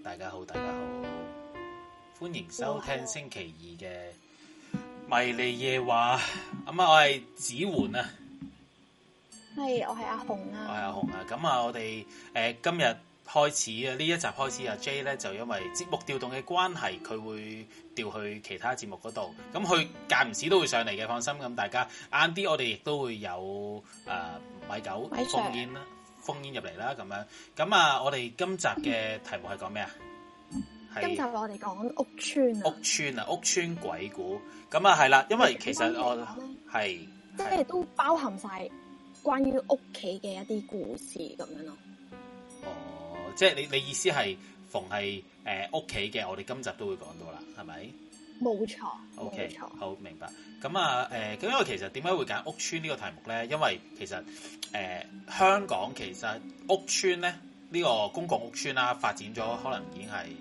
大家好，歡迎收聽星期二嘅迷離夜話。咁啊，我係子桓啊， 係，我係阿紅啊， 我係阿紅啊。咁啊，我哋今日開始啊，呢一集開始啊 J 咧就因為節目調動嘅關係，佢會調去其他節目嗰度。咁佢間唔時都會上嚟嘅，放心。咁大家晏啲，我哋亦都會有米九烽煙啦。烽煙入嚟啦，咁樣咁啊！我哋今集嘅題目係講咩啊？ 今集我哋講屋邨啊， 屋邨鬼故咁啊，係啦，因為其實我係即係都包含晒關於屋企嘅一啲故事咁樣咯。 哦，即係你意思係逢係屋企嘅，我哋今集都會講到啦，係咪？ 冇錯 ，OK， 冇錯， 好明白。咁啊，咁因為其實點解會揀屋邨呢個題目咧？因為其實香港其實屋邨咧呢個公共屋邨啦，發展咗可能已經係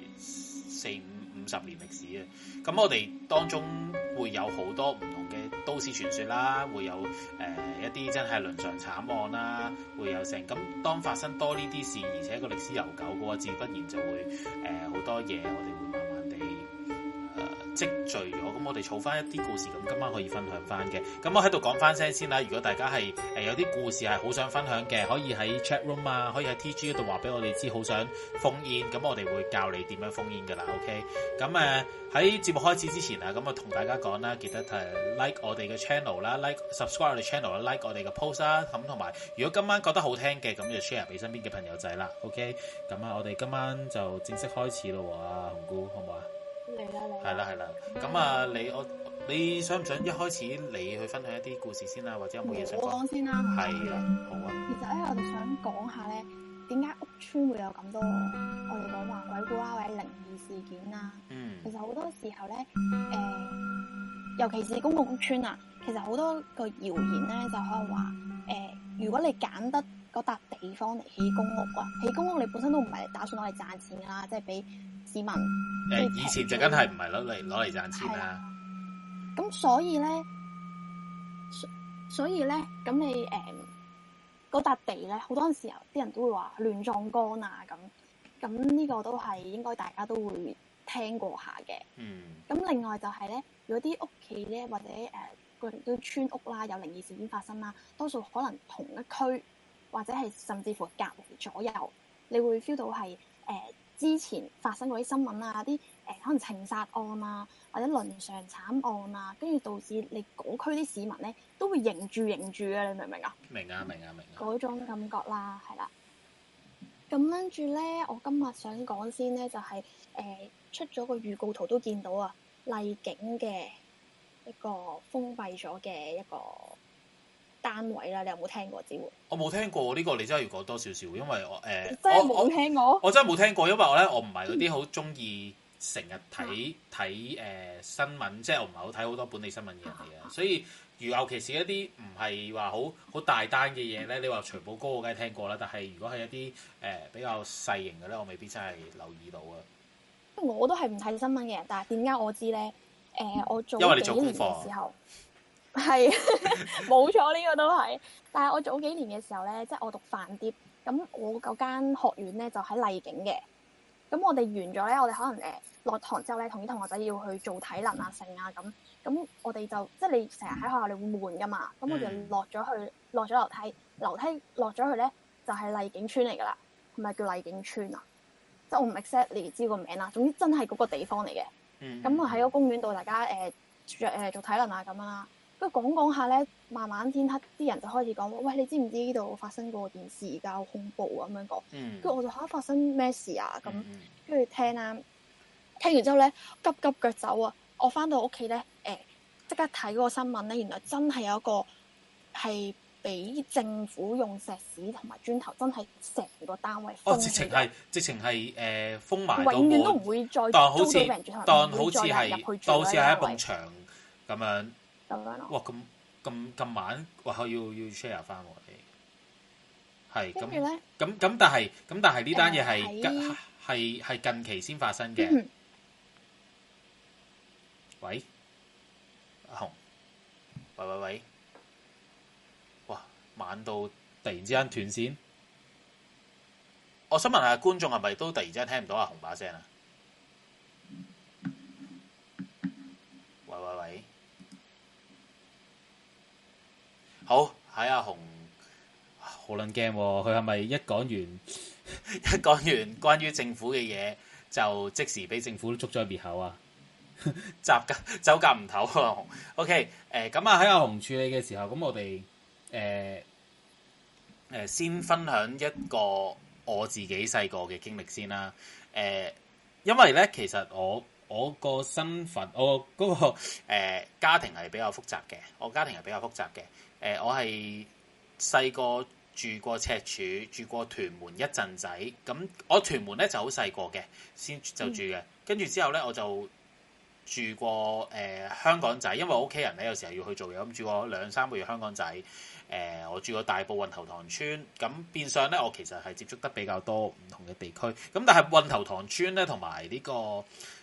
40-50年歷史啊。咁我哋當中會有好多唔同嘅都市傳說啦，會有一啲真係倫常慘案啦，會有成咁。當發生多呢啲事，而且個歷史悠久嘅話，自不然就會好多嘢，我哋會慢慢地積聚咗，咁我哋儲翻一啲故事，咁今晚可以分享翻嘅。咁我喺度講翻聲先啦。如果大家係有啲故事係好想分享嘅，可以喺 chat room 啊，可以喺 TG 嗰度話俾我哋知，好想烽煙，咁我哋會教你點樣烽煙噶啦。OK，咁喺節目開始之前啊，咁啊同大家講啦，記得like 我哋嘅 channel 啦，like subscribe 我哋 channel 啦，like 我哋嘅 post 啦，咁同埋如果今晚覺得好聽嘅，咁就 share 俾身邊嘅朋友仔啦。OK，咁啊，我哋今晚就正式開始咯，啊紅姑，好唔好啊？係啦，咁啊，你想唔想一開始你去分享一啲故事先啦，或者有冇嘢想講？ 我講先啦， 係啊，好啊。 其實咧，我哋想講下咧，點解屋邨會有咁多我哋講話鬼故啊，或者靈異事件啊？其實好多時候咧，尤其是公共屋邨啊，其實好多個謠言咧，就可能話如果你揀得嗰笪地方嚟起公屋啊，起公屋你本身都唔係打算攞嚟賺錢噶啦，即係俾市民以前就梗係唔係攞嚟賺錢啦。 咁所以咧，咁你嗰笪地咧，好多時候啲人都會話亂葬崗啊，咁呢個都係應該大家都會聽過下嘅。咁另外就係咧，如果啲屋企咧或者個啲村屋啦有靈異事件發生啦，多數可能同一區或者係甚至乎隔離左右，你會 feel 到係之前發生過啲新聞啊，啲可能情殺案啊，或者倫常慘案啊，跟住導致你嗰區啲市民咧都會認住啊，你明唔明啊？明啊！嗰種感覺啦，係啦。咁跟住咧，我今日想講先咧，就係出咗個預告圖都見到啊，麗景嘅一個封閉咗嘅一個單位啦，你有冇聽過？我冇聽過呢個，你真係要講多少少，因為我真係冇聽過。 我真係冇聽過，因為我唔係嗰啲好中意成日睇新聞，即係我唔係好睇好多本地新聞嘅人嚟嘅，所以尤其是一啲唔係話好大單嘅嘢咧，你話徐步高我梗係聽過啦，但係如果係一啲比較細型嘅咧，我未必真係留意到啊。 我都係唔睇新聞嘅人，但係點解我知咧？我做因為你做幾年嘅時候。係冇錯，呢個都係。但係我早幾年嘅時候咧，即係我讀飯碟，咁我嗰間學院咧就喺麗景嘅。咁我哋完咗咧，我哋可能落堂之後咧，同啲同學仔要去做體能啊、剩啊咁。咁我哋就即係你成日喺學校你會悶噶嘛。咁我哋落咗樓梯落咗去咧，就係麗景邨嚟噶啦。係咪叫麗景邨啊？即係我唔 exactly 知個名啦。總之真係嗰個地方嚟嘅。咁啊喺個公園度，大家做體能啊咁樣啦。跟住講下咧，慢慢天黑，啲人就開始講：喂，你知唔知呢度發生過件事㗎？好恐怖咁樣講。跟住我就發生咩事啊？咁跟住聽啦，聽完之後咧，急腳走啊！我翻到屋企咧，即刻睇嗰個新聞咧，原來真係有一個係俾政府用石屎同埋磚頭，真係成個單位封。直情係封埋， 永遠都唔會再租到俾人住， 當好似係一埲牆咁樣。哇！咁晚，哇！要 share 翻我哋，係咁咧。咁但係呢單嘢係近期先發生嘅。喂，阿紅，喂，哇！晚到突然之間斷線， 我想問下觀眾係咪都突然之間聽唔到阿紅把聲啊？喂喂喂，好，喺阿紅好撚驚喎，佢係咪一講完一講完關於政府嘅嘢，就即時俾政府捉咗滅口啊？走夾唔唞啊！紅 OK 咁啊喺阿紅處理嘅時候，咁我哋先分享一個我自己細個嘅經歷先啦。因為咧，其實我個身份，我嗰個家庭係比較複雜嘅。我係細個住過赤柱，住過屯門一陣仔。咁我屯門咧就好細個嘅，先就住嘅。跟住之後咧，我就住過香港仔，因為我屋企人咧有時候要去做嘢，咁住過2-3個月香港仔。我住過大埔運頭塘村，咁變相咧，我其實係接觸得比較多唔同嘅地區。咁但係運頭塘村咧，同埋呢個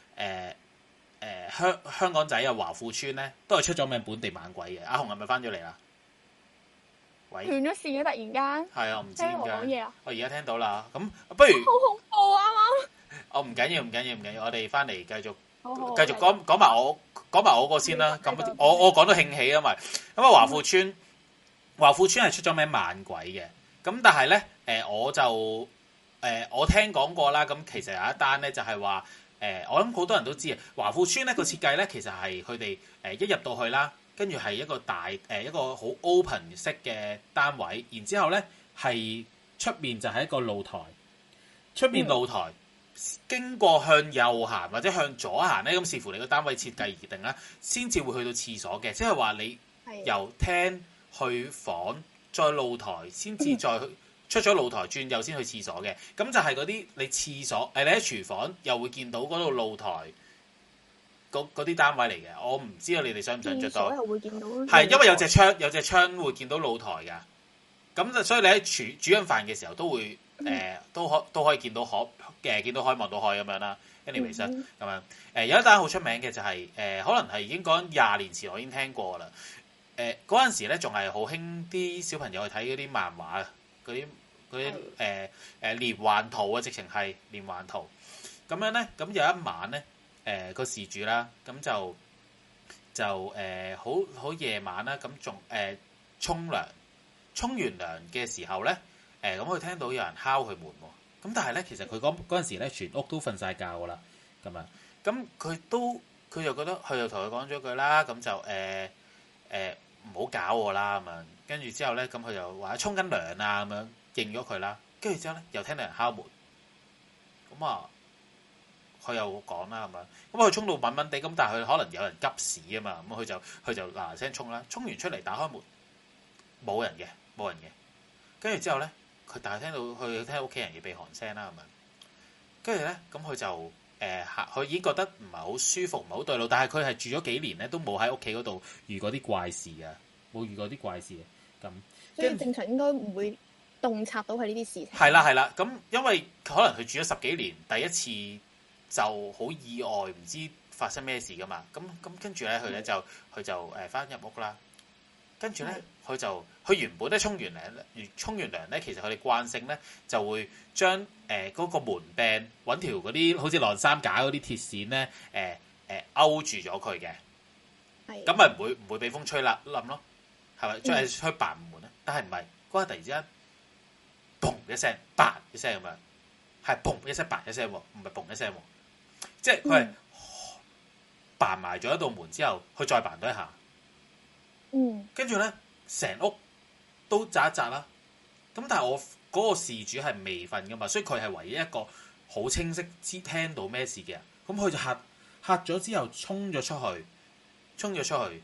香港仔啊華富村咧，都係出咗名本地猛鬼嘅。阿紅係咪翻咗嚟啦？喂， 斷咗線嘅突然間。 係啊，我唔知點解。 聽我講嘢啊！ 我而家聽到啦，咁不如好恐怖啊！啱啱。 我唔緊要，我哋翻嚟繼續好繼續講埋我個先啦。咁我講到興起啊嘛。咁啊華富村係出咗名猛鬼嘅。咁但係咧我聽講過啦。咁其實有一單咧就係話我諗好多人都知啊。華富村咧個設計咧其實係佢哋一入到去啦，跟住係一個大一個好 open 式嘅單位，然之後咧係出面就係一個露台，出面露台。經過向右行或者向左行咧，咁視乎你個單位設計而定啦，先至會去到廁所嘅。即係話你由廳去房，再露台，先至再出咗露台轉右先去廁所嘅。咁就係嗰啲你廁所你喺廚房又會見到嗰度露台嗰啲單位嚟嘅。我唔知道你哋想唔想着到？ 會見到係因為有隻窗會見到露台㗎。咁就所以你喺煮緊飯嘅時候都會都可以見到見到海望到海咁樣啦。anyways 咁樣有一單好出名嘅就係可能係已經講20年前我已經聽過啦。嗰陣時咧仲係好興啲小朋友去睇嗰啲漫畫啊，嗰啲連環圖啊，直情係連環圖咁樣咧。咁有一晚咧個事主啦，咁就好夜晚啦，咁仲沖完涼嘅時候咧，咁佢聽到有人敲佢門喎。咁但係咧，其實佢嗰陣時咧，全屋都瞓晒覺噶啦，咁樣。咁佢就覺得，佢就同佢講咗句啦，咁就唔好搞我啦咁樣。跟住之後咧，咁佢就話沖緊涼啊咁樣，應咗佢啦。跟住之後咧，又聽到人敲門。咁啊，佢又講啦咁樣。咁佢沖到穩穩地，咁但係佢可能有人急屎啊嘛。咁佢就嗱嗱聲沖啦，沖完出嚟打開門，冇人嘅。跟住之後咧，佢但係聽到屋企人嘅鼻鼾聲啦咁樣。跟住咧，咁佢就佢已經覺得唔係好舒服，唔係好對路。但係佢係住咗幾年咧，都冇喺屋企嗰度遇過啲怪事嘅，冇遇過啲怪事嘅。咁所以正常應該唔會洞察到佢呢啲事情。 係啦。咁因為可能佢住咗10幾年，第一次就好意外，唔知發生咩事噶嘛。咁跟住咧，佢就翻入屋啦。跟住咧，佢原本咧沖完涼咧，其實佢哋慣性咧就會將嗰個門柄揾條嗰啲好似晾衫架嗰啲鐵線咧勾住咗佢嘅，咁咪唔會俾風吹冧咯，係咪？再係吹白門咧，但係唔係嗰日突然之間，砰一聲，白一聲咁樣，係砰一聲，白一聲喎，唔係砰一聲喎，即係佢係扮埋咗一道門之後，佢再扮多一下。跟住咧，成屋都扎一扎啦。咁但係我嗰個事主係未瞓噶嘛，所以佢係唯一一個好清晰知聽到咩事嘅人。咁佢就嚇咗之後，衝咗出去，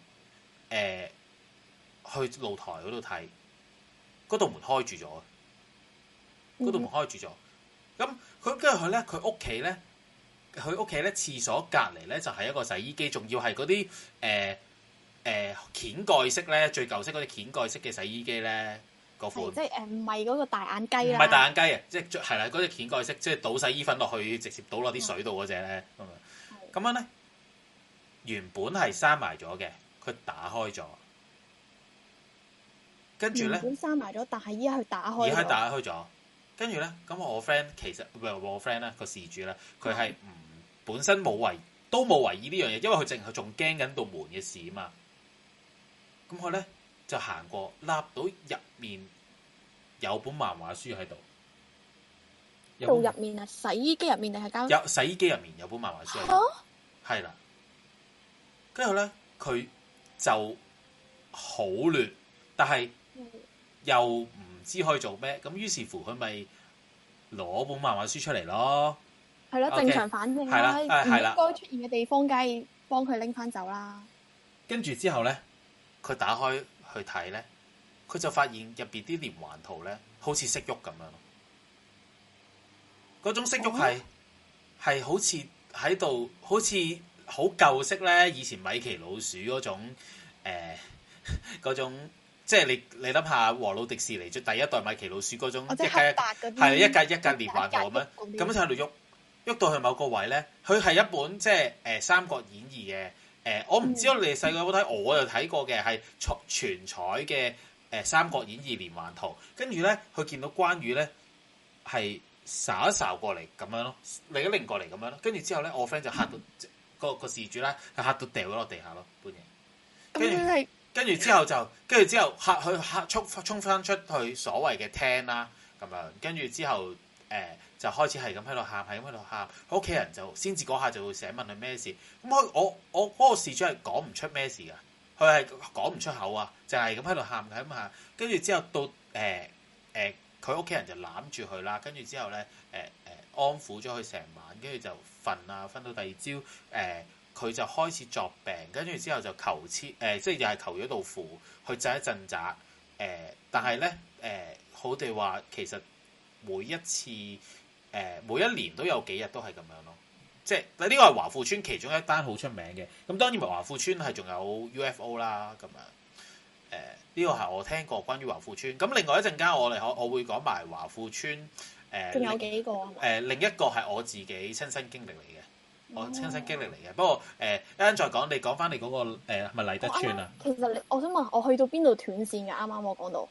去露台嗰度睇，嗰道門開住咗。咁佢跟住佢咧，佢屋企咧，廁所隔離咧就係一個洗衣機，仲要係嗰啲掀蓋式咧，最舊式嗰啲掀蓋式嘅洗衣機咧，嗰款即係唔係嗰個大眼雞啦， 唔係大眼雞啊，即係啦，嗰隻掀蓋式，即係倒洗衣粉落去，直接倒落啲水度嗰隻咧，咁樣咧，原本係閂埋咗嘅，佢打開咗，跟住咧， 原本閂埋咗，但係依家佢打開咗， 跟住咧，咁我 friend 其實唔係我 friend 咧個事主咧，佢係本身冇為意呢樣嘢，因為佢淨係仲驚緊道門嘅事啊嘛。咁佢咧就行過，立到入面有本漫畫書喺度。 到入面啊，洗衣機入面定係間？ 有洗衣機入面有本漫畫書喺度，係啦。跟住咧，佢就好亂，但係又唔知可以做咩，咁於是乎佢咪攞本漫畫書出嚟咯。 係咯，正常反應啦，唔應該出現嘅地方，梗係幫佢拎翻走啦。 跟住之後咧，佢打開去睇咧，佢就發現入邊啲連環圖咧，好似識喐咁樣咯。嗰種識喐係好似喺度，好似好舊式咧。以前米奇老鼠嗰種嗰種，即係你諗下和老迪士尼最第一代米奇老鼠嗰種一格係一格連環圖咁樣，咁樣喺度喐到去某個位咧。佢係一本即係《三國演義》嘅我唔知道你哋細個有冇睇，我就睇過嘅係全彩嘅《三國演義》連環圖。跟住咧，佢見到關羽咧係睄一睄過嚟咁樣咯，另一擰過嚟咁樣咯。跟住之後咧，我 friend 就嚇到個事主咧，係嚇到掉咗落地下咯，半夜。跟住之後嚇佢衝翻出去所謂嘅廳啦，咁樣。跟住之後就開始係咁喺度喊，佢屋企人就先至嗰下就會醒問佢咩事。咁我嗰個事主係講唔出咩事噶，佢係講唔出口啊，就係咁喺度喊咁喊。跟住之後到佢屋企人就攬住佢啦，跟住之後咧安撫咗佢成晚，跟住就瞓到第二朝佢就開始作病，跟住之後就求即係又係求咗道符去鎮一鎮宅。但係咧好哋話其實每一次每一年都有幾日都係咁樣咯，即係呢個係華富村其中一單好出名嘅。咁當然華富村係仲有 UFO 啦咁樣。呢個係我聽過關於華富村。咁另外一陣間我會講埋華富村。 仲有幾個另一個係我自己親身經歷嚟嘅，我親身經歷嚟嘅。不過一陣再講，你講翻你嗰個係咪勵德村啊？ 其實我想問，我去到邊度斷線㗎？啱啱我講到。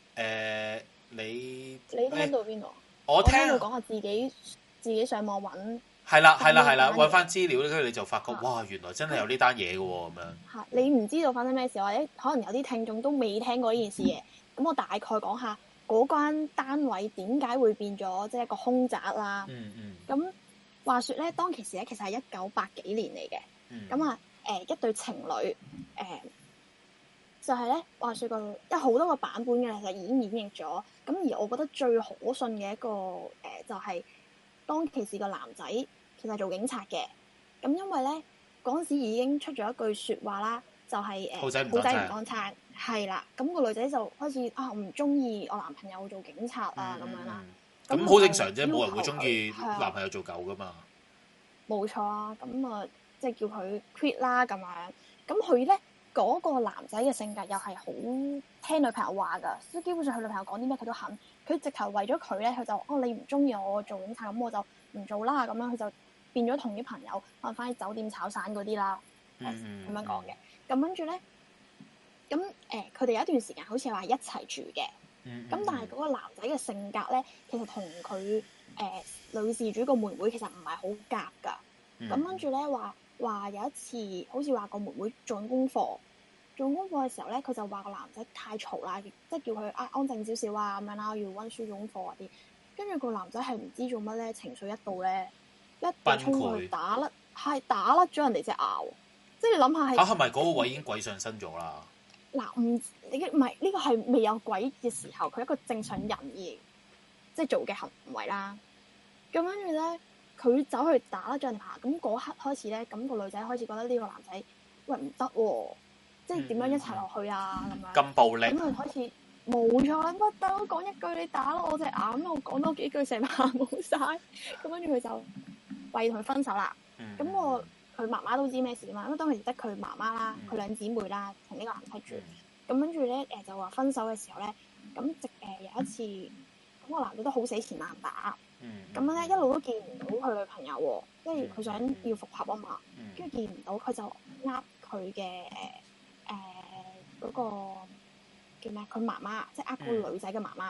你聽到邊度？ 我聽到講下自己上網揾。 係啦，揾翻資料，跟住你就發覺哇，原來真係有呢單嘢嘅喎咁樣。 係你唔知道發生咩事，或者可能有啲聽眾都未聽過呢件事嘅。咁我大概講下嗰間單位點解會變咗即係一個凶宅啦。咁話說咧，當其時咧，其實係1980幾年嚟嘅。咁一對情侶就係咧，話說有好多個版本嘅，其實已經演繹咗。咁而我覺得最可信嘅一個就係當其時個男仔其實係做警察嘅。咁因為咧嗰陣時已經出咗一句説話啦，就係好仔唔乾撐，係啦。咁個女仔就開始我唔中意我男朋友做警察啊咁樣啦。 咁好正常啫，冇人會中意男朋友做狗噶嘛。 冇錯啊，咁即係叫佢 quit 啦咁樣。咁佢咧嗰個男仔嘅性格又係好聽女朋友話㗎，即係基本上佢女朋友講啲咩佢都肯。佢直頭為咗佢咧，佢就你唔中意我做警察，咁我就唔做啦。咁樣佢就變咗同啲朋友可能翻啲酒店炒散嗰啲啦，咁樣講嘅。咁跟住咧，咁佢哋有一段時間好似話一齊住嘅。咁但係嗰個男仔嘅性格咧，其實同佢女事主個妹妹其實唔係好夾㗎。咁跟住咧話有一次，好似話個妹妹做功課嘅時候咧，佢就話個男仔太嘈啦，即係叫佢安靜少少啊咁樣啦，要温書做功課嗰啲。跟住個男仔係唔知做乜咧，情緒一到咧，一定衝過去打甩咗人哋隻牙。即係你諗下係咪嗰個位已經鬼上身咗啦？ 嗱，唔係呢個係未有鬼嘅時候，佢一個正常人而即係做嘅行為啦。咁跟住咧，佢走去打甩咗人牙。咁嗰刻開始咧，咁個女仔開始覺得呢個男仔喂唔得喎，即係點樣一齊落去啊咁樣。 咁暴力。咁佢開始冇錯，乜都講一句你打我隻眼，我講多幾句成晚冇晒。咁跟住佢就為同佢分手啦。咁佢媽媽都知咩事嘛，因為當時得佢媽媽啦，佢兩姊妹啦，同呢個男仔住。咁跟住咧就話分手嘅時候咧，咁有一次，咁個男仔都好死纏爛打。咁咧一路都見唔到佢女朋友喎，即係佢想要復合啊嘛。跟住見唔到，佢就佢嘅嗰個叫咩？佢媽媽即係個女仔嘅媽媽，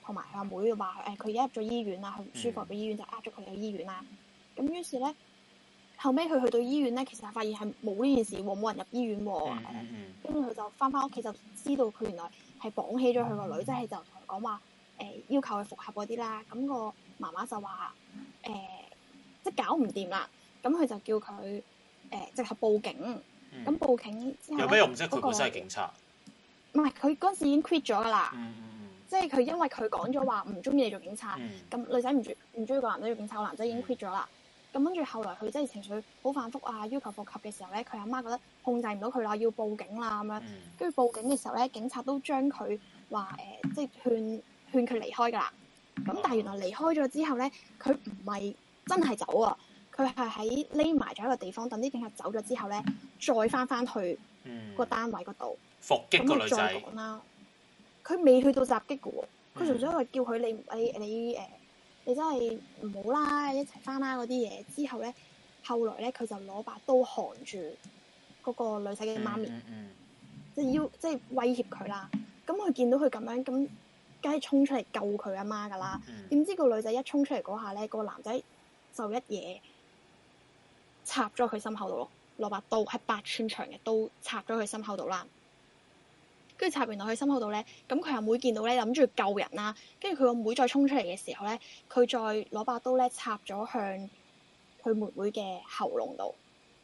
同埋佢阿妹話佢而家入咗醫院啦，佢唔舒服入咗醫院就呃咗佢去醫院啦。咁於是咧後尾佢去到醫院咧，其實發現係冇呢件事喎，冇人入醫院喎。跟住佢就翻屋企就知道佢原來係綁起咗佢個女，即係就同佢講話要求佢復合嗰啲啦。咁個媽媽就話即係搞唔掂啦，咁佢就叫佢直頭報警。咁報警之後有咩用啫？佢本身係警察。 唔係，佢嗰陣時已經 quit 咗噶啦。即係佢因為佢講咗話唔中意你做警察，咁女仔唔中意個男仔做警察，個男仔已經 quit 咗啦。咁跟住後來佢真係情緒好反覆啊，要求復合嘅時候咧，佢阿媽覺得控制唔到佢啦，要報警啦咁樣。跟住報警嘅時候咧，警察都將佢話即係勸佢離開噶啦。咁但係原來離開咗之後咧，佢唔係真係走啊，佢係喺匿埋咗一個地方，等啲警察走咗之後咧，再翻去個單位嗰度伏擊個女仔。 咁再講啦，佢未去到襲擊嘅喎，佢純粹係叫佢你真係唔好啦，一齊翻啦嗰啲嘢。之後咧，後來咧佢就攞把刀含住嗰個女仔嘅媽咪，即係威脅佢啦。咁佢見到佢咁樣，咁梗係衝出嚟救佢阿媽噶啦。點知個女仔一衝出嚟嗰下咧，個男仔就一嘢插咗佢心口度咯，攞把刀係8寸長嘅刀插咗佢心口度啦。跟住插完落去心口度咧，咁佢阿妹見到咧，諗住救人啦。跟住佢個妹再衝出嚟嘅時候咧，佢再攞把刀咧插咗向佢妹妹嘅喉嚨度。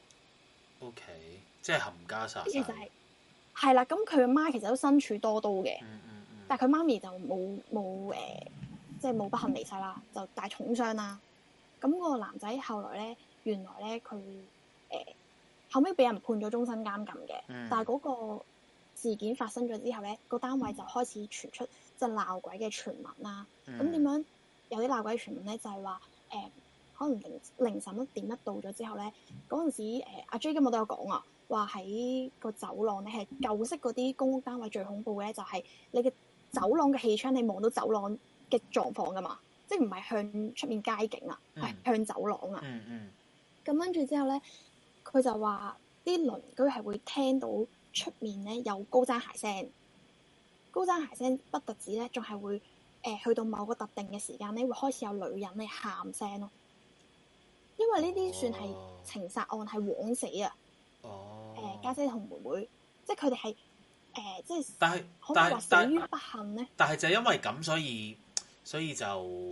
OK， 即係冚家殺手。 其實係啦，咁佢阿媽其實都身處多刀嘅，但係佢媽咪就冇即係冇不幸離世啦，就大重傷啦。咁個男仔後來咧，原來咧佢後尾俾人判咗終身監禁嘅，但係嗰個事件發生咗之後咧，個單位就開始傳出即係鬧鬼嘅傳聞啦。咁點樣有啲鬧鬼嘅傳聞咧？就係話可能凌晨1點到咗之後咧，嗰陣時阿 J 今日都有講啊，話喺個走廊咧係舊式嗰啲公屋單位最恐怖嘅咧，就係你嘅走廊嘅氣窗你望到走廊嘅狀況噶嘛，即係唔係向出面街景啊，係向走廊啊。咁跟住之後咧，佢就話啲鄰居係會聽到出面咧有高踭鞋聲，高踭鞋聲不特止咧，仲係會去到某個特定嘅時間咧，會開始有女人咧喊聲咯。因為呢啲算係情殺案，係枉死啊！家姐同妹妹，即係佢哋係即係， 但係可唔可以話死於不幸咧？ 但係就係因為咁，所以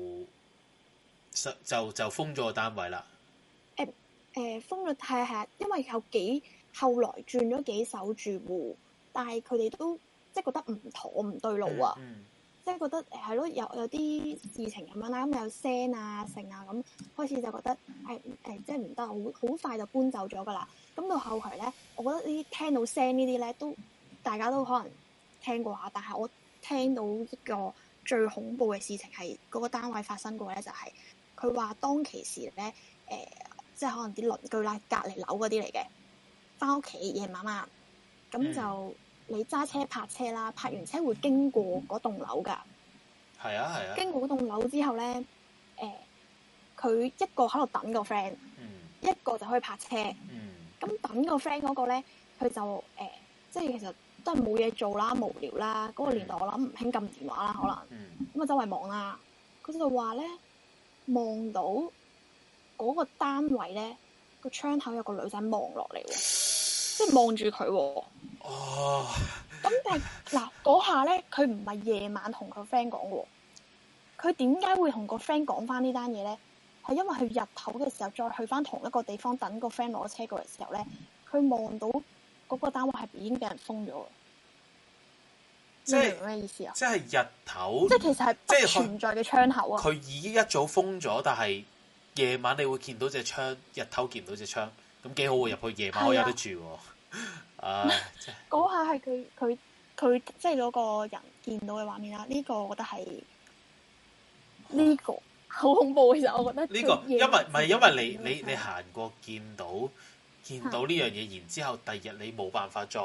就封咗個單位啦。 封咗係，因為後來轉咗幾手住戶，但係佢哋都即係覺得唔妥唔對路啊！即係覺得係咯，有啲事情咁樣啦，咁有聲啊、剩啊咁，開始就覺得即係唔得，好快就搬走咗噶啦。咁到後期咧，我覺得呢啲聽到聲呢啲咧，都大家都可能聽過下，但係我聽到一個最恐怖嘅事情係嗰個單位發生過咧，就係佢話當其時咧，即係可能啲鄰居啦，隔離樓嗰啲嚟嘅，翻屋企夜晚晚，咁就。你揸車泊車啦，泊完車會經過嗰棟樓㗎。 係啊。 經過嗰棟樓之後咧，佢一個喺度等個 friend，一個就可以泊車。咁等個 friend 嗰個咧，佢就即係其實都係冇嘢做啦，無聊啦。嗰個年代我諗唔興撳電話啦，可能咁啊周圍望啦。佢就話咧，望到嗰個單位咧個窗口有個女仔望落嚟喎，即係望住佢喎。咁但係嗱嗰下咧，佢唔係夜晚同佢 friend 講嘅，佢點解會同個 friend 講翻呢單嘢咧？係因為佢日頭嘅時候再去翻同一個地方等個 friend 攞車過嚟嘅時候咧，佢望到嗰個單位係已經俾人封咗。即係咩意思啊？ 即係日頭， 即係其實係不存在嘅窗口啊！ 佢已經一早封咗，但係夜晚你會見到隻窗，日頭見唔到隻窗，咁幾好喎！入去夜晚我有得住喎。 嗰下係佢即係嗰個人見到嘅畫面啦。呢個我覺得係呢個好恐怖。其實我覺得呢個因為你行過見到呢樣嘢，然之後第二日你冇辦法再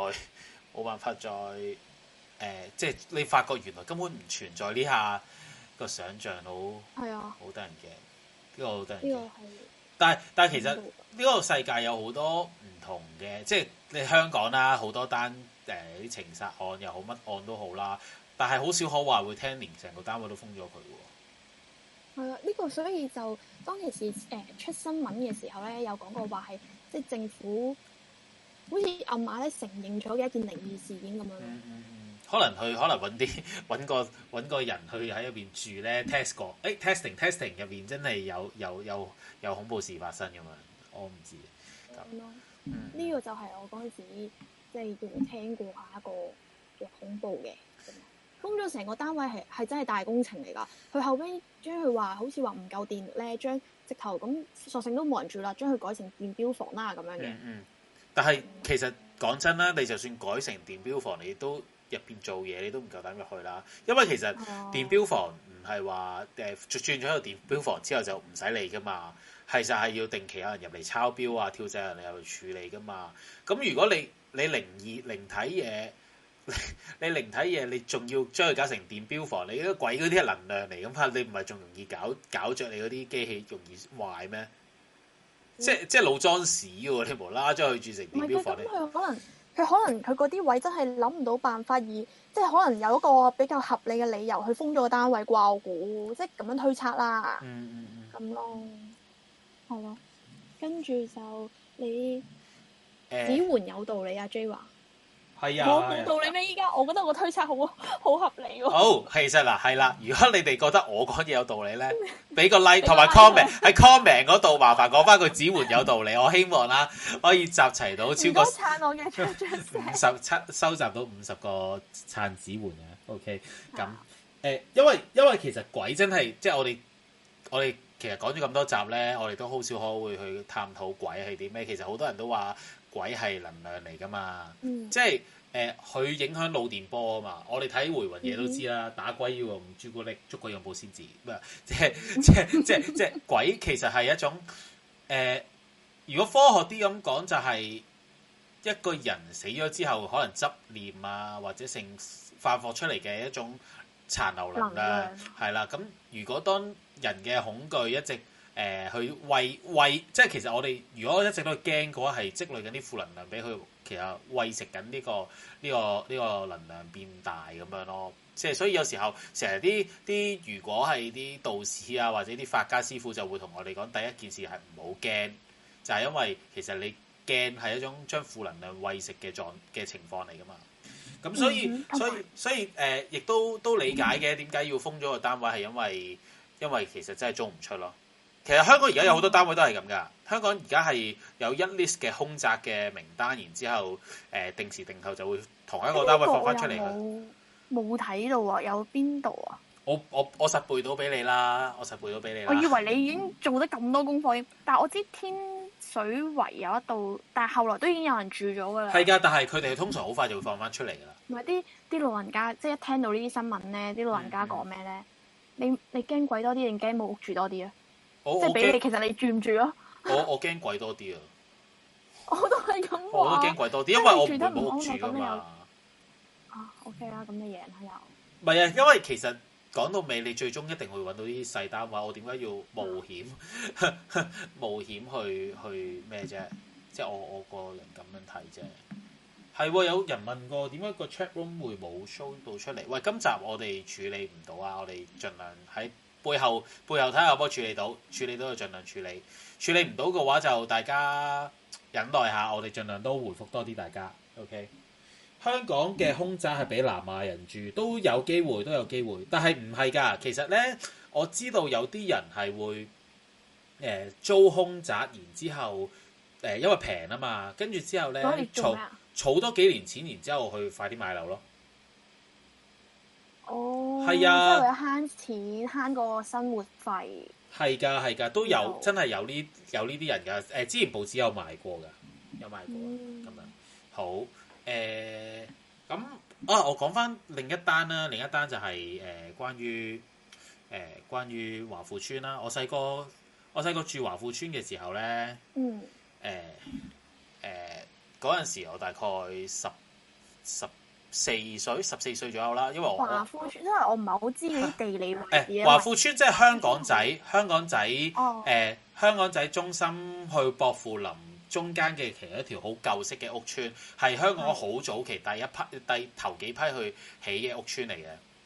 即係你發覺原來根本唔存在呢下個想像，好得人驚。呢個好得人驚。但係其實呢個世界有好多唔同嘅，即係你香港啦，好多單啲情殺案又好，乜案都好啦。 但係好少可話會聽連成個單位都封咗佢喎。 係啊，呢個所以就當其時出新聞嘅時候咧，有講過話係即係政府好似暗碼咧承認咗嘅一件靈異事件咁樣咯。 可能揾個人去喺入邊住咧 test 過，testing 入邊真係有恐怖事發生咁樣，我唔知咁咯。 呢個就係我嗰陣時即係叫聽過下一個嘅恐怖嘅。封咗成個單位係真係大工程嚟㗎。佢後尾將佢話好似話唔夠電咧，將直頭咁索性都冇人住啦，將佢改成電錶房啦咁樣嘅。 但係其實講真啦，你就算改成電錶房，你都入邊做嘢，你都唔夠膽入去啦。因為其實電錶房唔係話轉咗個電錶房之後就唔使理㗎嘛，係就係要定期有人入嚟抄錶啊、跳掣人嚟入去處理㗎嘛。咁如果你靈體嘢。你靈體嘢，你仲要將佢搞成電錶房？你嗰鬼嗰啲係能量嚟咁嘛？你唔係仲容易搞着你嗰啲機器容易壞咩？即係老裝屎喎！你無啦啦將佢轉成電錶房， 佢可能佢嗰啲位真係諗唔到辦法，而即係可能有一個比較合理嘅理由去封咗個單位啩？我估即係咁樣推測啦。咁咯，係咯。跟住就你指援有道理啊 ，J 話。 係啊， 我冇道理咩？依家我覺得我推測好合理喎。 好，其實嗱係啦，如果你哋覺得我講嘢有道理咧，俾個 like 同埋 comment 喺 comment 嗰度，麻煩講翻句指援有道理。我希望啦可以集齊到超過撐我嘅 50收集到50個撐指援嘅。OK， 咁因為其實鬼真係即係我哋其實講咗咁多集咧，我哋都好少可會去探討鬼係啲咩。其實好多人都話鬼係能量嚟噶嘛，即係佢影響腦電波啊嘛。我哋睇回魂夜都知啦，打鬼要用朱古力，捉鬼用保鮮紙，即係鬼其實係一種如果科學啲咁講，就係一個人死咗之後，可能執念啊，或者成發放出嚟嘅一種殘留能量，係啦。咁如果當人嘅恐懼一直去餵，即係其實我哋如果一直都驚嘅話，係積累緊啲負能量俾佢，其實餵食緊呢個能量變大咁樣咯。即係所以有時候成日啲如果係啲道士啊或者啲法家師傅就會同我哋講，第一件事係唔好驚，就係因為其實你驚係一種將負能量餵食嘅情況嚟㗎嘛。咁所以亦都理解嘅，點解要封咗個單位係因為其實真係租唔出咯。其實香港而家有好多單位都係咁噶。香港而家係有一 list 嘅空宅嘅名單，然之後定時定候就會同一個單位放翻出嚟。 冇睇到啊，有邊度啊？ 我實背到俾你啦，我以為你已經做得咁多功課，但係我知天水圍有一度，但係後來都已經有人住咗噶啦。 係㗎，但係佢哋通常好快就會放翻出嚟㗎啦。 唔係啲老人家，即係一聽到呢啲新聞咧，啲老人家講咩咧？你驚鬼多啲定驚冇屋住多啲啊？即係俾你，其實你住唔住啊？ 我驚鬼多啲啊！ 我都係咁話。 我都驚鬼多啲，因為我唔會冇屋住㗎嘛。 OK 啦，咁你贏啦又。 唔係啊，因為其實講到尾，你最終一定會揾到啲細單位。我點解要冒險去咩啫？即係我個人咁樣睇啫。係喎，有人問過點解個 chat room 會冇 show 到出嚟？喂，今集我哋處理唔到啊！我哋盡量喺背後睇下可唔可以處理到就盡量處理。處理唔到嘅話就大家忍耐下，我哋盡量都回覆多啲大家。OK。香港嘅空宅係俾南亞人住，都有機會，但係唔係㗎。其實咧，我知道有啲人係會租空宅，然之後因為平啊嘛，跟住之後咧儲多幾年錢，然之後去快啲買樓咯。 哦， 係啊， 即係為咗慳錢慳個生活費。 係㗎，都有真係有呢啲人㗎。之前報紙有賣過㗎，咁樣好。咁我講翻另一單啦，另一單就係關於華富村啦。我細個住華富村嘅時候咧，嗰陣時我大概14歲左右啦，因為華富村，因為我唔係好知嗰啲地理位置。 華富村即係香港仔中心去薄扶林中間嘅其中一條好舊式嘅屋村，係香港好早期第頭幾批去起嘅屋村嚟嘅。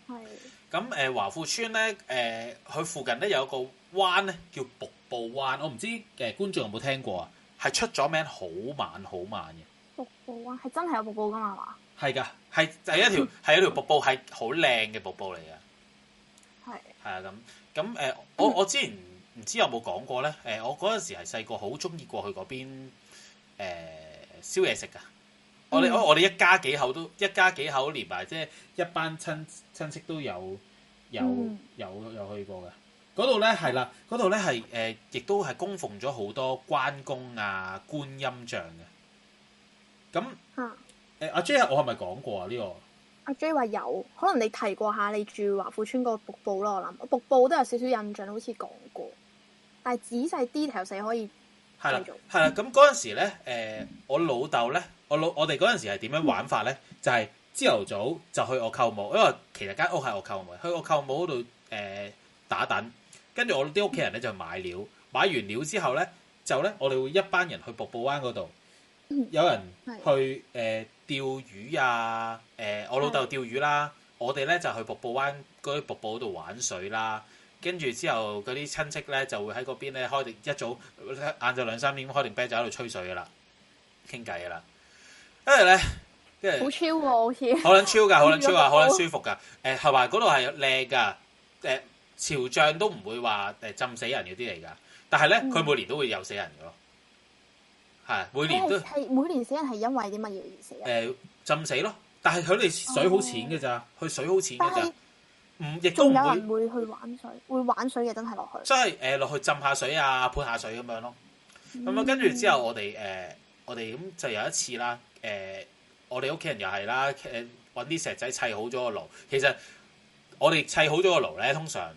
係。 咁華富村咧，佢附近咧有一個灣咧叫瀑布灣，我唔知觀眾有冇聽過啊？係出咗名好慢好慢嘅。 瀑布灣係真係有瀑布㗎嘛？ 係㗎，係就係一條瀑布，係好靚嘅瀑布嚟嘅。 係。 係啊，咁我之前唔知有冇講過咧？我嗰陣時係細個好中意過去嗰邊燒嘢食㗎。我哋一家幾口連埋，即係一班親戚都有去過嘅。嗰度咧係啦，嗰度咧係亦都係供奉咗好多關公啊、觀音像嘅。咁阿 J 我係咪講過啊？呢個阿 J 話有，可能你提過下你住華富村嗰個瀑布咯。我諗瀑布都有少少印象，好似講過，但係仔細 detail 死可以係啦。咁嗰陣時咧，我老豆咧，我哋嗰陣時係點樣玩法咧？就係朝頭早就去我舅母，因為其實間屋係我舅母，去我舅母嗰度打躉，跟住我啲屋企人咧就買料，買完料之後咧，就咧我哋會一班人去瀑布灣嗰度，有人去釣魚啊，我老豆釣魚啦，我哋咧就去瀑布灣嗰啲瀑布嗰度玩水啦。跟住之後嗰啲親戚咧就會喺嗰邊咧開定一早晏晝2-3點開定啤酒喺度吹水噶啦，傾偈噶啦。跟住咧，跟住好超喎，好似好撚超㗎，好撚超啊，好撚舒服㗎。係話嗰度係靚㗎，潮漲都唔會話浸死人嗰啲嚟㗎。但係咧，佢每年都會有死人㗎咯。係每年都係每年死人係因為啲乜嘢而死啊？ 浸死咯。但係佢哋水好淺㗎咋，佢水好淺㗎咋。亦都仲有人會去玩水，會玩水嘅真係落去。 即係落去浸下水啊，潑下水咁樣咯。咁跟住之後我哋咁就有一次啦。我哋屋企人又係啦，揾啲石仔砌好咗個爐。其實我哋砌好咗個爐咧，通常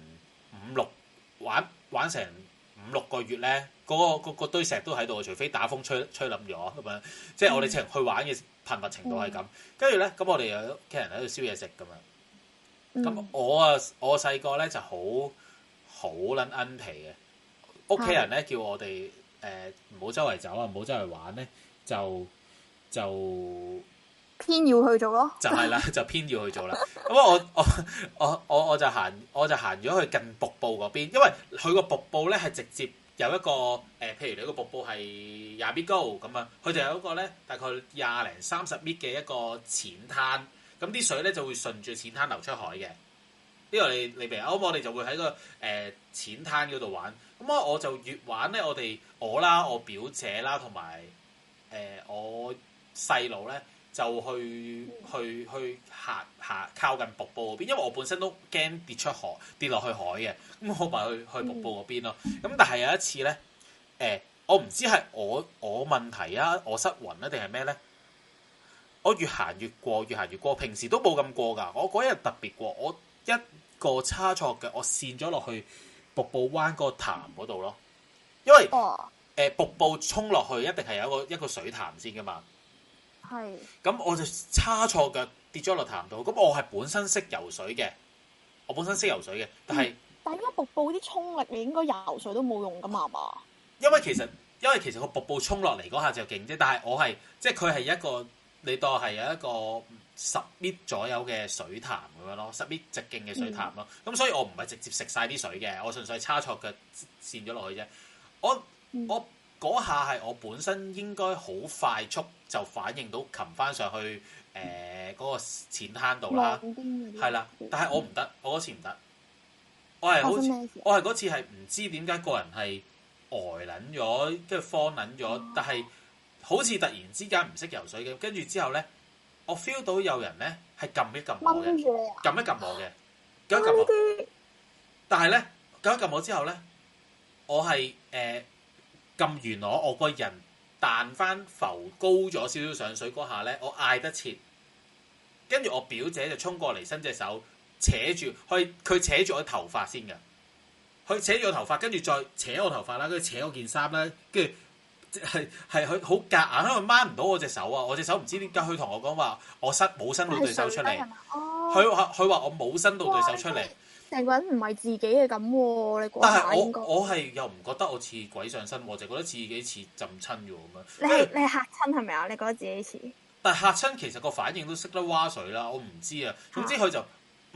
玩成5-6個月咧，嗰堆石都喺度，除非打風吹冧咗咁樣。即係我哋去玩嘅頻密程度係咁。跟住咧，咁我哋有屋企人喺度燒嘢食咁樣。咁我細個咧就好撚奀皮嘅，屋企人咧叫我哋唔好周圍走啊，唔好周圍玩咧，就偏要去做咯， 就係啦，就偏要去做啦。咁我就行咗去近瀑布嗰邊，因為佢個瀑布咧係直接有一個譬如你個瀑布係20米高咁啊，佢就有一個咧大概20-30米嘅一個淺灘。咁啲水咧就會順住淺灘流出海嘅。呢個你明啊？咁我哋就會喺個淺灘嗰度玩。咁我就越玩咧，我啦、我表姐啦，同埋我細佬咧，就去行靠近瀑布嗰邊，因為我本身都驚跌落去海嘅。咁我咪去瀑布嗰邊咯。咁但係有一次咧，我唔知係我問題啊，我失魂啊，定係咩咧？我越行越過，平時都冇咁過㗎。我嗰日特別過，我一個差錯腳，我跣咗落去瀑布灣嗰個潭嗰度咯。因為瀑布衝落去一定係有一個水潭先㗎嘛。係。咁我就差錯腳跌咗落潭度。咁我係本身識游水嘅，但係因為瀑布啲衝力，你應該游水都冇用㗎嘛？ 因為其實個瀑布衝落嚟嗰下就勁啫，但係我係即係佢係一個。你當係有一個10米左右嘅水潭咁樣咯，10米直徑嘅水潭咯。咁所以我唔係直接食晒啲水嘅，我純粹差錯腳跣咗落去啫。我嗰下係我本身應該好快速就反應到擒翻上去嗰個淺灘度啦，係啦。但係我唔得，我嗰次唔得。我係嗰次係唔知點解個人係呆撚咗，跟住慌撚咗，但係。好似突然之間唔識游水嘅，跟住之後咧，我 feel 到有人咧係撳一撳我嘅，撳一撳我嘅，撳一撳我。但係咧，撳一撳我之後咧，我係撳完我個人彈翻浮高咗少少上水嗰下咧，我嗌得切，跟住我表姐就衝過嚟伸隻手扯住，佢扯住我頭髮先㗎，佢扯住我頭髮，跟住再扯我頭髮啦，跟住扯我件衫啦，跟住。係佢好夾硬，因為掹唔到我隻手啊！我隻手唔知點解，佢同我講話我冇伸到對手出嚟。佢話我冇伸到對手出嚟。 成個人唔係自己嘅咁喎，你但係我係又唔覺得我似鬼上身，我就覺得自己似浸親咗咁樣。 你係嚇親係咪啊？你覺得自己似？ 但係嚇親其實個反應都識得蛙水啦，我唔知啊。總之佢就掹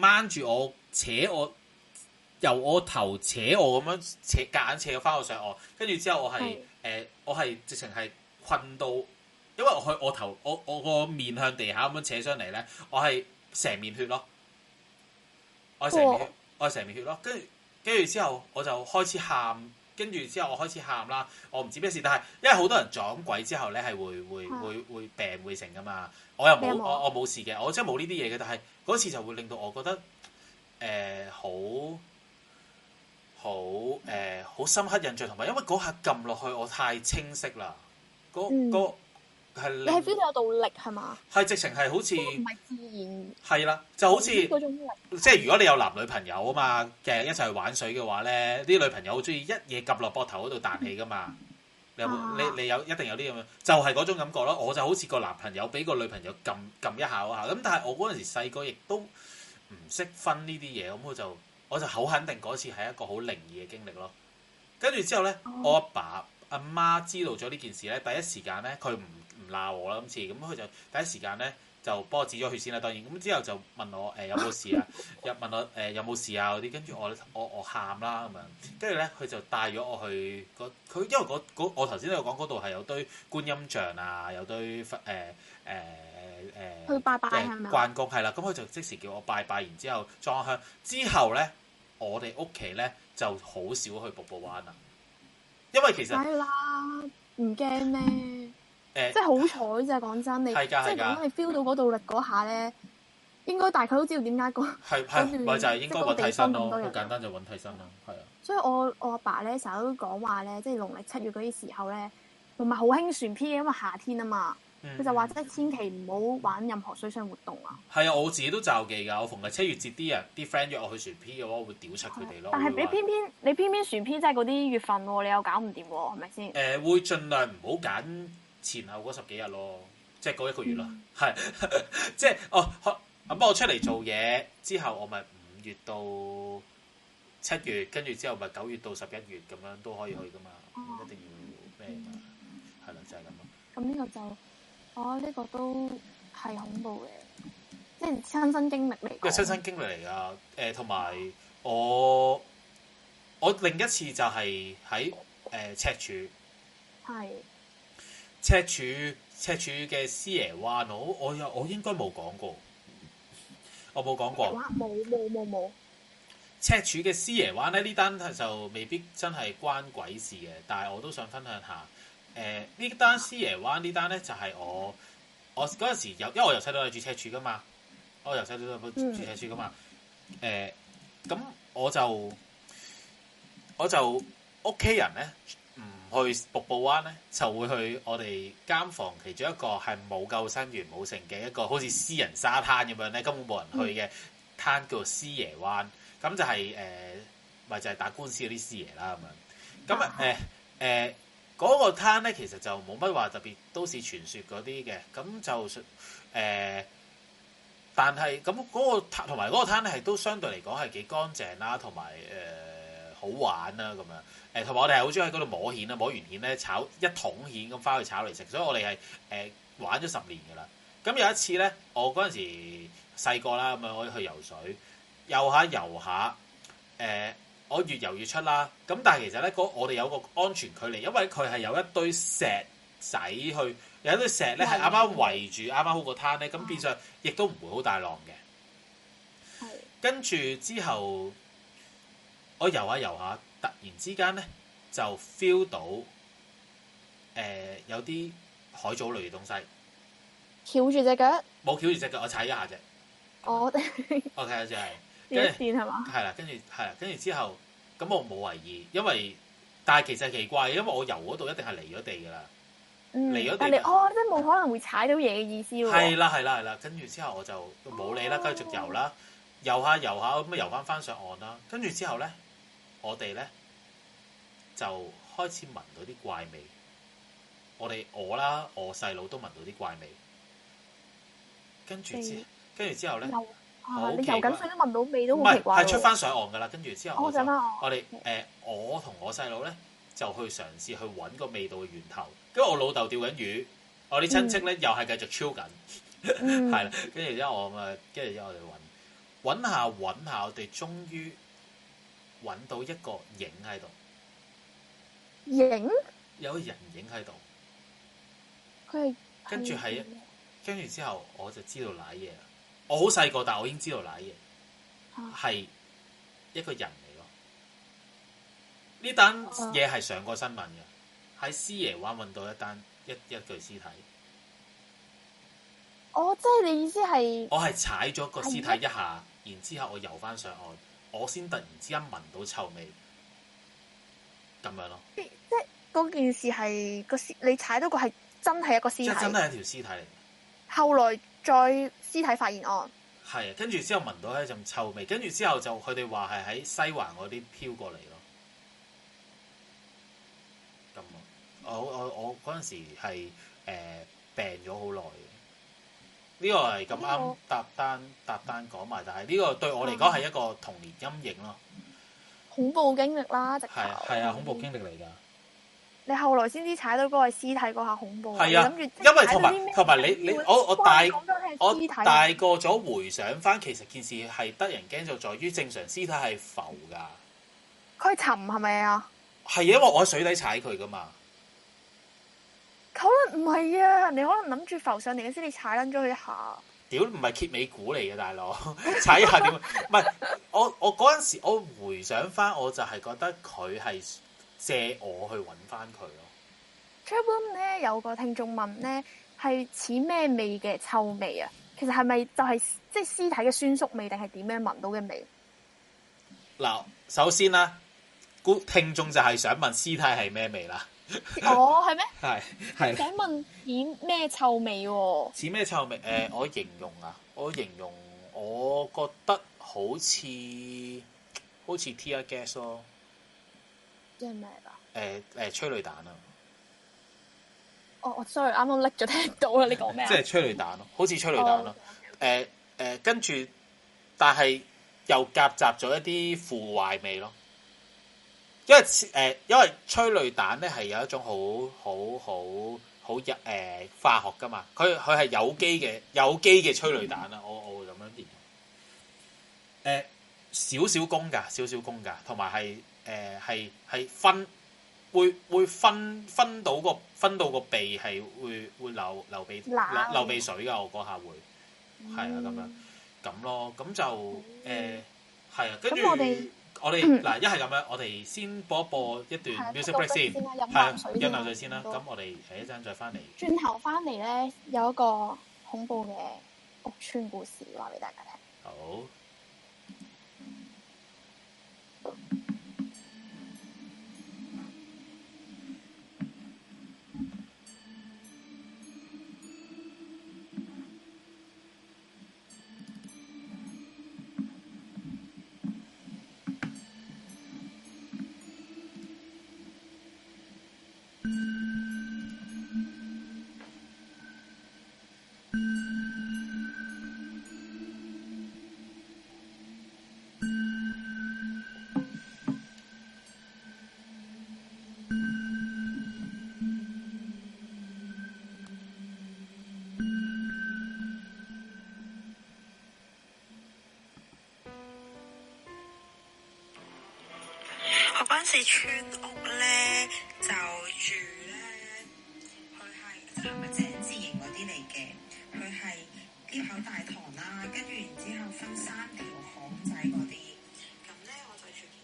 掹住我扯我，由我頭扯我咁樣夾硬扯翻我上岸，跟住之後我係直情係困到，因為我頭我個面向地下咁樣扯上嚟咧，我係成面血咯，我係成面血咯，跟住之後我就開始喊。跟住之後我開始喊啦，我唔知咩事，但係因為好多人撞鬼之後咧係會病會成噶嘛，我又冇我冇事嘅，我真係冇呢啲嘢嘅，但係嗰次就會令到我覺得好深刻印象，同埋因為嗰下撳落去我太清晰啦，係你係 feel 到有道力係嘛？ 係直情係好似唔係自然係啦，就好似嗰種力， 即係如果你有男女朋友啊嘛嘅一齊去玩水嘅話咧，啲女朋友好中意一嘢撳落膊頭嗰度彈起噶嘛。你有冇？你有一定有啲咁樣，就係嗰種感覺咯。我就好似個男朋友俾個女朋友撳一下嗰下，咁但係我嗰陣時細個亦都唔識分呢啲嘢，咁我就好肯定嗰次係一個好靈異嘅經歷咯。跟住之後咧，我阿爸阿媽知道咗呢件事咧，第一時間咧佢唔鬧我啦，今次咁佢就第一時間咧就幫我止咗血先啦。當然咁之後就問我有冇事啊，又問我有冇事啊嗰啲。跟住我喊啦咁樣，跟住咧佢就帶咗我去佢因為我頭先都有講嗰度係有堆觀音像啊，有堆去拜拜係咪？ 關公係啦，咁佢就即時叫我拜拜，然之後裝香之後咧，我哋屋企咧就好少去瀑布灣啦，因為其實係啦，唔驚咩？即係好彩啫，講真，你即係講你 feel 到嗰道力嗰下咧，應該大概都知道點解係咪就係應該揾替身咯？好簡單就揾替身咯，係啊。 所以我阿爸咧成日都講話咧，即係農曆7月嗰啲時候咧，同埋好興船 P 嘅，因為夏天啊嘛，佢就話即係千祈唔好玩任何水上活動啊。 係啊，我自己都罩忌㗎。我逢係7月節啲 friend 約我去船 P 嘅話，我會屌柒佢哋咯。 但係你偏偏船 P 即係嗰啲月份喎，你又搞唔掂喎，係咪先？ 會盡量唔好揀前後嗰10幾日咯，即係嗰1個月咯，係即係咁我出嚟做嘢之後，我咪5月到7月，跟住之後咪9月到11月咁樣都可以去噶嘛，一定要咩嘛，係啦，就係咁咯。 咁呢個就呢個都係恐怖嘅，即係親身經歷嚟。 個親身經歷嚟㗎，同埋我另一次就係喺赤柱。 係。 赤柱嘅獅爺灣，我應該冇講過，我冇講過。 冇。 赤柱嘅獅爺灣咧，呢單就未必真係關鬼事嘅，但係我都想分享下。呢單獅爺灣呢單咧就係我嗰陣時因為我由細到大住赤柱噶嘛，住赤柱噶嘛。咁我就屋企人咧。唔去瀑布灣咧，就會去我哋間房其中一個係冇救生員冇成嘅一個好似私人沙灘咁樣咧，根本冇人去嘅灘叫做獅爺灣。咁就係咪就係打官司嗰啲獅爺啦咁樣。咁嗰個灘咧，其實就冇乜話特別都市傳說嗰啲嘅。咁就但係咁嗰個同埋嗰個灘咧，係都相對嚟講係幾乾淨啦，同埋好玩啦咁樣。同埋我哋係好中意喺嗰度摸蜆啦，摸完蜆咧炒一桶蜆咁翻去炒嚟食，所以我哋係玩咗10年噶啦。咁有一次咧，我嗰陣時細個啦，咁樣我去游水，游下，我越游越出啦。咁但係其實咧，我哋有個安全距離，因為佢係有一堆石仔有一堆石咧係啱啱圍住啱啱好個灘咧，咁變相亦都唔會好大浪嘅。跟住之後，我游下。突然之間咧，就 feel 到有啲海藻類嘅東西， 翹住隻腳， 冇翹住隻腳，我踩一下啫。 我 OK 就係跟住電係嘛？ 係啦，跟住之後，咁我冇為意，因為但係其實奇怪，因為我游嗰度一定係離咗地㗎啦，離咗地。 但你即係冇可能會踩到嘢嘅意思喎。 係啦，跟住之後我就冇理啦，繼續游啦，游下咁游翻上岸啦，跟住之後咧。我哋咧就開始聞到啲怪味，我啦，我細佬都聞到啲怪味，跟住之後咧， 你游緊水都聞到味都好奇怪喎。 係出翻上岸噶啦，跟住之後我哋我同我細佬咧就去嘗試去揾個味道嘅源頭，跟住我老豆釣緊魚，我啲親戚咧又係繼續超緊，係啦，跟住之後我哋揾。 揾下，我哋終於揾到一個影喺度， 影有個人影喺度。 佢係跟住之後我就知道瀨嘢啦。我好細個，但我已經知道瀨嘢係一個人嚟咯。呢單嘢係上過新聞嘅，喺獅爺灣揾到一具屍體。 哦，即係你意思係我係踩咗個屍體一下，然之後我游翻上岸，我先突然之間聞到臭味，咁樣咯。 即係嗰件事係你踩到個係真係一個屍體， 即係真係一條屍體嚟。 後來再屍體發現案， 係啊，跟住之後聞到一陣臭味，跟住之後就佢哋話係喺西環嗰啲飄過嚟咯。咁我嗰陣時係病咗好耐嘅。呢個係咁啱搭單講埋，但係呢個對我嚟講係一個童年陰影咯。 恐怖經歷啦，直頭係啊，恐怖經歷嚟㗎。 你後來先知踩到嗰個係屍體嗰下恐怖。 係啊，因為同埋你我大個咗回想翻，其實件事係得人驚就在於正常屍體係浮㗎。 佢沉係咪啊？ 係因為我喺水底踩佢㗎嘛。 可能唔係啊，你可能諗住浮上嚟嘅先，你踩撚咗佢一下。 屌，唔係揭尾股嚟嘅大佬，踩一下點？唔係我嗰陣時，我回想翻，我就係覺得佢係借我去揾翻佢咯。 Chatroom 咧有個聽眾問咧，係似咩味嘅臭味啊？其實係咪就係即係屍體嘅酸縮味，定係點樣聞到嘅味？ 嗱，首先啦，聽眾就係想問屍體係咩味啦。 哦，係咩？ 係。 想問似咩臭味喎？ 似咩臭味？我形容，我覺得好似 tear gas 咯。 即係咩㗎？ 催淚彈啊！ 我 sorry，啱啱拎咗聽到啦，你講咩啊？ 即係催淚彈咯，好似催淚彈咯。跟住，但係又夾雜咗一啲腐壞味咯。因為催淚彈咧係有一種好化學噶嘛，佢係有機嘅催淚彈啦，我會咁樣形容。少少功㗎，同埋係會分到個鼻係會流鼻水㗎，我嗰下會係啊咁咯，咁就係啊，跟住。我哋嗱一係咁樣，我哋先播一段 music break 先，係飲啖水先啦。咁我哋一陣再翻嚟。 轉頭翻嚟咧，有一個恐怖嘅屋邨故事話俾大家聽。 好。 嗰陣時村屋咧就住咧，佢係咪井字形嗰啲嚟嘅？佢係 𨋢 口大堂啦，跟住然之後分3條巷仔嗰啲，咁咧我就住。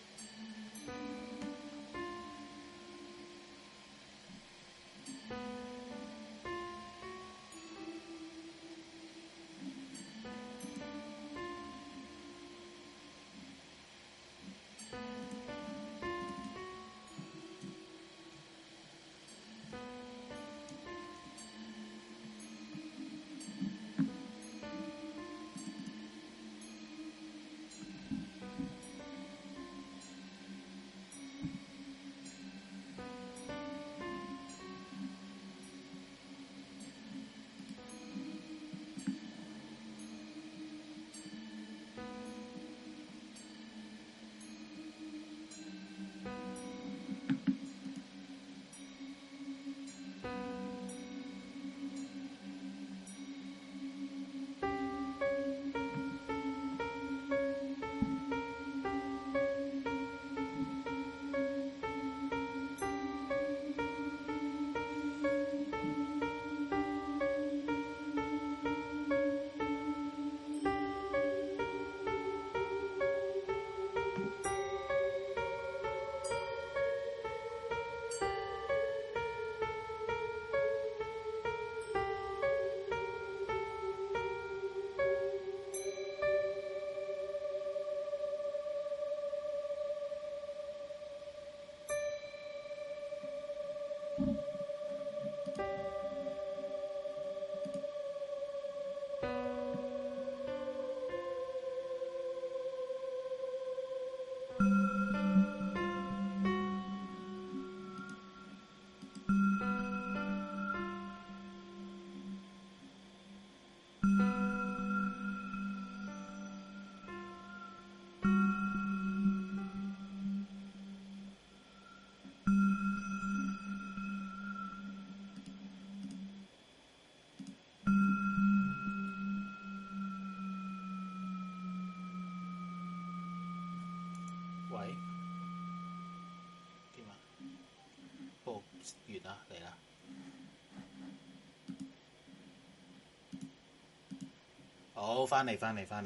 完啦，嚟啦。好，翻嚟。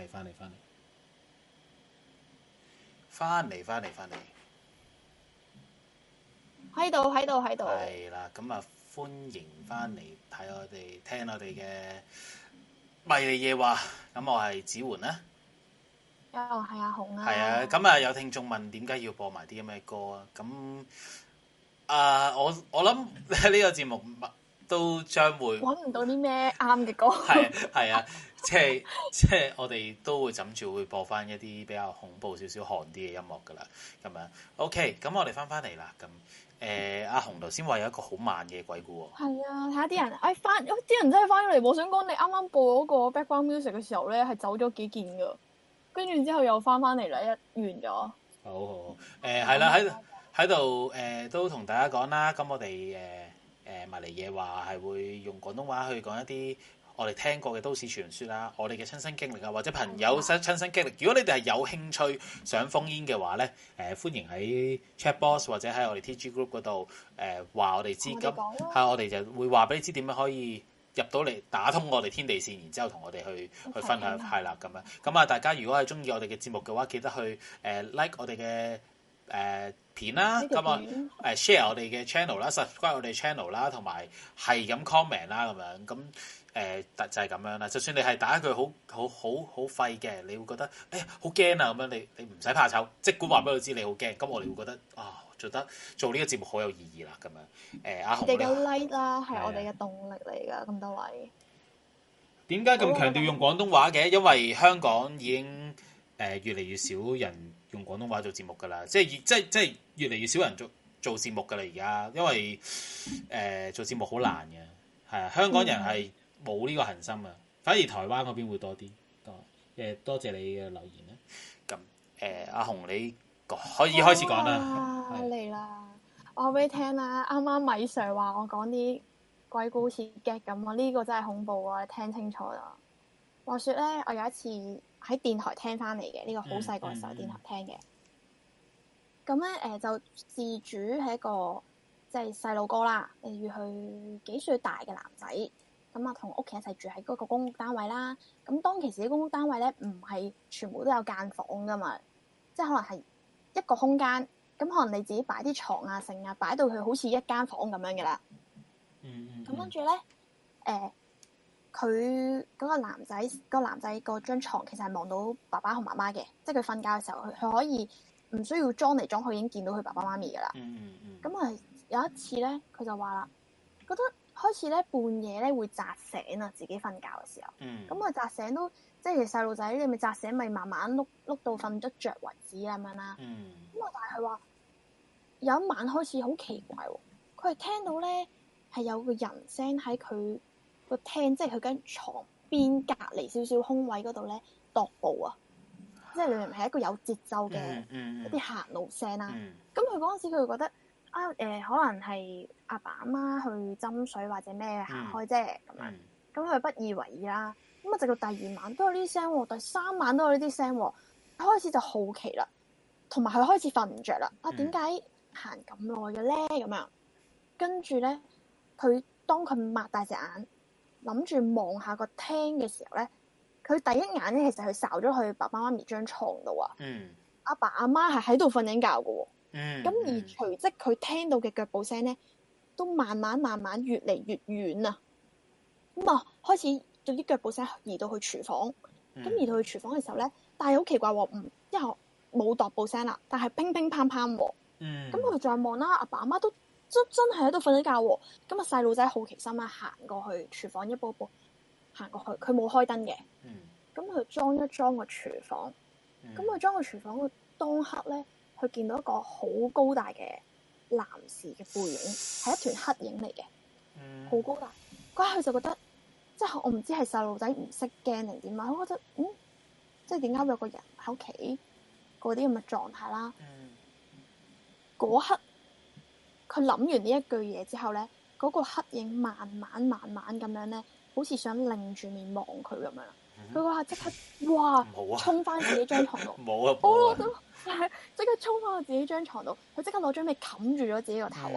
喺度。 係啦，咁啊，歡迎翻嚟聽我哋嘅迷離夜話。咁我係子桓啦。 係阿紅啊。 係啊，咁啊有聽眾問點解要播埋啲咁嘅歌啊？咁我諗呢個節目都將會揾唔到啲咩啱嘅歌。 係啊，即係我哋都會枕住會播翻一啲比較恐怖少少寒啲嘅音樂噶啦。咁樣 OK，咁我哋翻嚟啦。咁阿紅頭先話有一個好慢嘅鬼故喎。 係啊，睇下啲人，啲人真係翻咗嚟。我想講你啱啱播嗰個 background music 嘅時候咧，係走咗幾件噶，跟住之後又翻嚟啦，一完咗。 好，係啦，喺度都同大家講啦。咁我哋迷離夜話係會用廣東話去講一啲我哋聽過嘅都市傳說啦，我哋嘅親身經歷啊，或者朋友親身經歷。如果你哋係有興趣想烽煙嘅話咧，歡迎喺 chat box 或者喺我哋 TG group 嗰度話我哋知。咁係我哋就會話俾你知點樣可以入到嚟打通我哋天地線，然之後同我哋去分享。係啦，咁樣。咁啊，大家如果係中意我哋嘅節目嘅話，記得去like 我哋嘅片啦，咁啊share 我哋嘅 channel 啦，subscribe 我哋 channel 啦，同埋係咁 comment 啦，咁樣咁就係咁樣啦。就算你係打一句好廢嘅，你會覺得好驚啊咁樣，你唔使怕醜，即管話俾佢知你好驚，咁我哋會覺得做呢個節目好有意義啦，咁樣阿紅你嘅 like 啦，係我哋嘅動力嚟噶，咁多位。點解咁強調用廣東話嘅？因為香港已經越嚟越少人用廣東話做節目噶啦，即係越嚟越少人做節目噶啦而家，因為做節目好難嘅，係啊，香港人係冇呢個恆心啊，反而台灣嗰邊會多啲。多謝你嘅留言啦。咁阿紅你可以開始講啦。 嚟啦，我話俾你聽啦，啱啱米 Sir 話我講啲鬼故事 get 咁啊，呢個真係恐怖啊！你聽清楚啦。話說咧，我有一次喺電台聽翻嚟嘅，呢個好細個嘅時候電台聽嘅。咁咧就事主係一個即係細路哥啦，例如佢幾歲大嘅男仔，咁啊同屋企一齊住喺嗰個公屋單位啦。咁當其時啲公屋單位咧唔係全部都有間房噶嘛，即係可能係一個空間，咁可能你自己擺啲床啊、剩啊，擺到佢好似一間房咁樣嘅啦。咁跟住咧，佢嗰個男仔個張床其實係望到爸爸同媽媽嘅，即係佢瞓覺嘅時候，佢可以唔需要裝嚟裝去已經見到佢爸爸媽咪噶啦。咁啊有一次咧，佢就話啦，覺得開始咧半夜咧會扎醒啊，自己瞓覺嘅時候。咁啊扎醒都即係細路仔，你咪扎醒咪慢慢碌到瞓得着為止咁樣啦。咁啊但係佢話有一晚開始好奇怪喎，佢係聽到咧係有個人聲喺佢個廳，即係佢間床邊隔離少少空位嗰度咧踱步啊，即係你明明係一個有節奏嘅一啲行路聲啦。咁佢嗰陣時佢會覺得可能係阿爸阿媽去斟水或者咩行開啫咁樣，咁佢不以為意啦。咁啊直到第二晚都有呢啲聲喎，第三晚都有呢啲聲喎，開始就好奇啦，同埋佢開始瞓唔着啦。點解行咁耐嘅咧？咁樣跟住咧，佢當佢擘大隻眼，諗住望下個廳嘅時候咧，佢第一眼咧其實佢睄咗去爸爸媽咪張床度啊。阿爸阿媽係喺度瞓緊覺嘅喎。咁而隨即佢聽到嘅腳步聲咧，都慢慢越嚟越遠啊。咁啊，開始有啲腳步聲移到去廚房。咁移到去廚房嘅時候咧，但係好奇怪喎，因為冇踱步聲啦，但係乒乒乓乓喎。咁佢再望啦，阿爸阿媽都真係喺度瞓緊覺喎。咁啊，細路仔好奇心啦，行過去廚房一步行過去，佢冇開燈嘅。咁佢裝一裝個廚房。咁佢裝個廚房嘅當刻咧，佢見到一個好高大嘅男士嘅背影，係一團黑影嚟嘅，好高大。嗰下佢就覺得，即係我唔知係細路仔唔識驚定點啊，佢覺得即係點解會有個人喺屋企嗰啲咁嘅狀態啦。嗰刻佢諗完呢一句嘢之後咧，嗰個黑影慢慢咁樣咧，好似想擰住面望佢咁樣啦。佢嗰下即刻哇，衝翻自己張床度，冇啊！我都係即刻衝翻去自己張床度，佢即刻攞張被冚住咗自己個頭啊！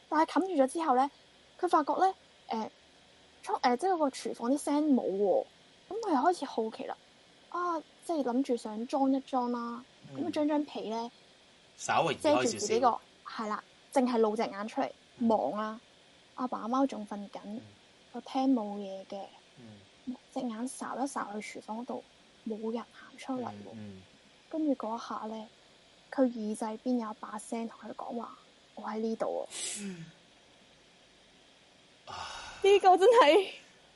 但係冚住咗之後咧，佢發覺咧即係個廚房啲聲冇喎，咁佢又開始好奇啦，即係諗住想裝一裝啦，咁將被咧稍微移遮住開少自己個係啦，淨係露隻眼出嚟望啦。阿爸阿媽仲瞓緊，個廳冇嘢嘅，隻眼睄一睄去廚房嗰度，冇人行出嚟喎。跟住嗰下咧，佢耳仔邊有一把聲同佢講話：我喺呢度啊！呢個真係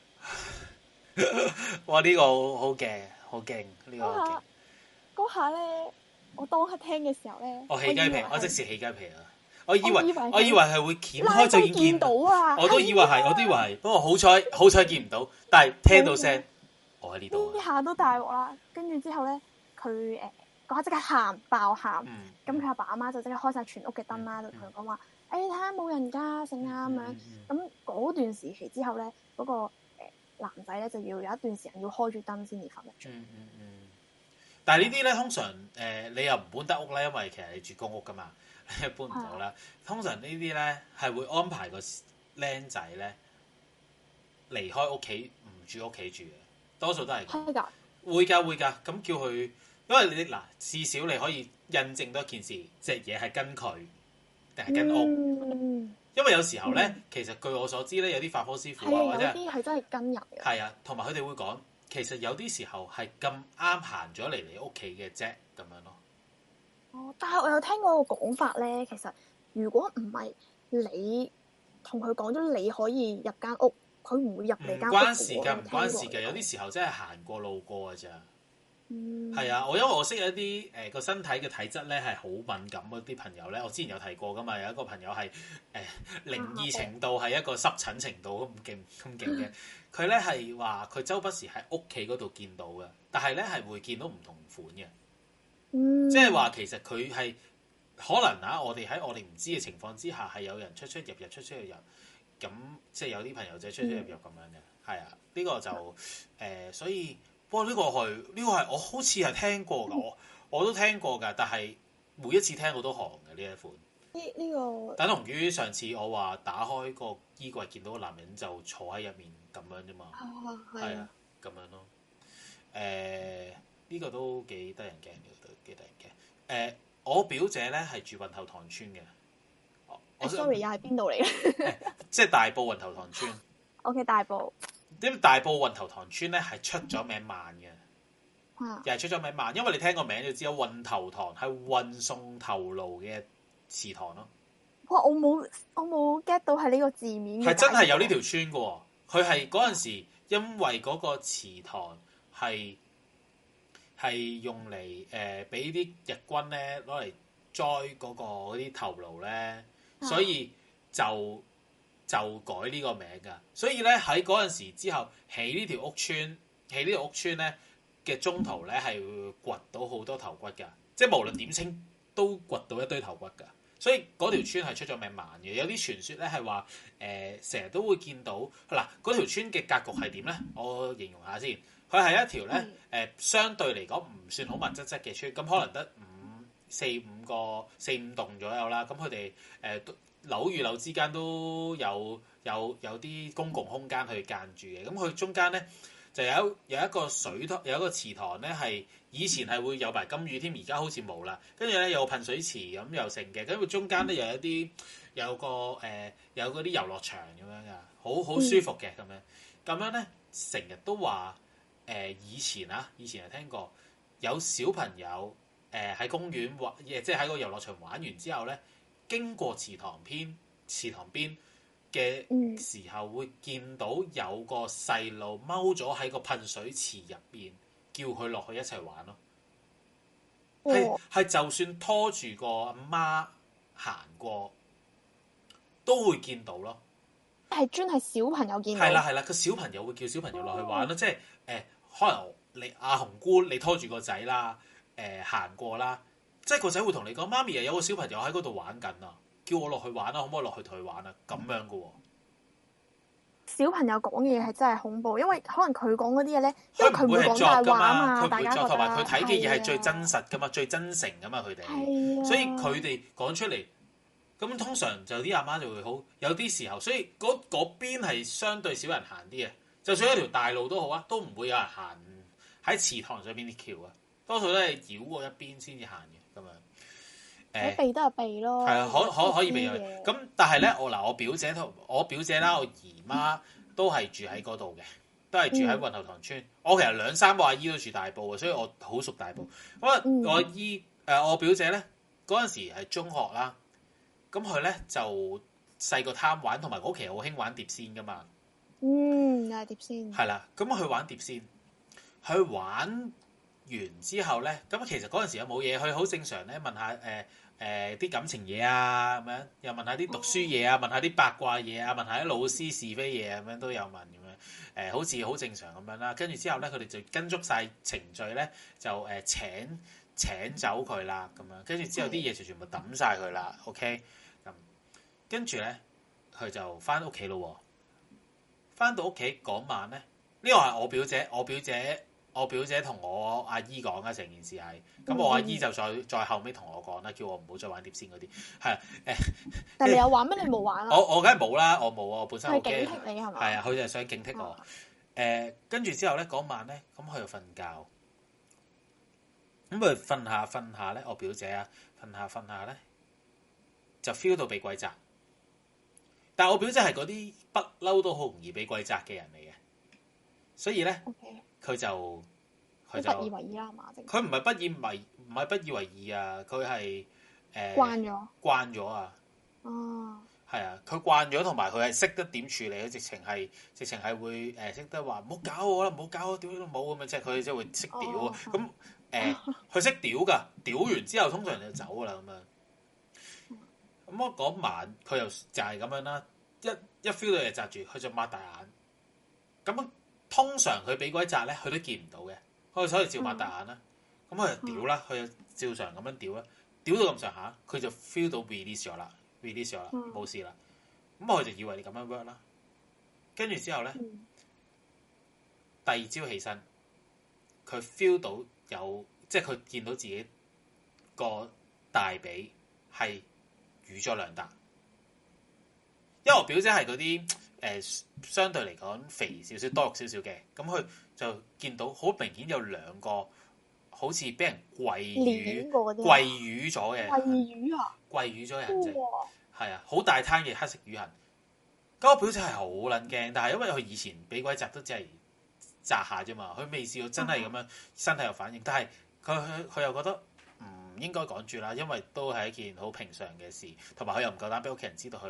哇！呢個好勁，好勁，呢個好勁。 嗰下咧，我當刻聽嘅時候咧， 我起雞皮，我即時起雞皮啊！我以為係會掀開就已經見到啊！ 我都以為係，不過好彩見唔到，但係聽到聲，我喺呢度。 呢下都大鑊啦！跟住之後咧，佢嗰下即刻爆喊，咁佢阿爸阿媽就即刻開晒全屋嘅燈啦，就同佢講話：你睇下冇人㗎，成啊咁樣。咁嗰段時期之後咧，嗰個男仔咧就要有一段時間要開住燈先至瞓得着。 但係呢啲咧，通常你又唔搬得屋咧，因為其實你住公屋㗎嘛。搬唔到啦，通常呢啲咧係會安排個僆仔咧離開屋企，唔住屋企住嘅，多數都係咁。 係㗎， 會㗎，咁叫佢，因為你嗱，至少你可以印證多一件事，隻嘢係跟佢定係跟屋。因為有時候咧，其實據我所知咧，有啲法科師傅啊，或者有啲係真係跟人嘅。 係啊，同埋佢哋會講，其實有啲時候係咁啱行咗嚟你屋企嘅啫，咁樣咯。 但係我有聽過個講法咧，其實如果唔係你同佢講咗你可以入間屋，佢唔會入你間屋。唔關事㗎， 有啲時候真係行過路過㗎咋。係啊，因為我識有一啲個身體嘅體質咧係好敏感嗰啲朋友咧，我之前有提過㗎嘛，有一個朋友係靈異程度係一個濕疹程度咁勁嘅，佢咧係話佢周不時喺屋企嗰度見到嘅，但係咧係會見到唔同款嘅。即係話其實佢係可能我哋喺我哋唔知嘅情況之下，係有人出入，咁即係有啲朋友仔出入咁樣嘅，係啊，呢個就所以不過呢個係我好似係聽過㗎，我都聽過㗎，但係每一次聽我都寒嘅呢一款。 呢個等同於上次我話打開個衣櫃見到個男人就坐喺入面咁樣啫嘛，係啊，咁樣咯，呢個都幾得人驚嘅，都幾得人驚。我表姐咧係住運頭塘村嘅。 sorry， 又係邊度嚟嘅？ 即係大埔運頭塘村。 OK， 大埔。 因為大埔運頭塘村咧係出咗名慢嘅，又係出咗名慢，因為你聽個名就知道運頭塘係運送頭顱嘅祠堂咯。 哇！我冇 get 到係呢個字面嘅。 係真係有呢條村嘅喎，佢係嗰陣時因為嗰個祠堂係用嚟俾啲日軍咧攞嚟栽嗰啲頭顱咧，所以就改呢個名㗎。所以咧喺嗰陣時之後起呢條屋村咧嘅中途咧係會掘到好多頭骨㗎，即係無論點清都掘到一堆頭骨㗎。所以嗰條村係出咗名慢嘅。有啲傳說咧係話成日都會見到嗱，嗰條村嘅格局係點咧？我形容下先。佢係一條咧相對嚟講唔算好密質質嘅村，咁可能得四五棟左右啦。咁佢哋樓與樓之間都有啲公共空間去間住嘅。咁佢中間咧就有一個水塘，有一個祠堂咧係以前係會有埋金魚添，而家好似冇啦。跟住咧有噴水池咁又成嘅，跟住中間咧有嗰啲遊樂場咁樣噶，好舒服嘅咁樣。咁樣咧成日都話。以前係聽過有小朋友喺公園玩，即係喺個遊樂場玩完之後咧，經過祠堂邊嘅時候，會見到有個細路踎咗喺個噴水池入邊，叫佢落去一齊玩咯。係就算拖住個阿媽行過，都會見到咯。 係專係小朋友見到。 係啦，個小朋友會叫小朋友落去玩咯，即係可能你阿紅姑你拖住個仔啦，行過啦，即係個仔會同你講：媽咪有個小朋友喺嗰度玩緊啊，叫我落去玩啊，可唔可以落去同佢玩啊？咁樣噶喎。小朋友講嘢係真係恐怖，因為可能佢講嗰啲嘢咧，因為佢唔會講大話啊嘛， 佢唔會作，同埋佢睇嘅嘢係最真實噶嘛，最真誠噶嘛，佢哋，所以佢哋講出嚟咁通常就啲阿媽就會好，有啲時候，所以嗰邊係相對少人行啲嘅。就算一條大路都好啊，都唔會有人行喺祠堂上邊啲橋啊，多數都係繞過一邊先至行嘅咁樣。 避都係避咯。 係啊，可以避嘅。咁但係咧，我表姐啦，我姨媽都係住喺嗰度嘅，都係住喺運頭塘村。我其實2-3個阿姨都住大埔嘅，所以我好熟大埔。咁我表姐咧嗰陣時係中學啦，咁佢咧就細個貪玩，同埋嗰期好興玩碟仙噶嘛。 又係碟仙。係啦，咁佢玩碟仙，佢玩完之後咧，咁其實嗰陣時又冇嘢，佢好正常咧，問下啲感情嘢啊，咁樣又問下啲讀書嘢啊，問下啲八卦嘢啊，問下啲老師是非嘢咁樣都有問咁樣，好似好正常咁樣啦。跟住之後咧，佢哋就跟足晒程序咧，就請走佢啦，咁樣跟住之後啲嘢就全部抌晒佢啦。OK， 咁跟住咧，佢就翻屋企咯。翻到屋企嗰晚咧，呢個係我表姐同我阿姨講嘅成件事係，咁我阿姨就再後尾同我講啦，叫我唔好再玩碟仙嗰啲，係但係你有玩咩？你冇玩啊？ 我梗係冇啦，我冇啊，我本身好驚。 係警惕你係嘛？ 係啊，佢就係想警惕我。跟住之後咧嗰晚咧，咁佢就瞓覺，咁佢瞓下咧，我表姐啊瞓下咧，就 feel 到被鬼責。但係我表姐係嗰啲不嬲都好容易被鬼責嘅人嚟嘅，所以咧佢就不以為意啦嘛， 佢唔係不以為意啊，佢係慣咗啊。 哦， 係啊，佢慣咗，同埋佢係識得點處理，佢直情係會識得話唔好搞我啦，唔好搞我，屌都冇咁樣，即係佢即係會識屌咁佢識屌㗎，屌完之後通常就走㗎啦咁樣。咁我嗰晚佢又就係咁樣啦，一 feel 到嘢擲住，佢就擘大眼。咁通常佢俾鬼擲咧，佢都見唔到嘅，佢所以照擘大眼啦。咁佢就屌啦，佢就照常咁樣屌啦，屌到咁上下，佢就 feel 到 release 咗啦，冇事啦。咁佢就以為你咁樣 work 啦。跟住之後咧，第二朝起身，佢 feel 到有，即係佢見到自己個大髀係瘀咗2笪，因為我表姐係嗰啲相對嚟講肥少少多肉少少嘅，咁佢就見到好明顯有2個好似俾人跪瘀咗嘅，跪瘀咗嘅痕跡，係啊，好大灘嘅黑色瘀痕。咁我表姐係好撚驚，但係因為佢以前俾鬼擲都只係擲下啫嘛，佢未試過真係咁樣身體有反應，但係佢又覺得唔應該講住啦，因為都係一件好平常嘅事，同埋佢又唔夠膽俾屋企人知道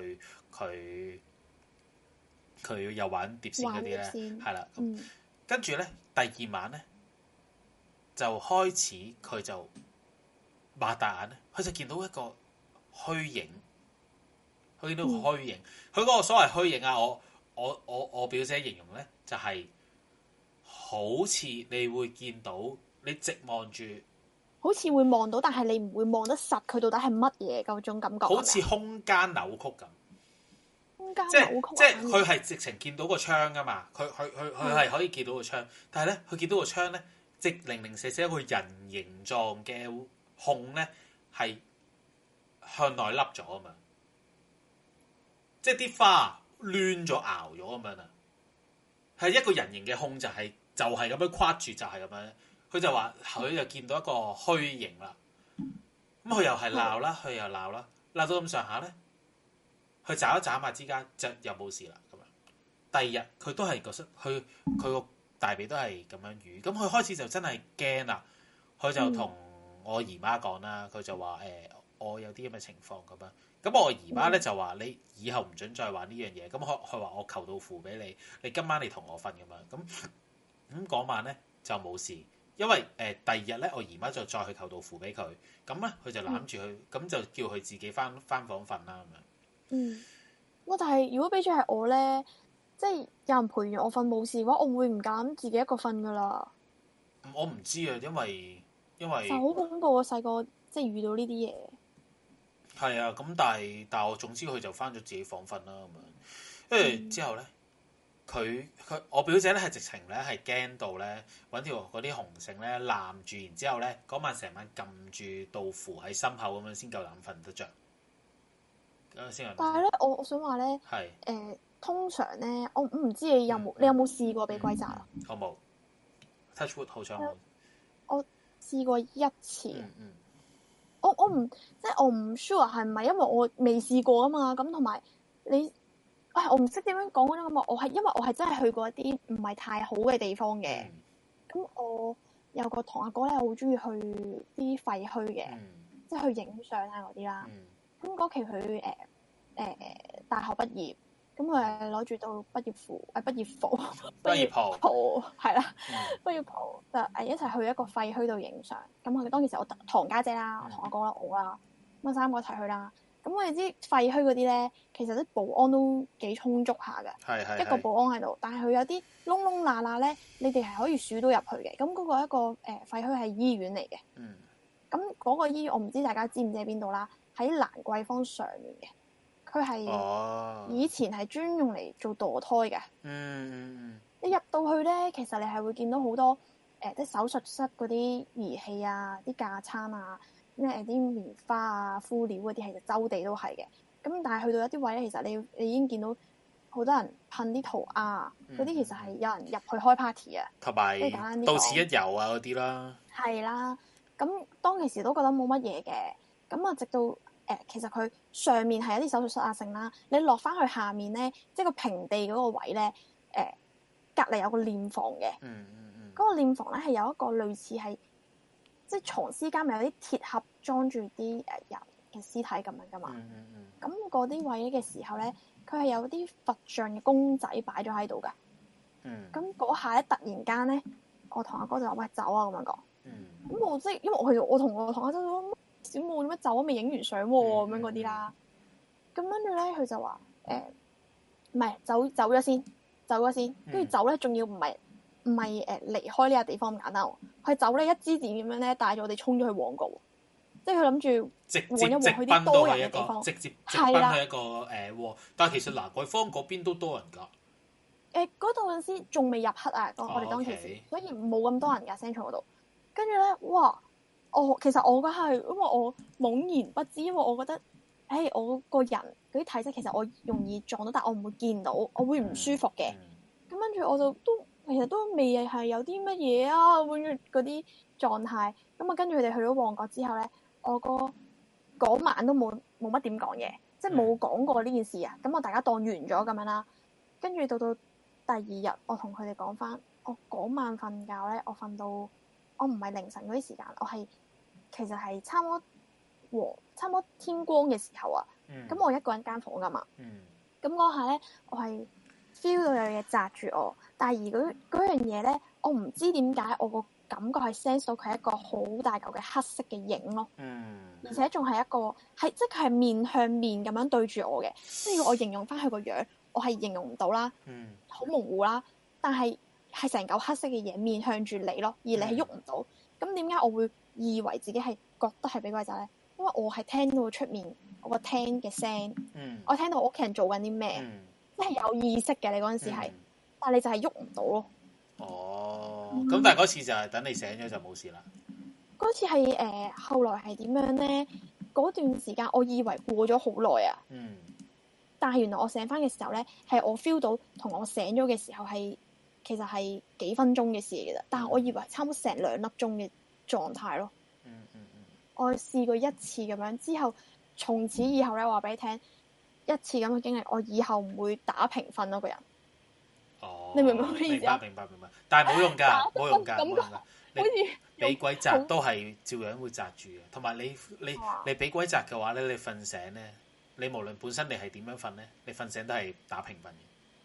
佢又玩碟仙嗰啲咧，係啦。跟住咧第2晚咧就開始佢就擘大眼咧，佢就見到一個虛影，佢見到個虛影。佢嗰個所謂虛影啊，我表姐形容咧就係好似你會見到你直望住。 好似會望到，但係你唔會望得實佢到底係乜嘢嗰種感覺。 好似空間扭曲咁， 空間扭曲。 即係佢係直情見到個窗噶嘛，佢係可以見到個窗，但係咧佢見到個窗咧，即零零舍舍一個人形狀嘅控咧係向內凹咗啊嘛，即係啲花亂咗熬咗咁樣啊，係一個人形嘅控就係咁樣框住，就係咁樣。佢就話佢就見到一個虛形啦，咁佢又係鬧啦，佢又鬧啦，鬧到咁上下咧，佢眨一眨下之間就又冇事啦咁樣。第二日佢都係覺得佢個大髀都係咁樣瘀，咁佢開始就真係驚啦，佢就同我姨媽講啦，佢就話我有啲咁嘅情況咁樣，咁我姨媽咧就話你以後唔准再玩呢樣嘢，咁佢話我求到符俾你，你今晚你同我瞓咁樣，咁嗰晚咧就冇事。因為第二日咧，我姨媽就再去求道符俾佢，咁咧佢就攬住佢，咁就叫佢自己翻房瞓啦咁樣。 但係如果俾咗係我咧，即係有人陪完我瞓冇事嘅話，我會唔敢自己一個瞓噶啦。 我唔知啊，因為就好恐怖啊！細個即係遇到呢啲嘢。 係啊，咁但係我總之佢就翻咗自己房瞓啦咁樣，跟住之後咧。我表姐咧係直情咧係驚到咧揾條嗰啲紅繩咧攬住，然之後咧嗰晚成晚撳住道符喺心口咁樣先夠膽瞓得着。 先。 但係咧，我想話咧， 係通常咧，我唔知你有冇試過俾鬼責啊？ 我冇 touch wood 好彩冇。 我試過一次。 嗯我唔即係我唔 sure 係唔係因為我未試過啊嘛，咁同埋你，我唔識點樣講嗰種感覺。我係因為我係真係去過一啲唔係太好嘅地方嘅。咁我有個堂阿哥咧，好中意去啲廢墟嘅，即係去影相啊嗰啲啦。咁嗰期佢大學畢業，咁佢係攞住到畢業服，係畢業袍係啦，畢業袍就一齊去一個廢墟度影相。咁我哋當其時我堂家姐啦，我堂阿哥啦，我啦，咁三個一齊去啦。咁我哋知廢墟嗰啲咧，其實啲保安都幾充足下嘅， 係一個保安喺度，但係佢有啲窿窿罅罅咧，你哋係可以數到入去嘅。咁嗰個一個廢墟係醫院嚟嘅。咁嗰個醫院我唔知大家知唔知喺邊度啦，喺蘭桂坊上面嘅。佢係以前係專用嚟做墮胎嘅。你入到去咧，其實你係會見到好多即係手術室嗰啲儀器啊、啲架撐啊、咩啲棉花啊、敷料嗰啲，其實周地都係嘅。咁但係去到一啲位咧，其實你已經見到好多人噴啲塗鴉，嗰啲其實係有人入去開 party 啊， 同埋到此一遊啊嗰啲啦。係啦，咁當其時都覺得冇乜嘢嘅。咁啊，直到其實佢上面係有啲手術室啊剩啦，你落翻去下面咧，即係個平地嗰個位咧，隔離有個殮房嘅。嗰個殮房咧係有一個類似係即係藏屍間，咪有啲鐵盒裝住啲人嘅屍體咁樣噶嘛。咁嗰啲位嘅時候咧，佢係有啲佛像嘅公仔擺咗喺度噶。咁嗰下咧，突然間咧，我同阿哥就話：喂，走啊！咁樣講。咁我即係因為我同我阿哥都小冇點樣走啊，未影完相喎咁樣嗰啲啦。咁跟住咧，佢就話唔係走咗先，跟住走咧，仲要唔係離開呢個地方咁簡單喎。佢走咧一支箭咁樣咧，帶咗我哋衝咗去旺角，即係佢諗住旺一旺去啲多人嘅地方， 直接奔去一個但係其實蘭桂坊嗰邊都多人㗎。 嗰度嗰陣時仲未入黑啊，我哋當其時，所以冇咁多人㗎 Central 嗰度。跟住咧，哇！其實我嗰係因為我懵然不知，因為我覺得，我個人嗰啲體質其實我容易撞到，但我唔會見到，我會唔舒服嘅。咁跟住我就其實都未係有啲乜嘢啊，跟住嗰啲狀態。咁啊，跟住佢哋去咗旺角之後咧，我哥嗰晚都冇乜點講嘢，即係冇講過呢件事啊。咁我大家當完咗咁樣啦。跟住到第二日，我同佢哋講翻，我嗰晚瞓覺咧，我瞓到我唔係凌晨嗰啲時間，我係其實係差唔多天光嘅時候啊。咁我一個人間房噶嘛。咁嗰下咧，我係 feel 到有嘢擲住我，但係而嗰樣嘢咧，我唔知點解我個感覺係 sense 到佢係一個好大嚿嘅黑色嘅影咯。而且仲係一個即係佢係面向面咁樣對住我嘅，即係我形容翻佢個樣，我係形容唔到啦，好模糊啦。但係成嚿黑色嘅嘢面向住你咯，而你係喐唔到。咁點解我會以為自己係覺得係俾鬼責咧？因為我係聽到出面我個廳嘅聲，我聽到我屋企人做緊啲咩，即係有意識嘅。你嗰陣時係，但係你就係喐唔到咯。 咁但係嗰次就係等你醒咗就冇事啦。 嗰次係後來係點樣咧？嗰段時間我以為過咗好耐啊。但係原來我醒翻嘅時候咧，係我 feel 到同我醒咗嘅時候係其實係幾分鐘嘅事嚟嘅啫。但係我以為差唔多成2粒鐘嘅狀態咯。我試過一次咁樣之後，從此以後咧，話俾你聽一次咁嘅經歷，我以後唔會打平瞓咯個人。你明唔明咩意思啊？ 明白。但係冇用㗎，冇用㗎。 好似俾鬼責都係照樣會責住嘅。同埋你俾鬼責嘅話咧，你瞓醒咧，你無論本身你係點樣瞓咧，你瞓醒都係打平瞓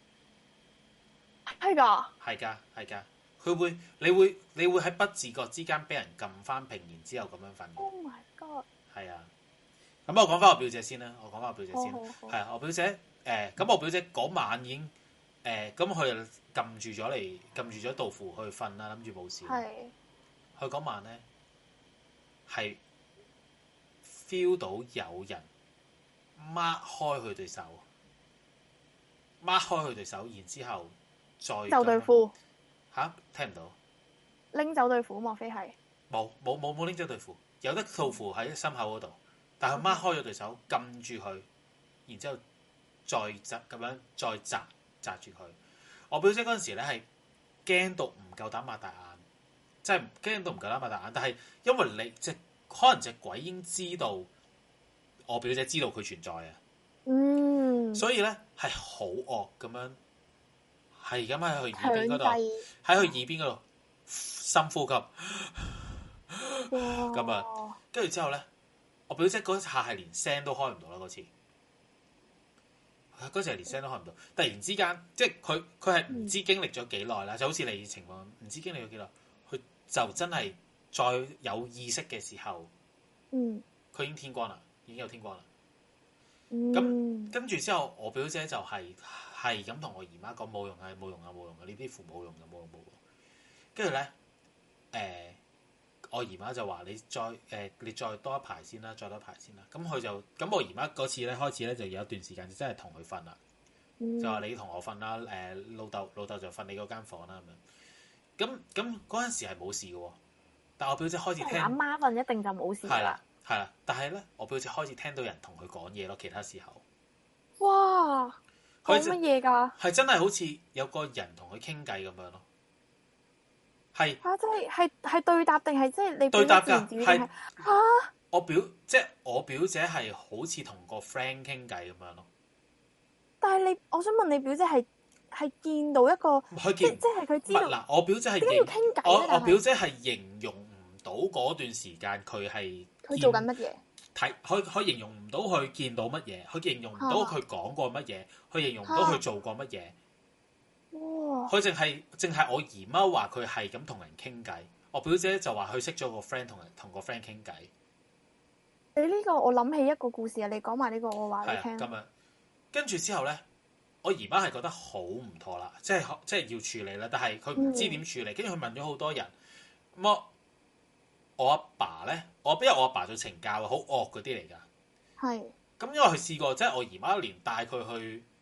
嘅。 係㗎。 係㗎。你會喺不自覺之間俾人撳翻平，然之後咁樣瞓。 Oh my god！ 係啊。咁我講翻我表姐先啦。我表姐咁我表姐嗰晚已經咁佢就撳住咗道符去瞓啦，諗住冇事。佢嗰晚咧係 feel 到有人擘開佢對手，然之後再就對付聽唔到， 拎走對付，莫非係冇拎走對付，有得套符喺心口嗰度，但係佢擘開咗對手，撳住佢， 然之後再咁樣再擲住佢。我表姐嗰陣時咧係驚到唔夠膽擘大眼，即係驚到唔夠膽擘大眼。但係因為你可能隻鬼已經知道我表姐知道佢存在啊，所以咧係好惡咁樣，係咁喺佢耳邊嗰度，喺佢耳邊嗰度深呼吸咁啊。跟住之後咧，我表姐嗰下係連聲都開唔到啦。嗰次係連聲都開唔到，突然之間即係佢係唔知經歷咗幾耐啦，就好似你情況，唔知經歷咗幾耐，佢就真係再有意識嘅時候，佢已經天光啦，已經有天光啦。咁跟住之後，我表姐就係咁同我姨媽講冇用啊，冇用啊，冇用啊，呢啲符冇用嘅，冇用冇用。跟住咧，我姨媽就話你再多一排先啦，再多一排先啦。咁我姨媽嗰次咧開始咧就有一段時間就真係同佢瞓啦，就話你同我瞓啦，老豆就瞓你嗰間房啦咁樣。咁嗰陣時係冇事嘅喎，但我表姐開始聽阿媽瞓一定就冇事啦。 係啦，但係咧，我表姐開始聽到人同佢講嘢咯，其他時候。 哇！講乜嘢㗎？ 係真係好似有個人同佢傾偈咁樣咯。係嚇！即係對答定係即係你對答㗎？係嚇！ 我表姐係好似同個 friend 傾偈咁樣咯。 但係我想問你表姐係見到一個，即係佢知道嗱，我表姐係點解要傾偈？ 我表姐係形容唔到嗰段時間佢做緊乜嘢？ 佢形容唔到佢見到乜嘢，佢形容唔到佢講過乜嘢，佢形容唔到佢做過乜嘢。 哇！ 佢淨係我姨媽話佢係咁同人傾偈，我表姐就話佢識咗個 friend 同個 friend 傾偈。 你呢個我諗起一個故事啊，你講埋呢個我話你聽。 咁樣跟住之後咧，我姨媽係覺得好唔妥啦，即係要處理啦，但係佢唔知點處理，跟住佢問咗好多人。咁我阿爸咧，因為我阿爸做懲教好惡嗰啲嚟㗎。係。咁因為佢試過，即係我姨媽連帶佢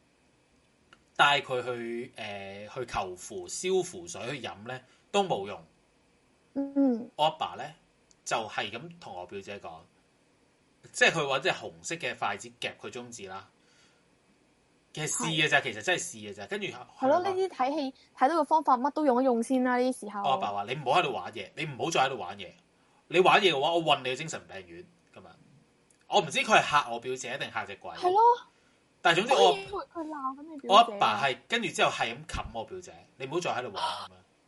去求符燒符水去飲咧都冇用。我阿爸咧就係咁同我表姐講，即係佢揾隻紅色嘅筷子夾佢中指啦。其實試嘅咋，其實真係試嘅咋。跟住係咯，呢啲睇戲睇到個方法，乜都用一用先啦。呢啲時候， 我阿爸話：你唔好喺度玩嘢，你唔好再喺度玩嘢。你玩嘢嘅話，我運你去精神病院咁樣。我唔知佢係嚇我表姐定嚇隻鬼。係咯。但係總之佢鬧緊你表姐。 我阿爸係跟住之後係咁冚我表姐，你唔好再喺度玩咁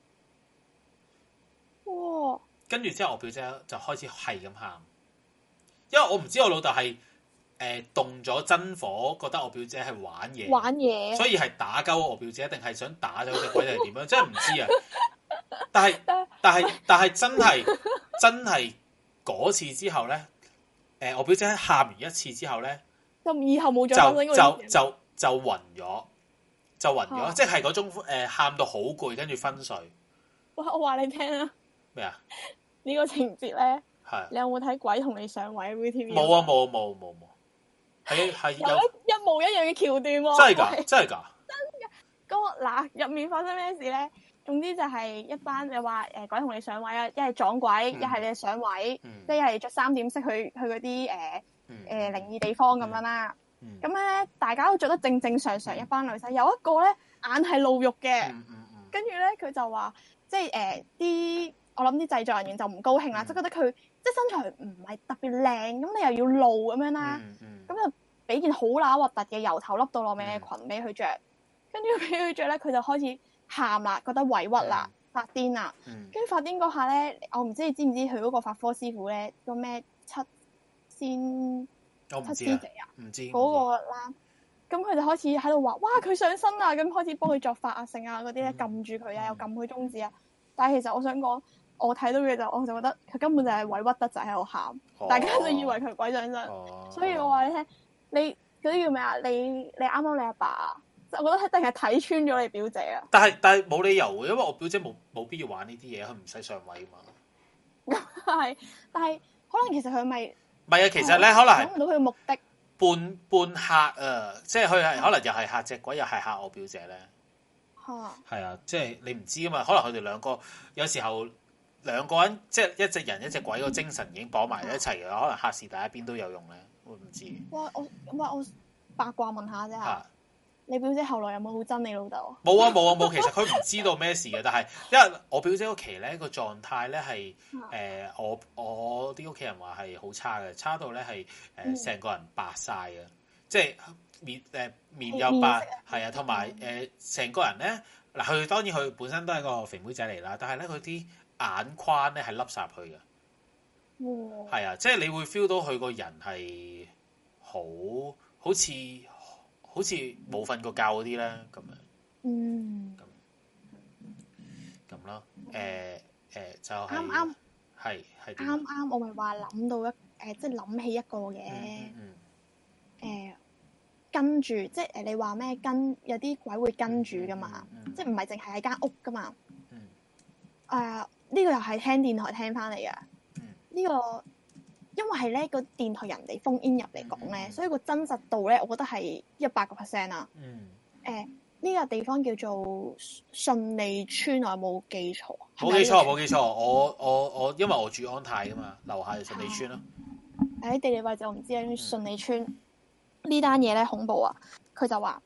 樣。哇！跟住之後我表姐就開始係咁喊，因為我唔知我老豆係動咗真火，覺得我表姐係玩嘢，所以係打鳩我表姐，定係想打咗隻鬼定係點樣？真係唔知啊！但係真係嗰次之後咧，我表姐喊完一次之後咧， 就以後冇再發生過就暈咗，即係嗰種喊到好攰，跟住昏睡。 哇！我話你聽啊， 咩啊？ 呢個情節咧， 係你有冇睇《鬼同你上位》VTV？ 冇啊，冇，係有一模一樣嘅橋段喎。 真係㗎！真㗎！ 咁嗱，入面發生咩事咧？總之就係一班你話鬼同你上位啊，一係撞鬼，一係你上位，即係一係着3點式去嗰啲靈異地方咁樣啦。咁咧大家都着得正正常常，一班女仔，有一個咧眼係露肉嘅，跟住咧佢就話，即係啲我諗啲製作人員就唔高興啦，即係覺得佢即係身材唔係特別靚，咁你又要露咁樣啦，咁就俾件好乸核突嘅由頭笠到落尾嘅裙俾佢着，跟住俾佢着咧，佢就開始喊啦，覺得委屈啦，發癲啦，跟住發癲嗰下咧，我唔知你知唔知佢嗰個法科師傅咧個咩七師姐啊？唔知嗰個啦，咁佢就開始喺度話：哇，佢上身啊！咁開始幫佢作法啊、性啊嗰啲咧，撳住佢啊，又撳佢中指啊。但係其實我想講，我睇到嘅我就覺得佢根本就係委屈得滯喺度喊，大家就以為佢鬼上身。所以我話你聽，你嗰啲叫咩啊？你啱啱你阿爸，我覺得一定係睇穿咗你表姐啊。但係冇理由嘅，因為我表姐冇必要玩呢啲嘢，佢唔使上位嘛。係，但係可能其實佢咪唔係啊？其實咧，可能係諗唔到佢嘅目的。半嚇啊！即係佢係可能又係嚇隻鬼，又係嚇我表姐咧。係啊，即係你唔知啊嘛。可能佢哋兩個有時候兩個人，即係一隻人一隻鬼個精神已經綁埋一齊嘅，可能嚇是第一邊都有用咧。我唔知。 八卦問下啫嚇。 嚇你表姐後來有冇好憎你老豆？ 冇啊冇啊冇，其實佢唔知道咩事嘅，但係因為我表姐屋企咧個狀態咧係我啲屋企人話係好差嘅，差到咧係成個人白晒嘅，即係面又白，係啊，同埋成個人咧嗱，佢當然佢本身都係個肥妹仔嚟啦，但係咧佢啲眼眶咧係凹晒去嘅，係啊，即係你會 feel 到佢個人係好似冇瞓過覺嗰啲咧咁樣，咁咯，就係啱係啱，我咪話諗到即係諗起一個嘅，跟住即係你話咩有啲鬼會跟住噶嘛，即係唔係淨係喺間屋噶嘛，呢個又係聽電台聽翻嚟嘅，呢個。因為係咧個電台人哋phone in入嚟講咧，所以個真實度咧，我覺得係100%啦。呢個地方叫做順利村，我有冇記錯？ 冇記錯。我因為我住安泰噶嘛，樓下就順利村咯。 地理位置我唔知啊。順利村呢單嘢咧恐怖啊！佢就話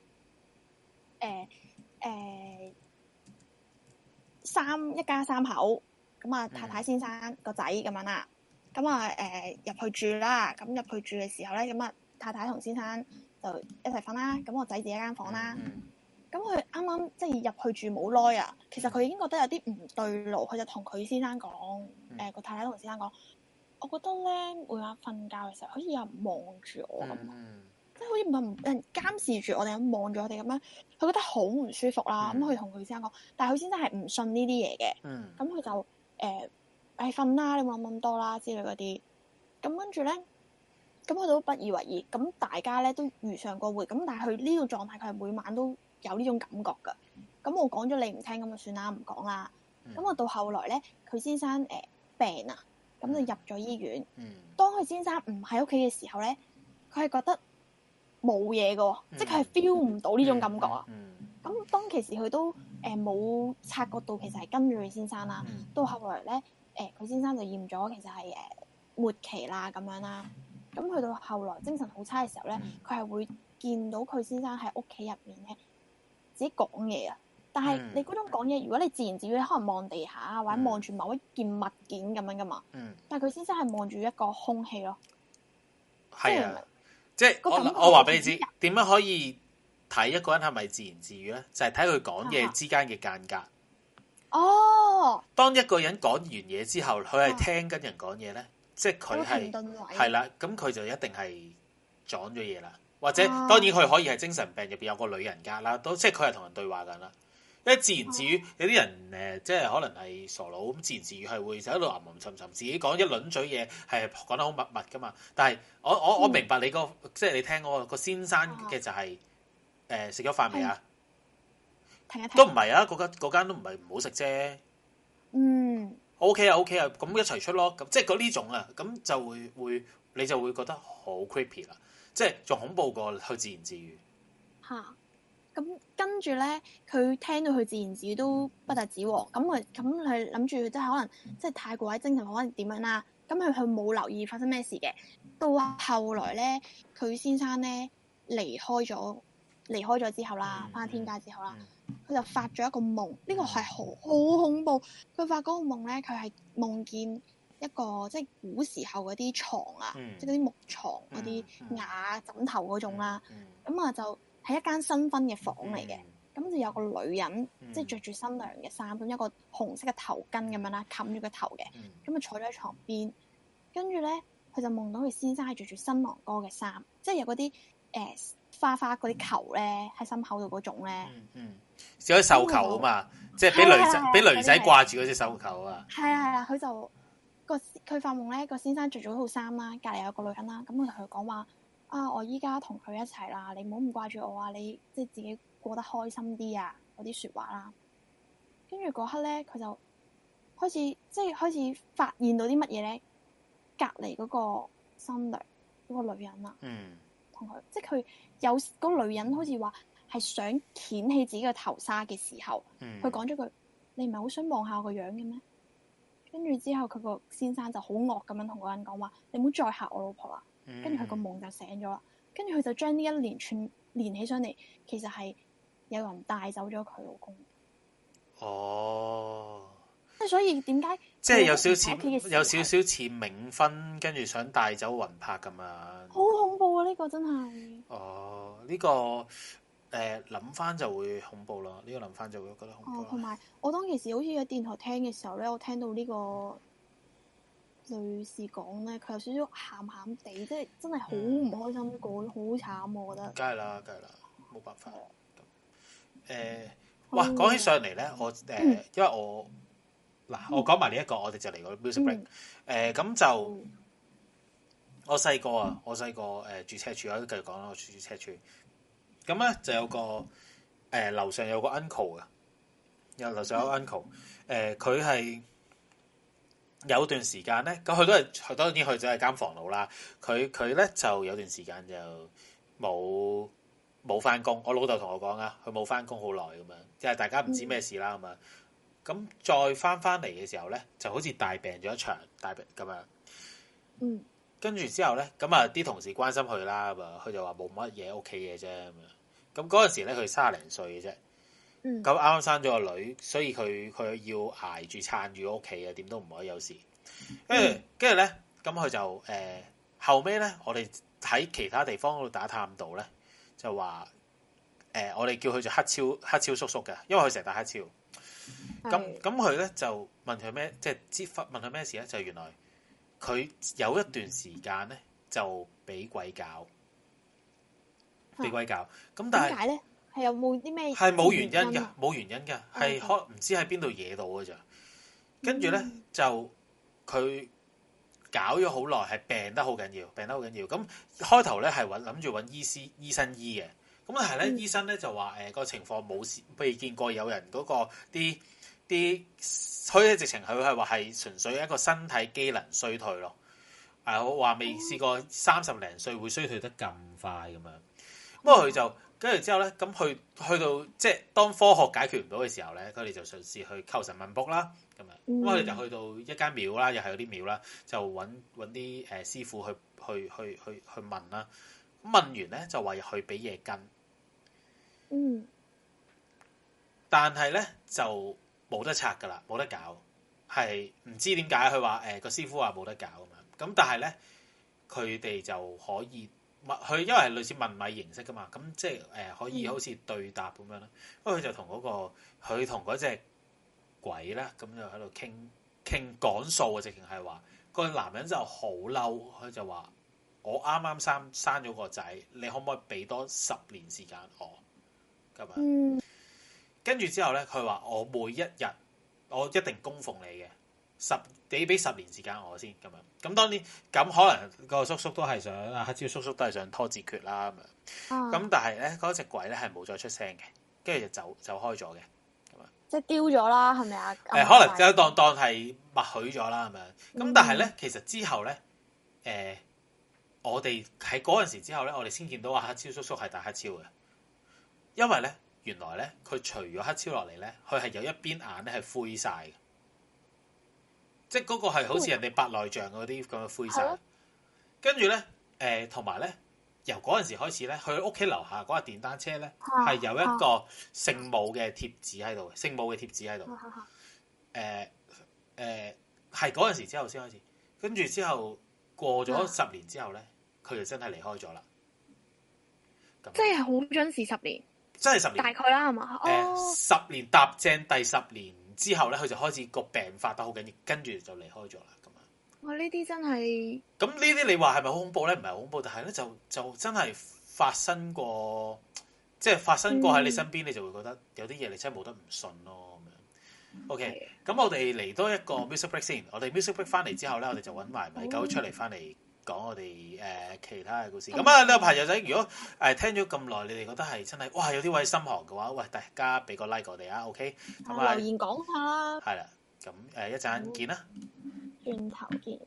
一家三口咁啊，太太先生個仔咁樣啦。咁啊入去住啦，咁入去住嘅時候咧，咁啊太太同先生就一齊瞓啦，咁我仔自己一間房啦。咁佢啱啱即係入去住冇耐啊，其實佢已經覺得有啲唔對路，佢就同佢先生講，個太太同先生講，我覺得咧每晚瞓覺嘅時候，好似有人望住我咁，即係好似有人監視住我哋咁望住我哋咁樣，佢覺得好唔舒服啦。咁佢同佢先生講，但係佢先生係唔信呢啲嘢嘅，咁佢就瞓啦，你冇諗咁多啦之類嗰啲。咁跟住咧，咁佢都不以為意。咁大家咧都如常過活。咁但係佢呢個狀態，佢係每晚都有呢種感覺㗎。咁我講咗你唔聽，咁就算啦，唔講啦。咁我到後來咧，佢先生病啊，咁就入咗醫院。當佢先生唔喺屋企嘅時候咧，佢係覺得冇嘢㗎，即係佢係 feel 唔到呢種感覺啊。咁當其時佢都冇察覺到，其實係跟住佢先生啦。到後來咧。佢先生就驗咗，其實係末期啦咁樣啦。咁去到後來精神好差嘅時候咧，佢係會見到佢先生喺屋企入面咧自己講嘢啊。但係你嗰種講嘢，如果你自言自語，可能望地下或者望住某一件物件咁樣噶嘛。但係佢先生係望住一個空氣咯。 係啊，即係我話俾你知，點樣可以睇一個人係咪自言自語咧？就係睇佢講嘢之間嘅間隔。當一個人講完嘢之後，佢係聽緊人講嘢咧，即係佢係啦，咁佢就一定係撞咗嘢啦。或者當然佢可以係精神病入邊有個女人格啦，都即係佢係同人對話緊啦。因為自言自語有啲人即係可能係傻佬咁，自言自語係會就喺度吟吟沉沉，自己講一輪嘴嘢係講得好密密噶嘛。但係我明白你即係你聽嗰個先生嘅就係食咗飯未啊？都唔係啊，嗰間都唔係唔好食啫。OK 啊，咁一齊出咯。咁即係嗰呢種啊，咁就會你就會覺得好 creepy 啦，即係仲恐怖過去自言自語。 咁跟住咧，佢聽到佢自言自語都不特止喎。咁佢諗住即係可能即係太過喺精神可能點樣啦。咁佢冇留意發生咩事嘅。到後來咧，佢先生咧離開咗之後啦，返天家之後啦。佢就發咗一個夢，呢個係好恐怖。佢發嗰個夢咧，佢係夢見一個即係古時候嗰啲床啊，即係嗰啲木床嗰啲瓦枕頭嗰種啦。咁啊就係一間新婚嘅房嚟嘅，咁就有個女人即係着住新娘嘅衫，咁一個紅色嘅頭巾咁樣啦，冚住個頭嘅，咁啊坐咗喺床邊。跟住咧，佢就夢到佢先生係着住新郎哥嘅衫，即係有嗰啲花嗰啲球咧喺心口度嗰種咧。 少咗繡球啊嘛，即係俾女仔掛住嗰隻繡球啊。 係啊，佢就佢發夢咧，個先生着咗套衫啦，隔離有個女人啦，咁佢同佢講話我依家同佢一齊啦，你唔好咁掛住我啊，你即係自己過得開心啲啊，嗰啲説話啦。跟住嗰刻咧，佢就開始發現到啲乜嘢咧？隔離嗰個新娘嗰個女人啊，同佢即係佢有嗰個女人好似話。係想掀起自己嘅頭紗嘅時候，佢講咗句：你唔係好想望下我個樣嘅咩？跟住之後，佢個先生就好惡咁樣同嗰人講話：你唔好再嚇我老婆啦！跟住佢個夢就醒咗啦。 跟住佢就將呢一連串連起上嚟，其實係有人帶走咗佢老公。 哦， 即係所以點解即係有少少似冥婚，跟住想帶走魂魄咁樣。 好恐怖啊！呢個真係。 哦，呢個諗翻就會恐怖咯。呢個諗翻就會覺得恐怖。 同埋我當其時好似喺電台聽嘅時候咧，我聽到呢個女士講咧，佢有少少喊喊地，即係真係好唔開心過，好慘我覺得。 梗係啦，冇辦法。哇！講起上嚟咧，因為我講埋呢一個，我哋就嚟個 music break。咁就我細個住赤柱，我都繼續講啦。我住赤柱，咁咧就有個樓上有個 uncle 嘅，樓上有個 uncle。佢係有段時間咧，咁佢當然去咗係間房度啦。佢咧就有段時間就冇翻工。我老豆同我講啊，佢冇翻工好耐咁樣，即係大家唔知咩事啦咁樣。咁再翻嚟嘅時候咧，就好似大病咗一場，大病咁樣。跟住之後咧，咁啊啲同事關心佢啦，咁啊佢就話冇乜嘢，屋企嘅啫咁樣。咁嗰陣時咧，佢30零歲嘅啫。咁啱啱生咗個女，所以佢要捱住撐住屋企啊，點都唔可以有事。跟住咧，咁佢就後尾咧，我哋喺其他地方嗰度打探到咧，就話我哋叫佢做黑超叔叔嘅，因為佢成日打黑超。咁佢咧就問佢咩，即係問佢咩事咧？就原來佢有一段時間咧就俾鬼搞，咁但係點解咧？係有冇啲咩？ 係冇原因嘅，冇原因嘅，係唔知喺邊度惹到嘅咋。跟住咧就佢搞咗好耐，係病得好緊要。咁開頭咧係諗住揾醫生醫嘅，咁但係咧醫生咧就話個情況冇事，未見過有人嗰個啲，所以直情佢係話係純粹一個身體機能衰退咯。我話未試過30零歲會衰退得咁快咁樣。不過佢就跟住之後咧，咁去到即係當科學解決唔到嘅時候咧，佢哋就嘗試去求神問卜啦咁樣。咁佢哋就去到一間廟啦，又係嗰啲廟啦，就揾啲師傅去問啦。問完咧就話去俾嘢跟。但係咧就冇得拆噶啦，冇得搞，係唔知點解佢話個師傅話冇得搞咁樣。咁但係咧佢哋就可以佢因為係類似問米形式噶嘛，咁即係可以好似對答咁樣啦。咁佢就同嗰隻鬼咧，咁就喺度傾講數啊，直情係話個男人就好嬲，佢就話我啱啱生咗個仔，你可唔可以俾多10年時間我咁樣？跟住之後咧，佢話我每一日我一定供奉你嘅你俾10年時間我先咁樣。咁當然咁可能個叔叔都係想黑超叔叔都係想拖字訣啦咁樣。咁但係咧嗰隻鬼咧係冇再出聲嘅，跟住就走開咗嘅咁樣。 即係丟咗啦，係咪啊？ 可能就當係默許咗啦咁樣。咁但係咧，其實之後咧，我哋喺嗰陣時之後咧，我哋先見到黑超叔叔係大黑超嘅，因為咧。原來咧，佢除咗黑超落嚟咧，佢係有一邊眼咧係灰晒嘅，即係嗰個係好似人哋白內障嗰啲咁嘅灰晒。跟住咧，同埋咧，由嗰陣時開始咧，佢屋企樓下嗰架電單車咧係有一個聖母嘅貼紙喺度，聖母嘅貼紙喺度。係嗰陣時之後先開始，跟住之後過咗10年之後咧，佢就真係離開咗啦。 即係好準時10年。 真係10年， 大概啦，係嘛 ？10年踏正第10年之後咧，佢就開始個病發得好緊要，跟住就離開咗啦。咁啊， 哇！呢啲真係咁呢啲，你話係咪好恐怖咧？唔係好恐怖，但係咧就真係發生過，即係發生過喺你身邊，你就會覺得有啲嘢你真係冇得唔信咯。咁樣 OK，咁我哋嚟多一個 music break 先。我哋 music break 翻嚟之後咧，我哋就揾埋米狗出嚟翻嚟。講我哋其他嘅故事。咁啊，呢個朋友仔，如果聽咗咁耐，你哋覺得係真係哇有啲位心寒嘅話，喂大家俾個 like 我哋啊 ，OK？咁留言講下啦。 係啦，咁一陣見啦。 轉頭見。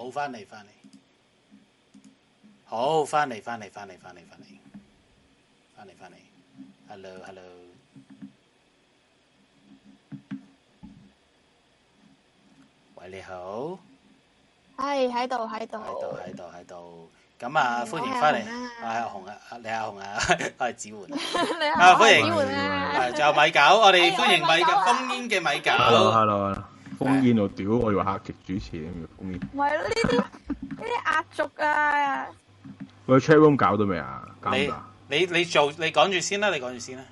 好，翻嚟，好，翻嚟，hello，喂，你好， 係喺度。 咁啊，歡迎翻嚟，我係阿紅啊，你阿紅啊，我係子桓，歡迎，仲有米狗，我哋歡迎米狗，烽煙嘅米狗 ，hello， 烽煙我屌，我以為客席主持咁嘅烽煙， 唔係呢啲壓軸啊！ 喂 ，chat room 搞到未啊？搞唔搞？ 你講住先啦，咁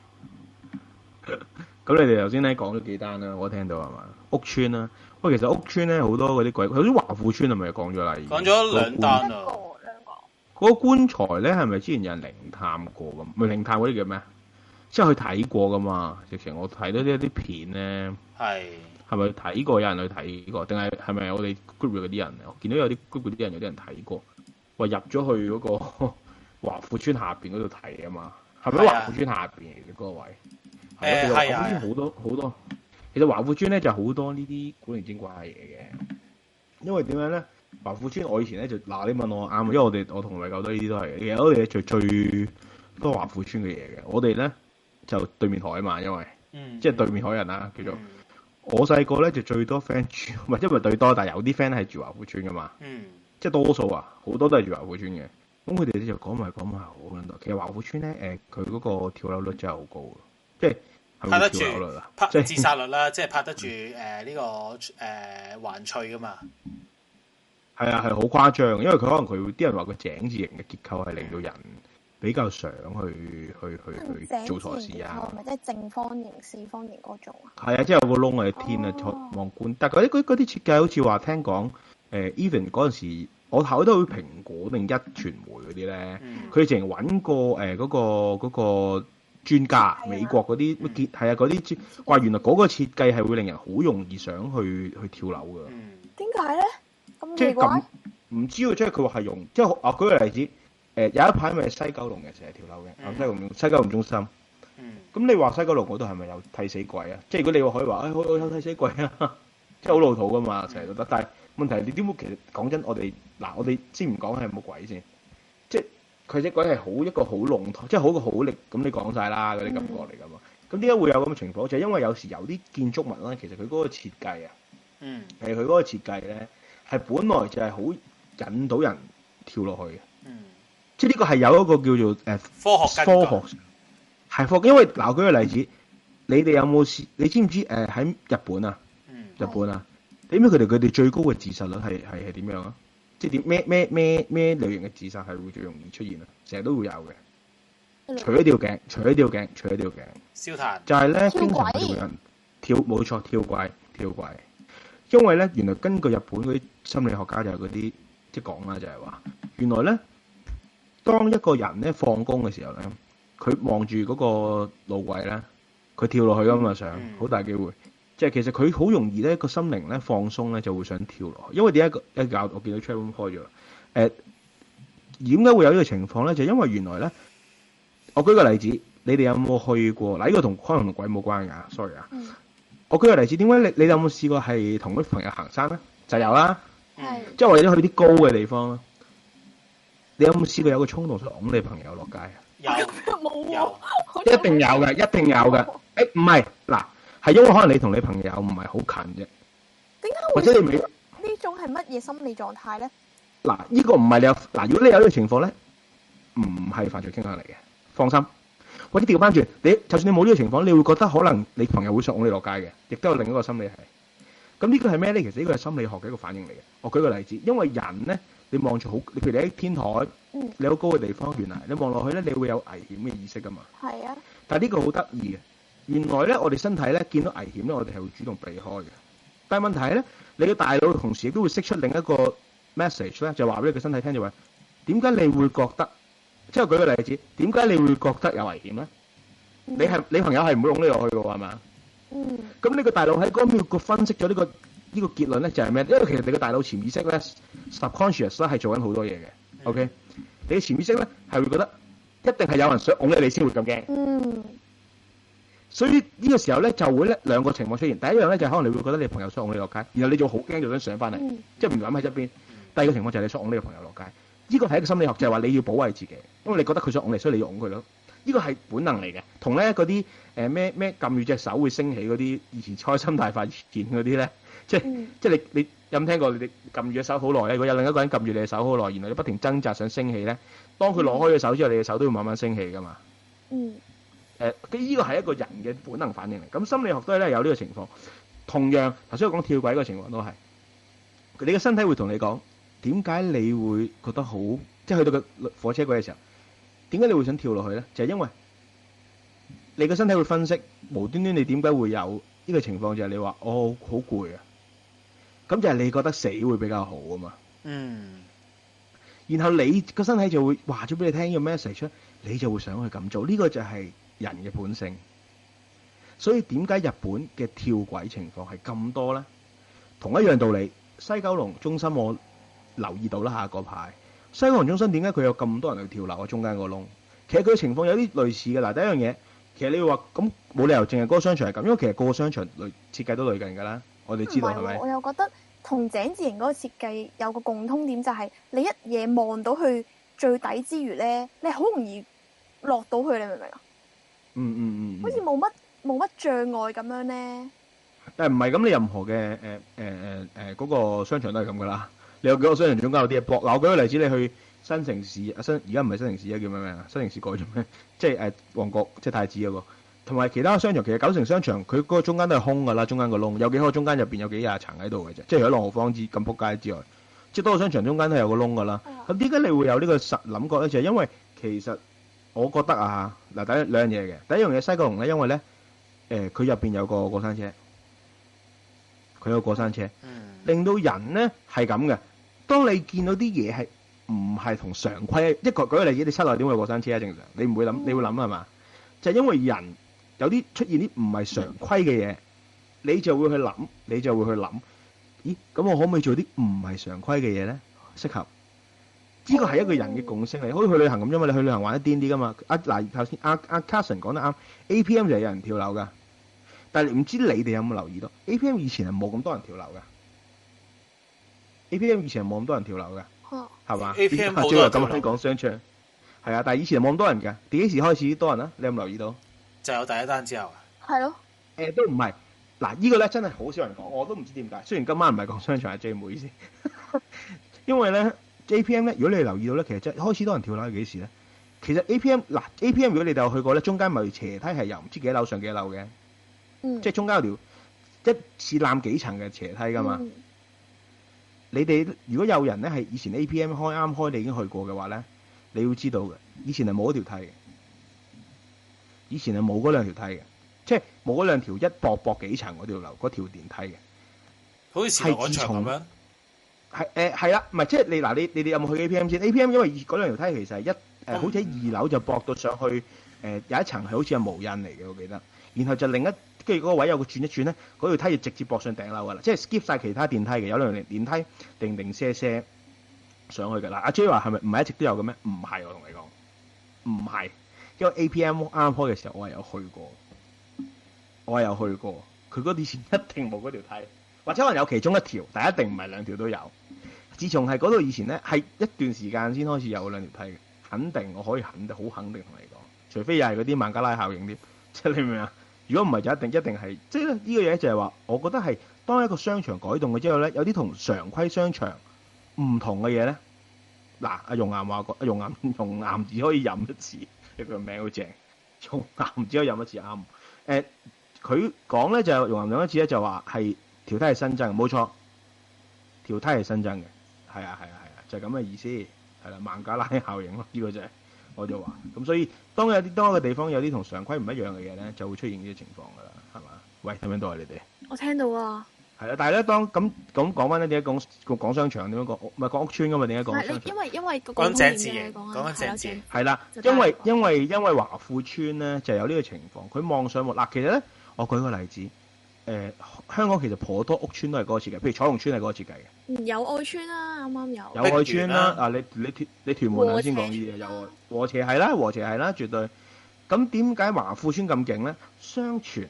你哋頭先咧講咗幾單啦，我聽到係嘛？屋邨啦，喂，其實屋邨咧好多嗰啲鬼，好似華富邨係咪講咗啦？ 講咗兩單啊。 嗰個棺材咧係咪之前有人靈探過咁？唔係靈探嗰啲叫咩？即係去睇過噶嘛？直情我睇到一啲片咧，係咪睇過？有人去睇過，定係咪我哋 group 嗰啲人？我見到有啲 group 嗰啲人有啲人睇過，話入咗去嗰個華富邨下邊嗰度睇啊嘛？係咪華富邨下邊嘅嗰個位？係啊，好多。其實華富邨咧就好多呢啲古靈精怪嘅嘢嘅，因為點樣咧？華富邨我以前咧就你問我啱，因為我同米狗都呢啲都係嘅。其實我哋最多華富邨嘅嘢嘅，我哋咧就對面海啊嘛，因為即係對面海人啦，叫做我細個咧就最多 friend 住，唔係因為最多，但係有啲 friend 係住華富邨噶嘛，即係多數啊，好多都係住華富邨嘅。咁佢哋咧就講埋好多。其實華富邨咧佢嗰個跳樓率真係好高，即係。 拍得住，即係自殺率啦，即係拍得住呢個環翠噶嘛。 係啊，係好誇張，因為佢可能啲人話個井字形嘅結構係令到人比較想去做錯事啊。 係咪即係正方形、四方形嗰種啊？ 係啊，即係有個窿喺天啊，望觀。但係嗰啲設計好似話聽講，even 嗰陣時我睇到蘋果定壹傳媒嗰啲咧，佢哋淨係揾過嗰個。專家美國嗰啲乜嗰啲話原來嗰個設計係會令人好容易想去跳樓㗎。 點解咧？咁奇怪？唔知喎，即係佢話係用即係舉個例子，有一排咪西九龍嘅成日跳樓嘅，西九龍中心。咁你話西九龍嗰度係咪有替死鬼啊？即係如果你話可以話，我有替死鬼啊，即係好老土㗎嘛，成日都得。但係問題你點會其實講真，我哋先唔講係冇鬼先，即係。佢隻鬼係一個好籠統，即係好力咁，你講晒啦嗰啲感覺嚟㗎嘛。咁點解會有咁嘅情況？就係因為有時有啲建築物咧，其實佢嗰個設計啊，佢嗰個設計咧係本來就係好引到人跳落去嘅。即係呢個係有一個叫做科學係因為嗱，舉個例子，你哋有冇試？你知唔知喺日本啊？日本啊，你知唔知佢哋最高嘅自殺率係點樣啊？即係點咩類型嘅自殺係會最容易出現啊？成日都會有嘅，除咗吊頸， 燒炭就係咧，經常會有人冇錯跳軌，因為咧原來根據日本嗰啲心理學家就係嗰啲即係講啦，就係話原來咧當一個人咧放工嘅時候咧，佢望住嗰個路軌咧，佢跳落去㗎嘛，想好大機會。即係其實佢好容易咧個心靈咧放鬆咧就會想跳落去，因為點解我見到 chat room 開咗點解會有呢個情況咧？就因為原來咧，我舉個例子，你哋有冇去過嗱？呢個可能同鬼冇關㗎，sorry 啊。我舉個例子，點解你有冇試過係同啲朋友行山咧？就有啦，即係或者去啲高嘅地方啦。你有冇試過有個衝動想拱你朋友落街啊？ 有， 一定有嘅。唔係嗱。係因為可能你同你朋友唔係好近啫， 點解或者你未呢種係乜嘢心理狀態咧？ 嗱，呢個唔係你有嗱，如果你有呢個情況咧，唔係犯罪傾向嚟嘅，放心。或者調翻轉，就算你冇呢個情況，你會覺得可能你朋友會想拱你落街嘅，亦都有另一個心理係。咁呢個係咩咧？其實呢個係心理學嘅一個反應嚟嘅。我舉個例子，因為人咧，你望住譬如你喺天台，你好高嘅地方，原來你望落去咧，你會有危險嘅意識噶嘛。係啊。但係呢個好得意嘅。原來咧，我哋身體咧見到危險咧，我哋係會主動避開嘅。但係問題係咧，你嘅大腦同時亦都會釋出另一個 message 咧，就話俾你個身體聽，就話點解你會覺得？即係舉個例子，點解你會覺得有危險咧？你朋友係唔會擁你落去嘅喎，係嘛？咁你個大腦喺嗰秒個分析咗呢個結論咧，就係咩？因為其實你個大腦潛意識咧 subconscious 咧係做緊好多嘢嘅。OK，你嘅潛意識咧係會覺得一定係有人想擁你先會咁驚。所以呢個時候咧就會咧兩個情況出現，第一樣咧就係可能你會覺得你朋友想拱你落街，然後你就好驚就想上翻嚟，即係唔諗喺側邊。 第二個情況就係你想擁呢個朋友落街，呢個係一個心理學，就係話你要保衞自己，因為你覺得佢想擁你，所以你要擁佢咯。呢個係本能嚟嘅，同咧嗰啲咩撳住隻手會升起嗰啲，以前開心大發現嗰啲咧，即係你有冇聽過？你撳住隻手好耐咧，如果有另一個人撳住你隻手好耐，然後你不停掙扎想升起咧，當佢攞開隻手之後，你嘅手都會慢慢升起噶嘛。呢個係一個人嘅本能反應嚟。咁心理學都係咧有呢個情況。同樣頭先我講跳軌嗰個情況都係，你嘅身體會同你講點解你會覺得好，即係去到個火車軌嘅時候。點解你會想跳落去咧？就係因為你個身體會分析，無端端你點解會有呢個情況？就係你話我好攰啊，咁就係你覺得死會比較好啊嘛。然後你個身體就會話咗俾你聽呢個 message 出，你就會想去咁做。呢個就係人嘅本性。所以點解日本嘅跳軌情況係咁多咧？同一樣道理，西九龍中心我留意到啦嚇嗰排。西九龍中心點解佢有咁多人去跳樓啊？中間個窿，其實佢嘅情況有啲類似嘅。嗱，第一樣嘢，其實你會話咁冇理由淨係嗰個商場係咁，因為其實個個商場設計都類近㗎啦。我哋知道係咪？ 我又覺得同井字形嗰個設計有個共通點，就係你一嘢望到去最底之餘咧，你好容易落到去，你明唔明啊？好似冇乜障礙咁樣咧。 但係唔係咁？你任何嘅嗰個商場都係咁㗎啦。你有幾個商場中間有啲嘢搏？嗱，我舉個例子，你去新城市而家唔係新城市，而家叫咩名啊？新城市改咗咩？即係旺角，即係太子嗰個，同埋其他商場。其實九成商場佢嗰個中間都係空㗎啦，中間個窿有幾個中間入邊有幾廿層喺度嘅啫。即係除咗朗豪坊咁撲街之外，即係多個商場中間都有個窿㗎啦。咁點解你會有呢個實諗覺咧？就係因為其實我覺得啊，嗱，第一兩樣嘢嘅。第一樣嘢西九龍咧，因為咧佢入邊有個過山車，佢有個過山車，令到人咧係咁嘅。當你見到啲嘢係唔係同常規，舉個例子，你室內點會有過山車啊？正常你唔會諗，你會諗係嘛？就係因為人有啲出現啲唔係常規嘅嘢，你就會去諗，咦？咁我可唔可以做啲唔係常規嘅嘢咧？適合呢個係一個人嘅共識嚟，好似去旅行咁啫嘛。你去旅行玩得癲啲噶嘛？嗱，頭先阿 Carson 講得啱 ，APM 就係有人跳樓噶，但係唔知你哋有冇留意到 APM 以前係冇咁多人跳樓噶。APM 以前係冇咁多人跳樓嘅，係嘛 ？APM 好多人咁講商場，係啊，但係以前係冇咁多人嘅。幾時開始多人啊？你有冇留意到？ 就有第一單之後啊？ 係咯。 都唔係。嗱，呢個咧真係好少人講，我都唔知點解。雖然今晚唔係講商場，係 J 唔好意思。因為咧 APM 咧，如果你留意到咧，其實真係開始多人跳樓係幾時咧？其實 APM 如果你哋有去過咧，中間咪斜梯係由唔知幾樓上幾樓嘅，即係中間有條一次攬幾層嘅斜梯噶嘛。你哋如果有人咧係以前 APM 啱開，你已經去過嘅話咧，你要知道嘅，以前係冇嗰條梯嘅，以前係冇嗰兩條梯嘅，即係冇嗰兩條一駁幾層嗰條樓嗰條電梯嘅， 好似前海廣場咁樣。 係啦，唔係即係你嗱，你哋有冇去 APM 先 ？APM 因為嗰兩條梯其實係好似喺2樓就駁到上去，有一層係好似係無印嚟嘅，我記得，然後就另一。跟住嗰個位有個轉一轉咧，嗰條梯就直接駁上頂樓噶啦，即係 skip 晒其他電梯嘅，有兩條電梯定些上去嘅啦。阿 J 話係咪唔係一直都有嘅咩？唔係，我同你講，唔係，因為 APM 啱開嘅時候我係有去過，佢嗰啲前一定冇嗰條梯，或者可能有其中一條，但係一定唔係兩條都有。自從係嗰度以前咧，係一段時間先開始有兩條梯嘅，肯定我可以好肯定同你講，除非又係嗰啲孟加拉效應啲，即係你明唔明啊？如果唔係就一定係，即係呢個嘢就係話，我覺得係當一個商場改動嘅之後咧，有啲同常規商場唔同嘅嘢咧。嗱，阿容岩話過，容岩只可以飲一次，佢個名好正，容岩只可以飲一次啱。佢講咧就容岩飲一次咧就話係條梯係新增，冇錯，條梯係新增嘅，係啊，就係咁嘅意思，係啦，孟加拉效應咯，呢個就係。我就話咁，所以當一個地方有啲同常規唔一樣嘅嘢咧，就會出現呢啲情況噶啦，係嘛？喂，聽唔聽到啊？你哋我聽到啊。係啦，但係咧，當咁講翻咧，點解講商場？點樣講？唔係講屋邨噶嘛？點解講商場？ 因為個講井字嘅，講緊井字。 係啦，因為華富邨咧就有呢個情況，佢望上望嗱，其實咧，我舉個例子，香港其實頗多屋邨都係嗰個設計，譬如彩虹邨係嗰個設計嘅。 有愛邨啦，啱啱有。 有愛邨啦，啊你屯門頭先講呢啲嘢，有和諧係啦，絕對。咁點解華富邨咁勁咧？相傳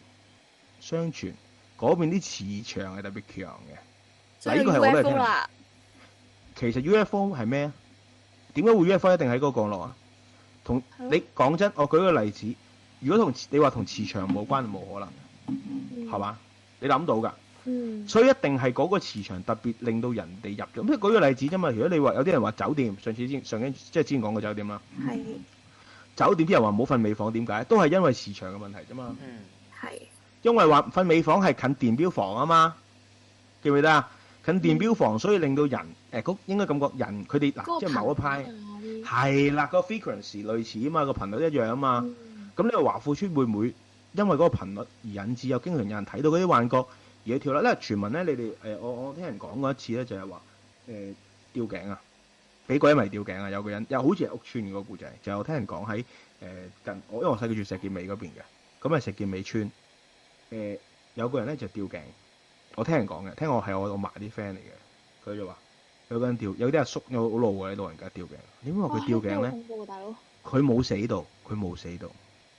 嗰邊啲磁場係特別強嘅。嗱，呢個係我都係聽。 其實 UFO 係咩啊？點解會 UFO 一定喺嗰個降落啊？同你講真，我舉個例子，如果你話同磁場冇關，冇可能，係嘛？你諗到㗎？所以一定係嗰個磁場特別令到人哋入咗。咁舉個例子啫嘛。如果你話有啲人話酒店，即係之前講過酒店啦。 係。 酒店啲人話唔好瞓尾房，點解？都係因為磁場嘅問題啫嘛。 係。 因為話瞓尾房係近電錶房啊嘛，記唔記得啊？近電錶房，所以令到人應該感覺人佢哋嗱，即係某一派係啦，個 frequency 類似啊嘛，個頻率一樣啊嘛。咁呢個華富村會唔會因為嗰個頻率而引致有經常有人睇到嗰啲幻覺而去跳樓？因為傳聞咧，你哋我聽人講過一次咧，就係話吊頸啊，俾鬼迷吊頸啊，有個人又好似係屋村嗰個故仔，就係我聽人講喺因為我細個住石硤尾嗰邊嘅，咁係石硤尾村有個人咧就吊頸。我聽人講嘅，聽我係我嫲啲 friend 嚟嘅，佢就話有個人吊，有啲阿叔有好老嘅老人家吊頸。點解話佢吊頸咧？佢冇死到，佢冇死到。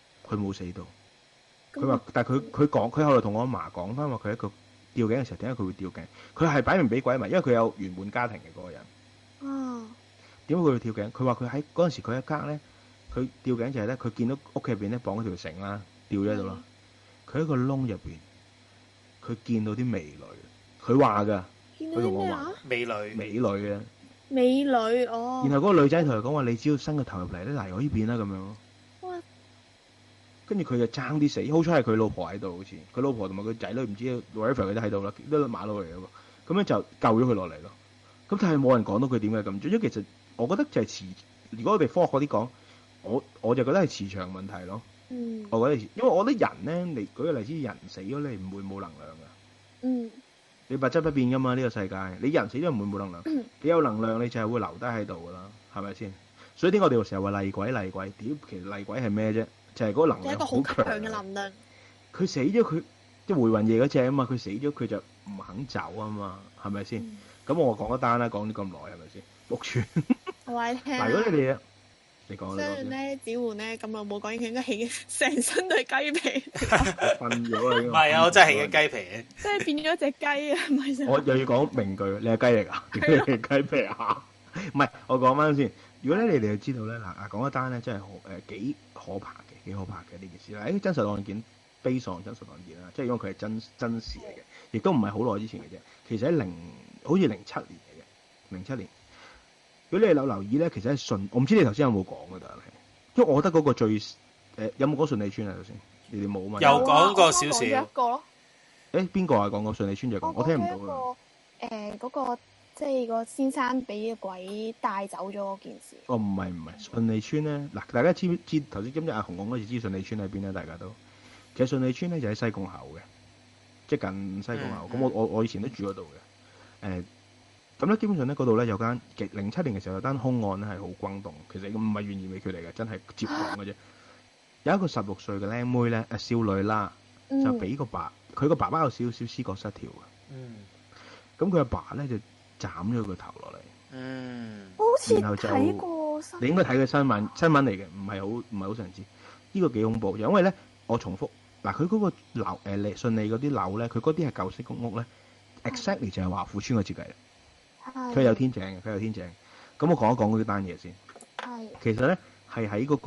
佢話，但係佢講，佢後來同我阿嫲講翻話，佢一個吊頸嘅時候，點解佢會吊頸？佢係擺明俾鬼迷，因為佢有圓滿家庭嘅嗰個人。點解佢會吊頸？佢話佢喺嗰陣時佢一間咧，佢吊頸就係咧，佢見到屋企入邊咧綁咗條繩啦，吊咗喺度啦。佢喺個窿入邊。佢見到啲美女，佢話㗎，佢同我話美女嘅美女哦。然後嗰個女仔同佢講話：你只要伸個頭入嚟咧，嚟我呢邊啦咁樣咯。哇！跟住佢就爭啲死，好彩係佢老婆喺度，好似佢老婆同埋佢仔女唔知 whatever 佢都喺度啦，都馬路嚟嘅喎。咁樣就救咗佢落嚟咯。咁但係冇人講到佢點解咁做，因為其實我覺得就係磁。如果我哋科學嗰啲講，我就覺得係磁場問題咯。我覺得，因為我覺得人咧，你舉個例子，人死咗你唔會冇能量噶。你物質不變噶嘛，呢個世界，你人死咗唔會冇能量。你有能量，你就係會留低喺度噶啦，係咪先？所以點解我哋成日話厲鬼？屌，其實厲鬼係咩啫？就係嗰個能量好強嘅能量。佢死咗，佢即係回魂夜嗰隻啊嘛，佢死咗佢就唔肯走啊嘛，係咪先？咁我講一單啦，講咗咁耐係咪先？屋村， 我話你聽。 嗱，如果你哋你講雖然咧，子桓咧咁耐冇講，佢應該起成身都係雞皮。 瞓咗啦， 唔係啊，我真係起緊雞皮。 即係變咗隻雞啊！唔係我又要講名句，你係雞嚟㗎？你係雞皮啊？唔係，我講翻先。如果咧你哋就知道咧，嗱講一單咧，真係幾可怕嘅呢件事啦。真實案件，based on真實案件啦，即係因為佢係真事嚟嘅，亦都唔係好耐之前嘅啫。其實喺好似07年嚟嘅，07年。如果你有留意咧，其實係我唔知你頭先有冇講嘅，但係，因為我覺得嗰個最有冇講順利村啊？頭先你哋冇嘛？ 有講過少少。 一個咯。 邊個啊？講過順利村就講，我聽唔到啊。 嗰個即係個先生俾鬼帶走咗嗰件事。 唔係順利村咧，嗱大家知唔知頭先今日阿紅講嗰時知順利村喺邊咧？大家都其實順利村咧就喺西貢口嘅，即係近西貢口。咁我以前都住嗰度嘅，咁咧，基本上咧嗰度咧有間07年嘅時候有單兇案咧係好轟動，其實唔係懸而未決嚟嘅，真係接講嘅啫。有一個16歲嘅靚妹咧，少女啦，就俾佢個爸爸有少少思覺失調嘅。咁佢阿爸咧就斬咗佢頭落嚟。 好似睇過新聞。 你應該睇嘅新聞嚟嘅，唔係好常知。呢個幾恐怖，因為咧我重複嗱，佢嗰個樓順利嗰啲樓咧，佢嗰啲係舊式公屋咧 ，exactly 就係華富村嘅設計。佢有天井嘅，咁我講一講嗰單嘢先。其實咧係喺嗰個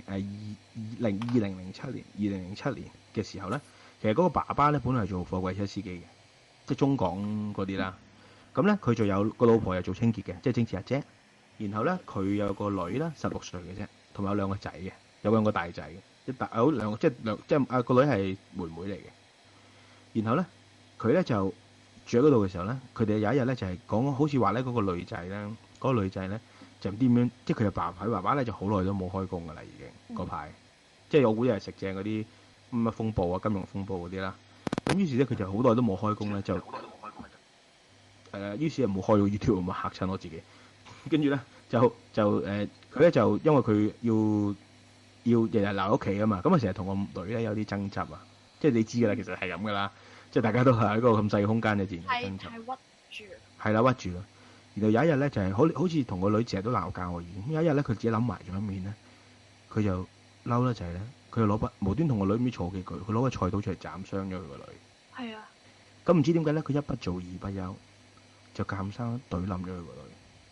2007年嘅時候咧，其實嗰個爸爸咧本來係做貨櫃車司機嘅，即係中港嗰啲啦。咁咧佢就有個老婆又做清潔嘅，即係清潔阿姐。然後咧佢有個女啦，16歲嘅啫，同埋有兩個仔嘅，有兩個大仔嘅，有兩個即係啊個女係妹妹嚟嘅。然後咧佢咧就住喺嗰度嘅時候咧，佢哋有一日咧就係講，好似話咧嗰個女仔咧就唔知點樣，即係佢爸爸咧就好耐都冇開工噶啦，已經嗰排，即係我估又係食正嗰啲乜風暴啊、金融風暴嗰啲啦。咁於是咧佢就好耐都冇開工咧，於是就冇開到 YouTube 啊嘛，嚇親我自己。跟住咧佢咧就因為佢要日日留喺屋企啊嘛，咁啊成日同個女咧有啲爭執啊，即係你知噶啦，其實係咁噶啦。即係大家都係喺一個咁細嘅空間嘅自然爭執，係屈住，係啦屈住咯。然後有一日咧就係好似同個女成日都鬧交喎。有一日咧佢自己諗埋咗一面咧，佢就嬲啦就係咧，佢就攞筆無端同個女咁嘈幾句，佢攞個菜刀出嚟斬傷咗佢個女。係啊。咁唔知點解咧？佢一不做二不休，就鑑生懟冧咗佢個女。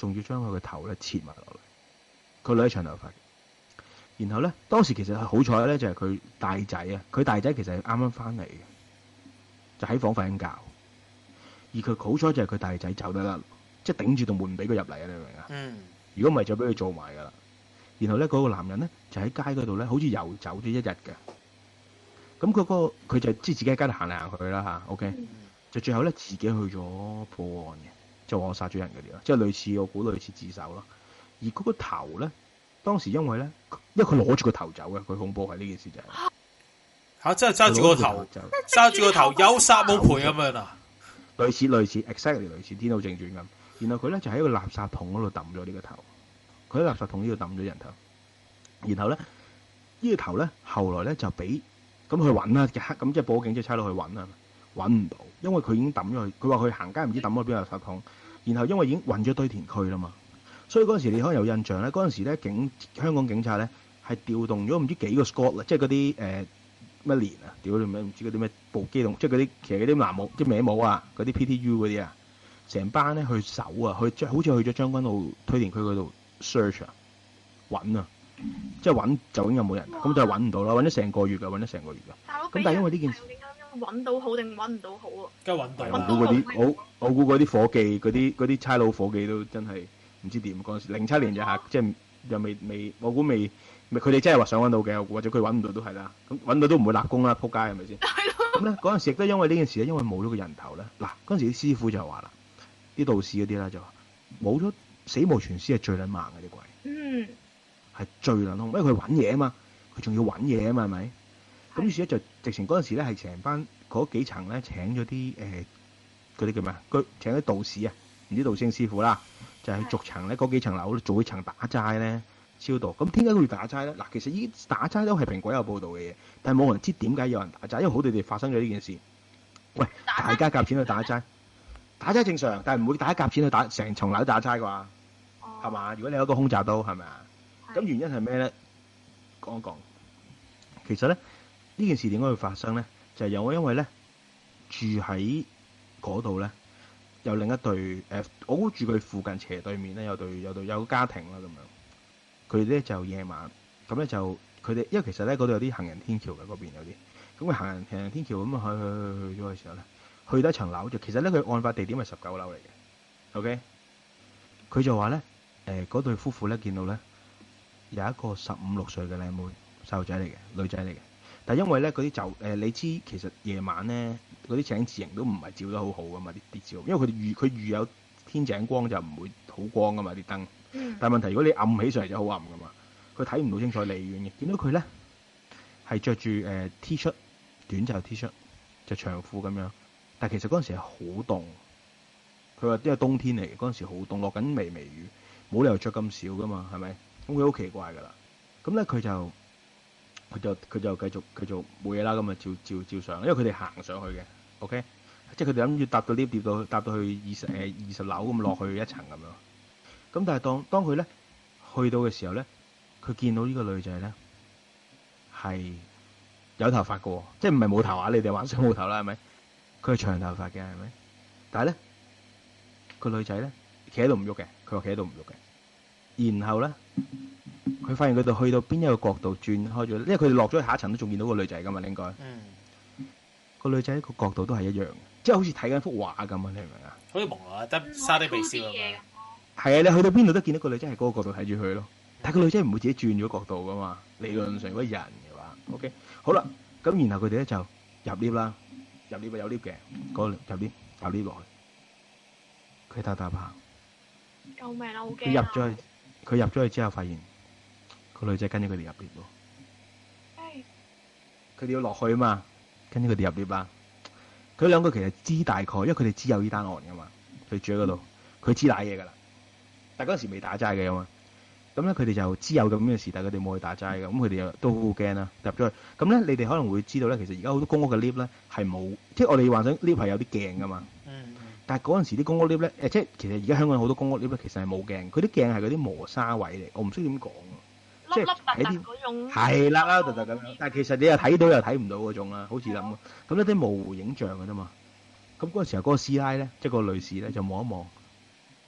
仲要將佢個頭咧切埋落嚟。個女係長頭髮嘅。然後咧，當時其實好彩咧，就係佢大仔啊，佢大仔其實係啱啱翻嚟嘅，就喺房瞓緊覺。而佢好彩就係佢大仔走得甩，即係頂住道門唔俾佢入嚟啊！你明唔明啊？ 嗯。 如果唔係就俾佢做埋噶啦。然後咧，嗰個男人咧就喺街嗰度咧，好似遊走咗一日嘅。咁佢就即係自己喺街度行嚟行去啦嚇。OK，就最後咧自己去咗報案嘅，就話我殺咗人嗰啲啦，即係類似我估類似自首咯。而嗰個頭咧，當時因為佢攞住個頭走嘅，佢恐怖係呢件事就係嚇，真係揸住個頭，揸住個頭有殺冇賠咁樣啊！ 類似 exactly 類似《天道正傳》咁。然後佢咧就喺個垃圾桶嗰度抌咗呢個頭，佢喺垃圾桶呢度抌咗人頭。然後咧呢個頭咧後來咧就俾咁去揾啦，咁即係報警，即係差佬去揾啦，揾唔到，因為佢已經抌咗去。佢話佢行街唔知抌咗邊個垃圾桶。然後因為已經運咗堆填區啦嘛，所以嗰陣時你可能有印象咧，嗰陣時咧香港警察咧係調動咗唔知幾個 squad 啦，即係嗰啲乜連啊，屌你咩唔知嗰啲咩部機動，即係嗰啲其實嗰啲藍帽即係歪帽啊，嗰啲 PTU 嗰啲啊，成班咧去搜啊，好似去咗將軍澳堆填區嗰度 search 啊，揾啊，即係揾究竟有冇人，咁就揾唔到啦，揾咗成個月㗎，揾咗成個月㗎。咁但係因為呢件事揾到好定揾唔到好啊？ 梗係揾到啦。 我估嗰啲伙計，嗰啲差佬伙計都真係唔知點嗰陣時，07年就嚇，即係又未，我估未，佢哋真係話想揾到嘅，或者佢揾唔到都係啦。咁揾到都唔會立功啦，撲街係咪先？咁咧嗰陣時亦都因為呢件事咧，因為冇咗個人頭咧，嗱嗰陣時啲師傅就話啦，啲道士嗰啲啦就話冇咗死無全屍係最撚猛嘅啲鬼，係最撚兇，因為佢揾嘢啊嘛，佢仲要揾嘢啊嘛，係咪？咁於是咧就直情嗰陣時咧係成班嗰幾層咧請咗啲嗰啲叫咩啊？請啲道士啊，唔知道聖師傅啦，就係、是、逐層咧嗰幾層樓做一層打齋咧超度。咁點解佢要打齋咧？嗱，其實依打齋都係蘋果有報道嘅嘢，但係冇人知點解有人打齋，因為好地地發生咗呢件事。喂，大家夾錢去打齋，打齋正常，但係唔會大家夾錢去打成層樓打齋啩？係嘛？如果你有一個空襲都係咪啊？咁原因係咩咧？講一講。其實咧呢件事點解會發生咧？就係因為咧住喺嗰度咧，有另一對我估住佢附近斜對面咧有個家庭啦咁樣。佢哋咧就夜晚咁咧就佢哋，因為其實咧嗰度有啲行人天橋嘅嗰邊有啲，咁佢行人天橋咁去咗嘅時候咧，去到一層樓就其實咧佢案發地點係19樓嚟嘅。OK，佢就話咧嗰對夫婦咧見到咧有一個15、16歲嘅靚妹細路仔嚟嘅女仔嚟嘅。但係因為咧嗰啲你知其實夜晚咧嗰啲井字形都唔係照得好好噶嘛啲照，因為佢預有天井光就唔會好光噶嘛啲燈。但係問題如果你暗起上嚟就好暗噶嘛，佢睇唔到清楚離遠嘅。見到佢咧係着住T 恤短袖 T 恤就長褲咁樣，但係其實嗰陣時係好凍。佢話因為冬天嚟嘅，嗰陣時好凍，落緊微雨，冇理由着咁少噶嘛，係咪？咁佢好奇怪噶啦。咁咧佢就繼續冇嘢啦，咁啊照上，因為佢哋行上去嘅 ，OK，即係佢哋諗住搭到 lift 搭到去20樓咁落去一層咁樣。咁但係當佢咧去到嘅時候咧，佢見到呢個女仔咧係有頭髮嘅，即係唔係冇頭啊？你哋幻想冇頭啦，係咪？佢係長頭髮嘅，係咪？但係咧個女仔咧企喺度唔喐嘅，佢話企喺度唔喐嘅，然後咧。佢發現佢哋去到邊一個角度轉開咗，因為佢哋落咗去下一層都仲見到個女仔噶嘛，應該。個女仔個角度都係一樣嘅，即係好似睇緊幅畫咁啊！你明唔明啊？ 好似朦朧得沙啲鼻笑咁樣。係啊，你去到邊度都見到個女仔係嗰個角度睇住佢咯。但係個女仔唔會自己轉咗角度噶嘛。理論上如果人嘅話，OK，好啦，咁然後佢哋咧就入 lift 啦，入 lift 有 lift 嘅，嗰入 lift 落去，佢搭下。 救命啦！好驚。 佢入咗去之後，發現個女仔跟咗佢哋入 lift 喎。佢哋要落去啊嘛，跟住佢哋入 lift 啦。佢兩個其實知大概，因為佢哋知有呢單案噶嘛，佢住喺嗰度，佢知瀨嘢噶啦。但係嗰陣時未打齋嘅嘛，咁咧佢哋就知有咁嘅事，但係佢哋冇去打齋嘅，咁佢哋又都好驚啦，入咗去。咁咧你哋可能會知道咧，其實而家好多公屋嘅 lift 咧係冇，即係我哋幻想 lift 係有啲鏡噶嘛。但係嗰陣時啲公屋 lift 咧，即係其實而家香港好多公屋 lift 咧，其實係冇鏡，佢啲鏡係嗰啲磨砂位嚟，我唔識點講喎，即係喺啲嗰種係啦，突突咁樣。但係其實你又睇到又睇唔到嗰種啦，好似咁啊。咁一啲模糊影像嘅啫嘛。咁嗰陣時候嗰個師奶咧，即係個女士咧就望一望，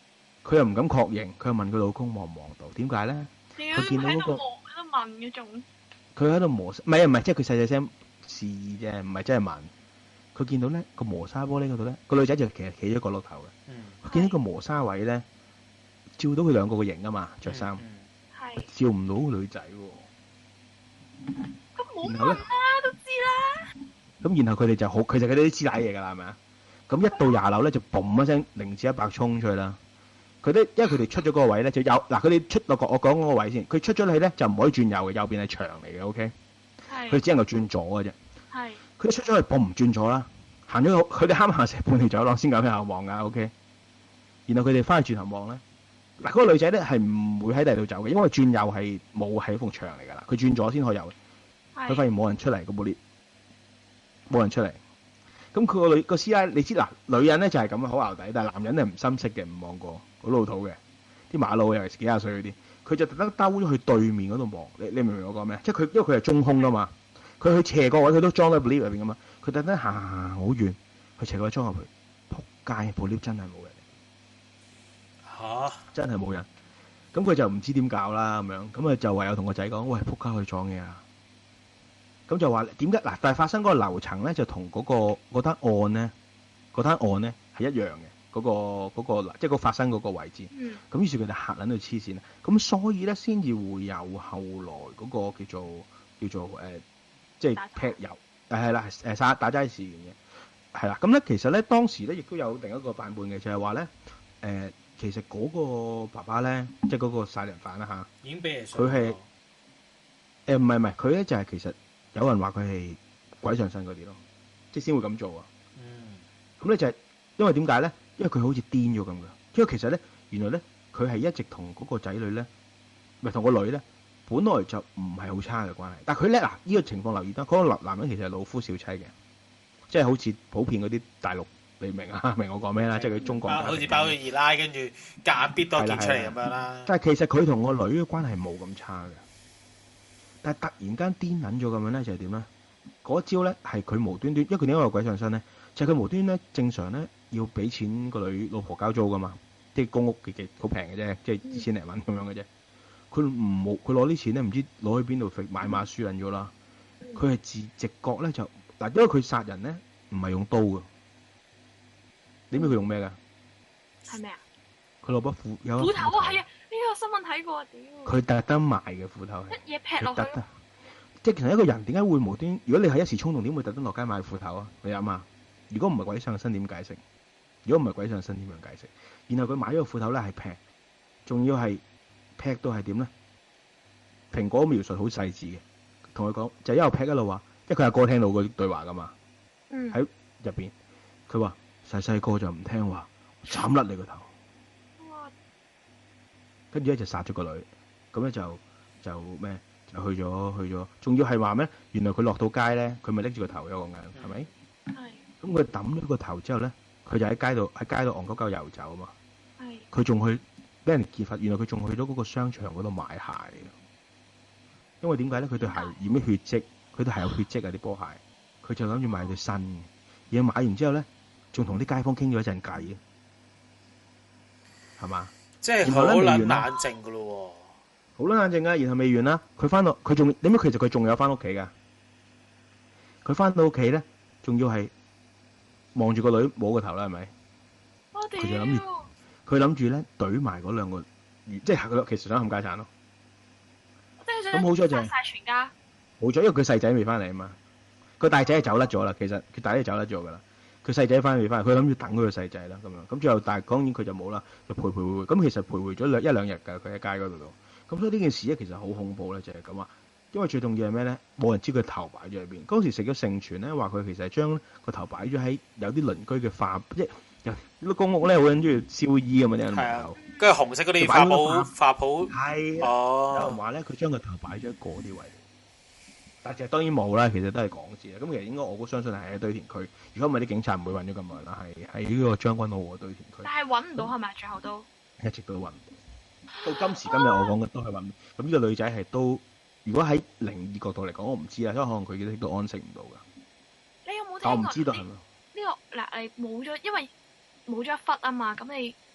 佢又唔敢確認，佢又問佢老公望唔望到？點解咧？ 點佢見到嗰個喺度望喺度問嗰種？ 佢喺度磨，唔係，即係佢細細聲示意啫，唔係真係問。佢見到咧個磨砂玻璃嗰度咧，個女仔就其實企咗角落頭嘅。 嗯佢見到個磨砂位咧，照到佢兩個個型啊嘛，着衫， 係照唔到個女仔喎。 咁冇然後咧問啦，都知啦。 咁然後佢哋就好，其實佢哋都知奶嘢㗎啦，係咪啊？咁一到20樓咧就嘣一聲0至100衝出去啦。佢哋因為佢哋出咗嗰個位咧就有嗱，佢哋出落我講嗰個位先，佢出咗去咧就唔可以轉右嘅，右邊係牆嚟嘅，OK。 係佢只能夠轉左嘅啫。 係佢一出咗去，嘣唔轉左啦，行咗佢哋啱行成半條走廊先咁向後望㗎，OK。然後佢哋翻去轉頭望咧，嗱嗰個女仔咧係唔會喺第二度走嘅，因為轉右係冇係一埲牆嚟㗎啦，佢轉左先可以有。佢發係現冇人出嚟個部 lift，冇人出嚟。咁佢個師奶，你知嗱，女人咧就係咁好淆底，但係男人係唔深色嘅，唔望過，好老土嘅。啲馬路尤其是幾廿歲嗰啲，佢就特登兜咗去對面嗰度望。你明唔明我講咩？即係佢，因為佢係中空噶嘛，佢去斜個位佢都裝喺部 lift 入邊噶嘛。佢特登行好遠，去斜個位裝入去，撲街部 lift 真係冇人， 嚇真係冇人。咁佢就唔知點搞啦咁樣，咁啊就唯有同個仔講：喂，撲街去撞嘢啊！咁就話點解嗱？但係發生嗰個樓層咧，就同嗰單案咧係一樣嘅，嗰個即係個發生嗰個位置。 嗯咁於是佢哋嚇撚到黐線啦。咁所以咧，先至會有後來嗰個叫做即係劈油係啦打齋事件嘅係啦。咁咧其實咧當時咧亦都有另一個版本嘅，就係話咧其實嗰個爸爸咧，即係嗰個殺人犯啦嚇。 已經俾人佢係唔係佢咧就係其實有人話佢係鬼上身嗰啲咯，即係先會咁做啊。 嗯咁咧就係因為點解咧？因為佢好似癲咗咁嘅。因為其實咧，原來咧佢係一直同嗰個仔女咧，唔係同個女咧，本來就唔係好差嘅關係。但係佢咧嗱，呢個情況留意得，嗰個男人其實係老夫少妻嘅，即係好似普遍嗰啲大陸，你明啊？明我講咩啦？即係佢中國好似包佢二奶，跟住夾硬逼多件出嚟咁樣啦。 但係其實佢同個女嘅關係冇咁差嘅，但係突然間癲撚咗咁樣咧，就係點咧？嗰招咧係佢無端端，因為佢點解有鬼上身咧？就係佢無端咧正常咧要俾錢個女老婆交租噶嘛，即係公屋嘅好平嘅啫，即係2000零蚊咁樣嘅啫。佢攞啲錢咧，唔知攞去邊度買馬輸撚咗啦。佢係直覺咧就嗱，因為佢殺人咧唔係用刀嘅，你知佢用咩㗎？ 係咩啊？ 佢攞把斧有斧頭啊，係啊，呢個新聞睇過，屌！ 佢特登買嘅斧頭係。 一嘢劈落去咯。 即係其實一個人點解會無端？如果你係一時衝動，點會特登落街買斧頭啊？你諗下，如果唔係鬼上身點解釋？如果唔係鬼上身點樣解釋？然後佢買咗個斧頭咧係劈，仲要係劈到係點咧？蘋果描述好細緻嘅，同佢講就一路劈一路話，因為佢阿哥聽到個對話噶嘛， 嗯。 喺入邊佢話細個就唔聽話，斬甩你個頭， 哇！ 跟住咧就殺咗個女，咁咧就咩？就去咗，仲要係話咩？原來佢落到街咧，佢咪拎住個頭有個眼，係咪？ 係咁佢抌咗個頭之後咧，佢就喺街度戇鳩鳩遊走啊嘛。 係。 佢仲去俾人揭發，原來佢仲去咗嗰個商場嗰度買鞋。因為點解咧？佢對鞋染咗血跡，佢對鞋有血跡啊啲波鞋。佢就諗住買對新嘅，然後買完之後咧，仲同啲街坊傾咗一陣偈嘅，係嘛？ 即係好撚冷靜噶咯喎。 好啦，冷靜啊！然後未完啦，佢翻到佢仲點解？其實佢仲有翻屋企噶。佢翻到屋企咧，仲要係望住個女摸個頭啦，係咪？ 我屌！ 佢諗住咧懟埋嗰兩個，即係佢其實想冚家產咯。咁好彩就係殺晒全家。 冇咗，因為佢細仔未翻嚟啊嘛。個大仔係走甩咗啦，其實佢大仔走甩咗噶啦。佢細仔翻未翻嚟，佢諗住等佢個細仔啦咁樣。咁最後但係當然佢就冇啦，就徘徊。咁其實徘徊咗一兩日㗎，佢喺街嗰度。咁所以呢件事咧其實好恐怖咧，就係咁話。因為最重要係咩咧？冇人知佢頭擺咗喺邊。嗰時食咗盛傳咧，話佢其實係將個頭擺咗喺有啲鄰居嘅化，即係有啲公屋咧好撚中意燒衣咁嘛啲人門口。 跟住紅色嗰啲化鋪。 係哦。 有人話咧，佢將個頭擺咗喺嗰啲位。但係當然冇啦，其實都係講字啦。咁其實應該我都相信係喺堆填區。如果唔係啲警察唔會揾咗咁耐啦，係喺呢個將軍澳嘅堆填區。 但係揾唔到係咪？最後都一直都揾唔到。到今時今日我講嘅都係揾唔到。咁呢個女仔係都，如果喺靈異角度嚟講，我唔知啦，因為可能佢亦都安息唔到㗎。 你有冇聽過？ 但我唔知道係咪？ 呢個嗱，你冇咗，因為冇咗一忽啊嘛。咁你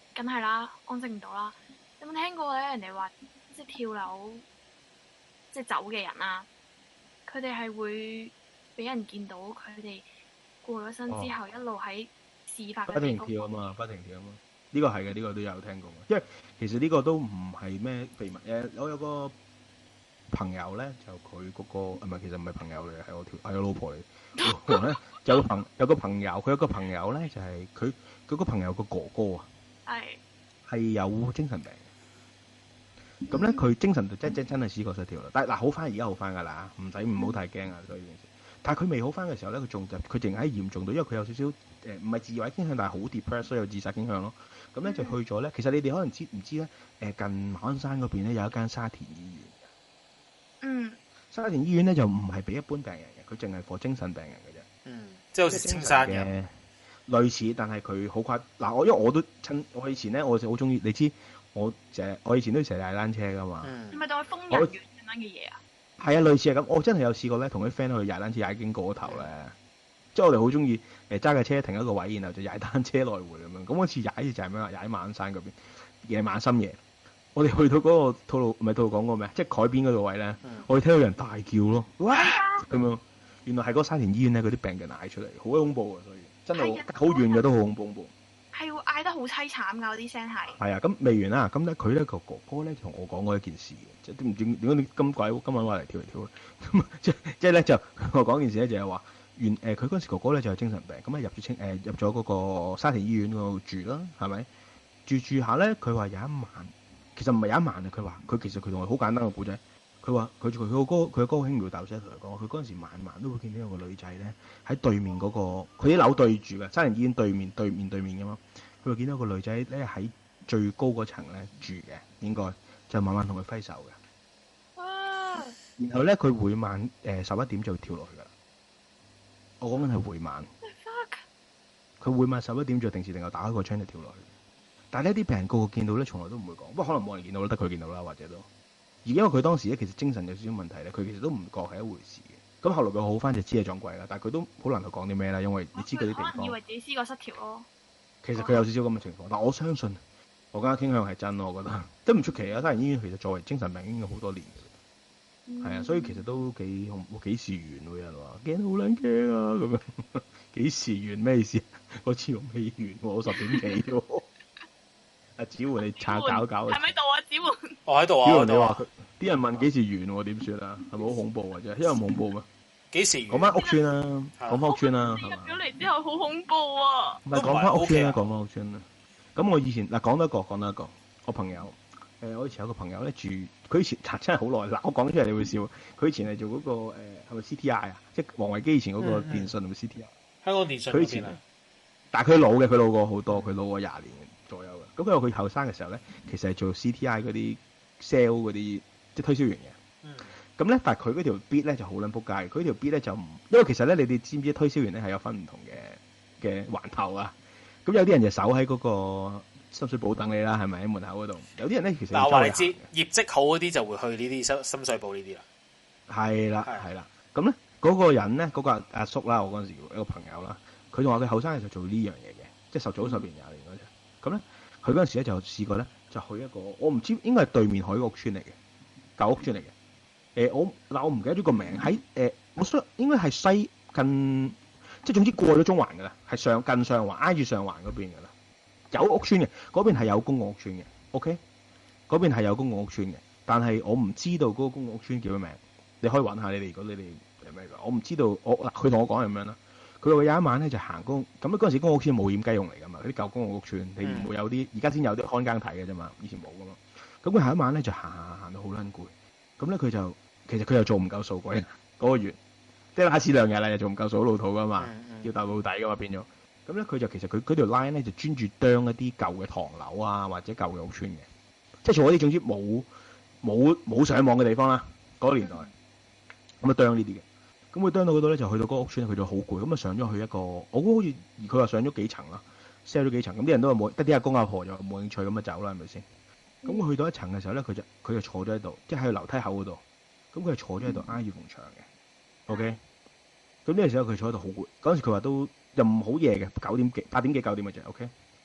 梗係啦，安靜唔到啦。有冇聽過咧？人哋話即係跳樓即係走嘅人啊，佢哋係會俾人見到佢哋過咗身之後，一路喺事發不嘅地方停跳啊嘛，不停跳啊嘛。呢個係嘅，呢個都有聽過嘅。因為其實呢個都唔係咩秘密嘅。我有個朋友咧，就佢嗰個唔係，其實唔係朋友嚟嘅，係我老婆嚟。老婆咧有個朋友，佢有個朋友咧就係佢個朋友個哥哥啊，係有精神病嘅。咁咧佢精神就真係思覺失調啦。但係嗱好翻，而家好翻㗎啦，唔好太驚啊！所以呢件事。但係佢未好翻嘅時候咧，佢淨係嚴重到，因為佢有少少唔係自毀傾向，但係好 depressed，所以有自殺傾向咯。咁咧就去咗咧。其實你哋可能知唔知咧？近馬鞍山嗰邊咧有一間沙田醫院嘅。 嗯。 沙田醫院咧就唔係俾一般病人嘅，佢淨係 for 精神病人嘅啫。 嗯，即係好似青山嘅類似，但係佢好誇嗱。因為我都我以前咧，我就好中意，你知我以前都成日踩單車㗎嘛。 係咪當佢瘋人院咁樣嘅嘢啊？ 係啊，類似係咁。我真係有試過咧，同啲 friend 去踩單車踩經過嗰頭咧，即係我哋好中意揸架車停一個位，然後就踩單車來回咁樣。咁嗰次踩就係咩啊？踩馬鞍山嗰邊，夜晚深夜，我哋去到嗰個吐露港嗰咩？即係海邊嗰度位咧，我哋聽到有人大叫咯，哇咁樣。原來係嗰沙田醫院咧，嗰啲病人嗌出嚟，好恐怖啊！所以真係好遠嘅都好恐怖。 係會嗌得好凄慘㗎，嗰啲聲係。 係啊，咁未完啦。咁咧佢咧個哥哥咧同我講過一件事嘅，即係唔知點解你咁鬼今晚話嚟跳嚟跳去。咁即係咧就我講件事咧就係話，佢嗰陣時哥哥咧就有精神病，咁啊入咗嗰個沙田醫院嗰度住啦，係咪？住下咧，佢話有一晚，其實唔係有一晚啊。佢話其實佢同我好簡單嘅故仔。佢話佢個哥輕描淡寫同佢講，佢嗰陣時晚都會見到有個女仔咧喺對面嗰個，佢啲樓對住嘅，沙田醫院對面㗎嘛。佢話見到個女仔咧喺最高嗰層咧住嘅，應該就慢慢同佢揮手嘅。 哇！ 然後咧佢每晚11點就會跳落去㗎啦。我講緊係每晚。佢每晚11點就定時定候打開個窗就跳落去。但係呢啲病人個個見到咧，從來都唔會講。不過可能冇人見到啦，得佢見到啦，或者都。而因為佢當時咧其實精神有少少問題咧，佢其實都唔覺係一回事嘅。咁後來佢好翻就知係撞鬼啦，但係佢都好難去講啲咩啦，因為你知嗰啲地方。 可能以為自己思覺失調咯。 其實佢有少少咁嘅情況，但我相信我家傾向係真咯，我覺得都唔出奇啊！沙田醫院其實作為精神病已經有好多年嘅，係啊，所以其實都幾時完喎？有人話驚到好撚驚啊咁樣，幾時完咩意思？我似我未完喎，我10點幾喎。阿子桓你搞， 係咪度啊？子桓， 我喺度啊！ 子桓你話啲人問幾時完喎？點算啊？係咪好恐怖啊？真係，因為恐怖咩？ 幾時完？ 講翻屋邨啦，講翻屋邨啦，係嘛？ 入咗嚟之後好恐怖啊！ 唔係講翻屋邨啦，講翻屋邨啦。咁我以前嗱講多一個，我朋友我以前有個朋友咧住，佢以前真係好耐嗱，我講出嚟你會笑。佢以前係做嗰個係咪 CTI 啊？即係王維基以前嗰個電信同埋 CTI。 香港電訊佢以前但係佢老過好多，佢老過20年左右嘅。咁佢話佢後生嘅時候咧，其實係做 CTI 嗰啲 sell 嗰啲即係推銷員嘅。咁咧，但係佢嗰條 bit 咧就好撚仆街。佢條 bit 咧就唔，因為其實咧，你哋知唔知推銷員咧係有分唔同嘅環頭啊？咁有啲人就守喺嗰個深水埗等你啦，係咪喺門口嗰度？有啲人咧其實嗱，話你知業績好嗰啲就會去呢啲深水埗呢啲啦。係啦。咁咧嗰個人咧，嗰個阿叔啦，我嗰陣時一個朋友啦，佢仲話佢後生嘅時候做呢樣嘢嘅，即係早10年20年嗰陣。咁咧，佢嗰陣時咧就試過咧，就去一個我唔知應該係對面海屋村嚟嘅舊屋村嚟嘅。我唔記得咗個名喺我想應該係西近，即係總之過咗中環㗎啦，係近上環挨住上環嗰邊㗎啦，有屋邨嘅嗰邊係有公共屋邨嘅 ，OK， 嗰邊係有公共屋邨嘅，但係我唔知道嗰個公共屋邨叫咩名，你可以揾下你哋，如果你哋係咩㗎，我唔知道佢同我講係咁樣啦，佢話有一晚咧就行公，咁嗰陣時公共屋邨冇掩雞用嚟㗎嘛，嗰啲舊公共屋邨你唔會有啲，而家先有啲看更睇嘅啫嘛，以前冇㗎嘛，咁佢下一晚咧就行到好撚攰，咁咧佢就。其實佢又做唔夠數嗰個月，即係拉屎2日啦，又做唔夠數，好老土噶嘛，要鬥老底噶嘛變咗。咁咧佢就其實佢嗰條 line 咧就專注啄一啲舊嘅唐樓啊，或者舊嘅屋邨嘅，即係做嗰啲總之冇上網嘅地方啦。嗰個年代咁啊啄呢啲嘅，咁佢啄到嗰度咧就去到嗰個屋邨，佢就好攰，咁啊上咗去一個，我估好似佢話上咗幾層啦 ，sell 咗幾層，咁啲人都話冇，得啲阿公阿婆就冇興趣咁啊走啦，係咪先？咁佢去到一層嘅時候咧，佢就坐咗喺度，即係喺樓梯口嗰度。咁佢係坐咗喺度挨住埲牆嘅，OK。咁呢個時候佢坐喺度好攰，嗰陣時佢話都又唔好夜嘅，8點幾9點嘅啫，OK。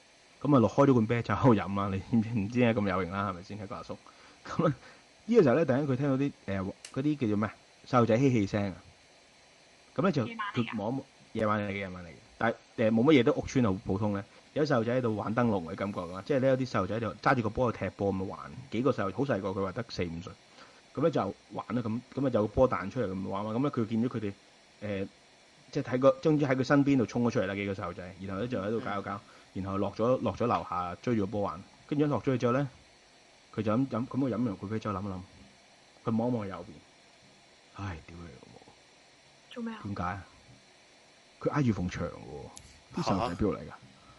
咁啊落開咗罐啤酒喺度飲啦，你唔知點解咁有型啦，係咪先？係個阿叔。咁啊呢個時候咧，突然間佢聽到啲嗰啲叫做咩細路仔嬉戲聲啊，咁咧就佢望一望夜晚嚟嘅，但係冇乜嘢都屋村好普通咧。有細路仔喺度玩燈籠嘅感覺㗎，即係咧有啲細路仔就揸住個波去踢波咁樣玩，幾個細路好細個，佢話得4-5歲，咁咧就玩啦，咁啊有個波彈出嚟咁玩嘛，咁咧佢見到佢哋即係終於喺佢身邊度衝咗出嚟啦，幾個細路仔，然後咧就喺度搞，然後落咗樓下追住個波玩，跟住一落咗去之後咧，佢就飲，咁佢飲完佢啤酒諗一諗，佢望一望右邊，唉，屌你老母， 做咩啊？ 點解啊？佢挨住埲牆喎，啲細路仔邊度嚟㗎？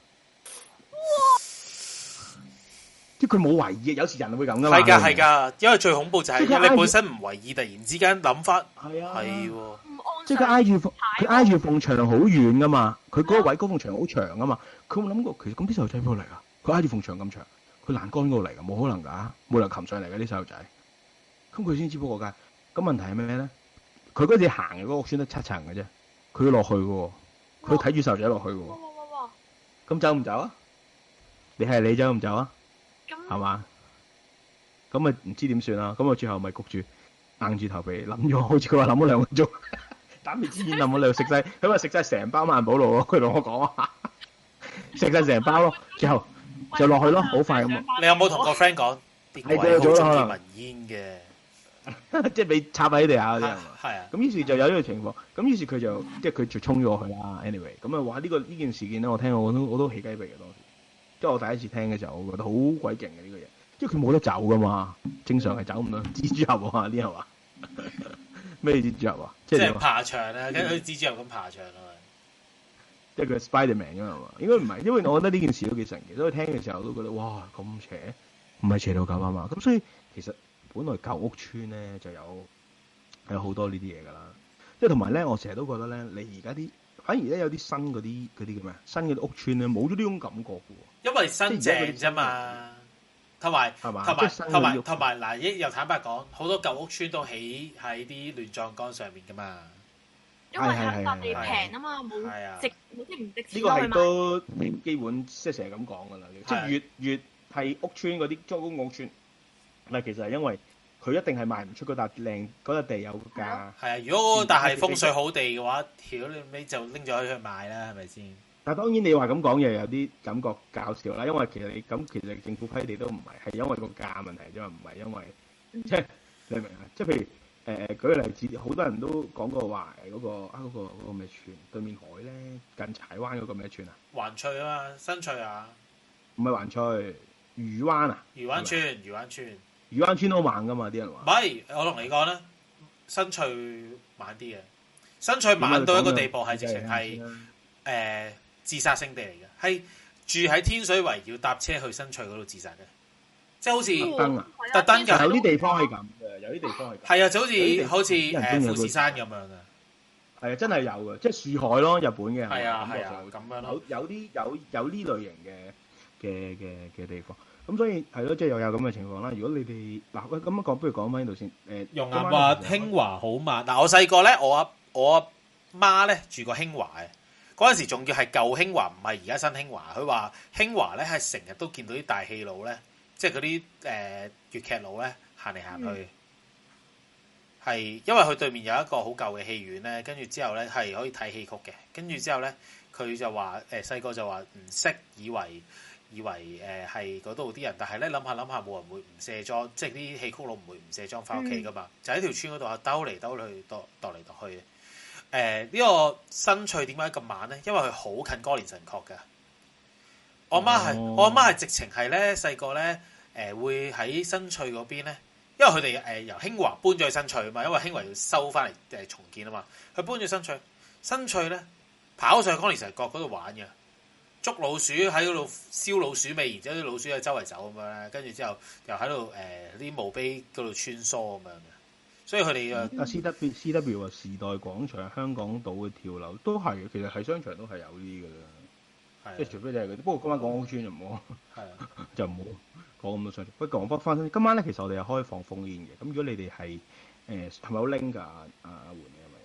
即係佢冇為意，有時人會咁噶嘛。 係㗎，因為最恐怖就係你本身唔為意，突然之間諗翻， 係啊， 係喎， 唔安即係佢挨住埲牆好遠噶嘛，佢嗰個位嗰埲牆好長噶嘛，佢冇諗過其實咁啲細路仔邊度嚟㗎？佢挨住埲牆咁長，佢欄杆嗰度嚟㗎，冇可能㗎，冇人擒上嚟㗎啲細路仔。咁佢先知不過㗎。咁問題係咩咧？佢嗰次行嘅嗰個屋村得7層嘅啫，佢要落去嘅喎，佢睇住細路仔落去嘅喎。 哇！ 咁走唔走啊？你走唔走啊？ 咁係嘛？咁咪唔知點算啦。咁我最後咪焗住硬住頭皮諗咗，好似佢話諗咗2個鐘，打滅支煙諗咗2食晒，佢話食晒成包萬寶路咯。佢同我講啊，食晒成包咯，最後就落去咯，好快咁。 你有冇同個 friend 講？ 係過咗啦，可能聞煙嘅。 即係俾插喺地下嗰啲係嘛？ 係啊。 咁於是就有呢個情況，咁於是佢就即係佢就衝咗去啦。anyway，咁啊話呢件事件咧，我聽我都起雞皮嘅當時。即係我第一次聽嘅時候，我覺得好鬼勁嘅呢個嘢，因為佢冇得走噶嘛，正常係走唔到。蜘蛛俠啊啲係嘛？咩蜘蛛俠啊？ 即係爬牆啊，跟住蜘蛛俠咁爬牆啊。 即係佢 Spiderman 咁係嘛？應該唔係，因為我覺得呢件事都幾神奇。所以聽嘅時候都覺得哇咁邪，唔係邪到咁啊嘛。咁所以其實本來舊屋村咧就有好多呢啲嘢㗎啦。即係同埋咧，我成日都覺得咧，你而家啲反而咧有啲新嗰啲叫咩啊？新嘅屋村咧冇咗呢種感覺嘅喎。 因為新淨啫嘛，同埋嗱，又坦白講，好多舊屋村都起喺啲亂葬崗上面㗎嘛。 因為係笪地平啊嘛，冇值即係唔值錢。 呢個係都基本即係成日咁講㗎啦。即係越係屋村嗰啲租公屋村，嗱其實係因為佢一定係賣唔出嗰笪靚嗰笪地有價。係啊，如果但係風水好地嘅話，屌你就拎咗去賣啦，係咪先？ 但係當然你話咁講嘢有啲感覺搞笑啦，因為其實其實政府批地都唔係因為個價問題啫嘛，唔係因為即係你明啊？即係譬如舉個例子，好多人都講過話嗰個咩村對面海咧，近柴灣嗰個咩村啊？ 環翠啊嘛，新翠啊？ 唔係環翠，漁灣啊？ 漁灣村都猛噶嘛？啲人話。 唔係，我同你講啦，新翠猛啲嘅，新翠猛到一個地步係直情係自殺聖地嚟嘅，係住喺天水圍要搭車去新翠嗰度自殺嘅，即係好似特登㗎。 有啲地方係咁嘅，有啲地方係。 係啊，就好似富士山咁樣嘅。 係啊，真係有嘅，即係樹海咯，日本嘅。 係啊，咁樣咯。 有呢類型嘅地方，咁所以係咯，即係又有咁嘅情況啦。如果你哋嗱咁樣講，不如講翻呢度先。 容岩話興華好慢。嗱，我細個咧，我阿媽咧住過興華嘅。嗰陣時仲要係舊興華，唔係而家新興華。佢話興華咧係成日都見到啲大戲佬咧，即係嗰啲粵劇佬咧行嚟行去。係因為佢對面有一個好舊嘅戲院咧，跟住之後咧係可以睇戲曲嘅。跟住之後咧，佢就話細個就話唔識，以為係嗰度啲人，但係咧諗下冇人會唔卸妝，即係啲戲曲佬唔會唔卸妝翻屋企噶嘛，就喺條村嗰度啊兜嚟兜去，踱嚟踱去。呢個新翠點解咁慢咧？因為佢好近歌連臣角嘅。我阿媽係直情係咧細個咧會喺新翠嗰邊咧，因為佢哋由興華搬咗去新翠啊嘛，因為興華要收翻嚟重建啊嘛，佢搬咗新翠咧跑上去歌連臣角嗰度玩嘅，捉老鼠喺嗰度燒老鼠味，然之後啲老鼠喺周圍走咁樣咧，跟住之後又喺度啲墓碑嗰度穿梭咁樣嘅。所以佢哋阿 C.W 話時代廣場、香港島嘅跳樓都係，其實係商場都係有呢啲嘅啦。即係除非你係嗰啲，不過今晚講屋村就唔好，就唔好講咁多商場。不過講翻今晚咧，其實我哋係開放烽煙嘅。咁如果你哋係係咪好拎㗎？阿媛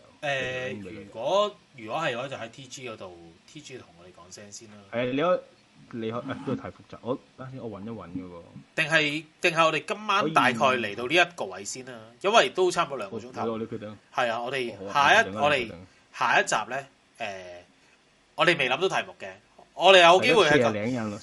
你係咪有？ 如果係嘅話，就喺 T.G 嗰度 ，T.G 同我哋講聲先啦。 係你可你可都係太複雜。我等陣先，我揾一揾嗰個。 定係我哋今晚大概嚟到呢一個位先啦，因為都差唔多2個鐘頭。 你決定。 係啊，我哋下一集咧，我哋未諗到題目嘅，我哋有機會係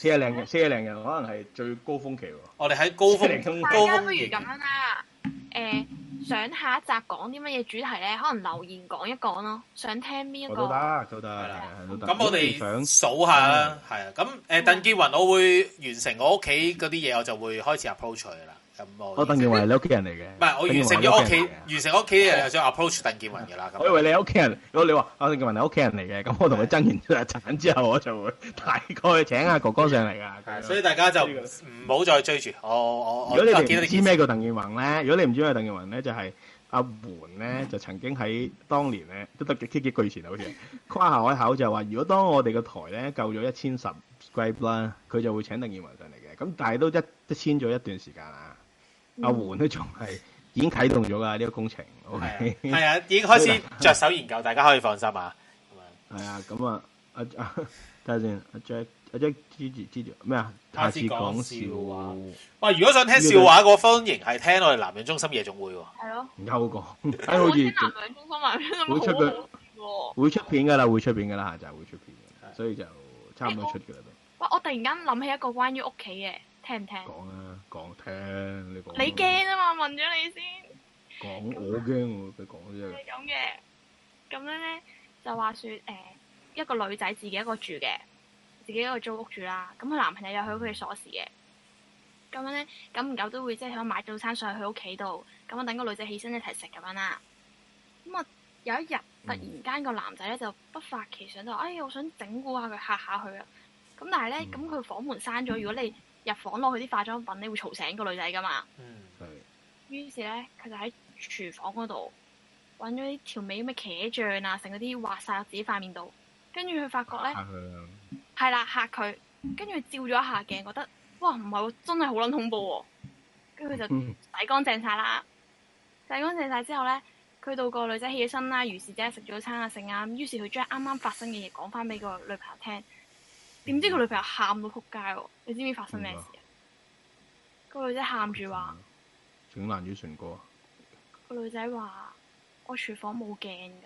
40零人，可能係最高峰期喎。 我哋喺高峰大家不如咁樣啦，想下一集講啲乜嘢主題咧？可能留言講一講咯。想聽邊一個？ 都得。 咁我哋數下啦，係啊。咁鄧健雲，我會完成我屋企嗰啲嘢，我就會開始 approach 佢啦。咁我鄧健雲係你屋企人嚟嘅。 唔係，我完成咗屋企，完成屋企嘅就想 approach 鄧健雲嘅啦。 我以為你係屋企人，如果你話鄧健雲係屋企人嚟嘅，咁我同佢爭完產之後，我就會大概請阿哥哥上嚟㗎。 所以大家就唔好再追住我。 如果你哋唔知咩叫鄧健雲咧，如果你唔知咩叫鄧健雲咧，就係阿媛咧，就曾經喺當年咧，都得幾個月前好似誇下海口就話，如果當我哋個台咧夠咗1000 subscribe 啦，佢就會請鄧健雲上嚟嘅。咁但係都一簽咗一段時間啦。阿媛都仲係已經啟動咗㗎呢個工程。OK， 係啊，已經開始着手研究，大家可以放心啊。 係啊，咁啊，睇下先，阿 Jack 支持咩啊？下次講笑話。 哇！如果想聽笑話，歡迎係聽我哋南洋中心夜總會喎。 係咯。 有個，好似南洋中心會出佢，會出片㗎啦，下集會出片嘅，所以就差唔多出㗎啦都。 哇！我突然間諗起一個關於屋企嘅。聽唔聽？ 講聽，你講。 你驚啊嘛？問咗你先。 講我驚喎，佢講啫。 係咁嘅，咁樣咧就話説一個女仔自己一個住嘅，自己一個租屋住啦。咁佢男朋友有佢屋企鎖匙嘅。咁樣咧，久唔久都會即係想買早餐上去佢屋企度，咁啊等個女仔起身一齊食咁樣啦。咁啊有一日突然間個男仔咧就不發奇想就我想整蠱下佢嚇下佢啊。咁但係咧咁佢房門閂咗，如果你入房攞佢啲化妝品，你會嘈醒個女仔噶嘛？ 係。 於是咧，佢就喺廚房嗰度揾咗啲調味咩茄醬啊，成嗰啲畫晒落自己塊面度。跟住佢發覺咧，係啦嚇佢。跟住佢照咗一下鏡，覺得哇唔係喎，真係好撚恐怖喎。跟住佢就洗乾淨晒啦。洗乾淨晒之後咧，佢到個女仔起咗身啦，如是者食早餐啊剩啊。於是佢將啱啱發生嘅嘢講翻俾個女朋友聽。點知個女朋友喊到撲街喎！你知唔知發生咩事啊？個女仔喊住話： 整爛咗唇膏。 個女仔話：我廚房冇鏡㗎。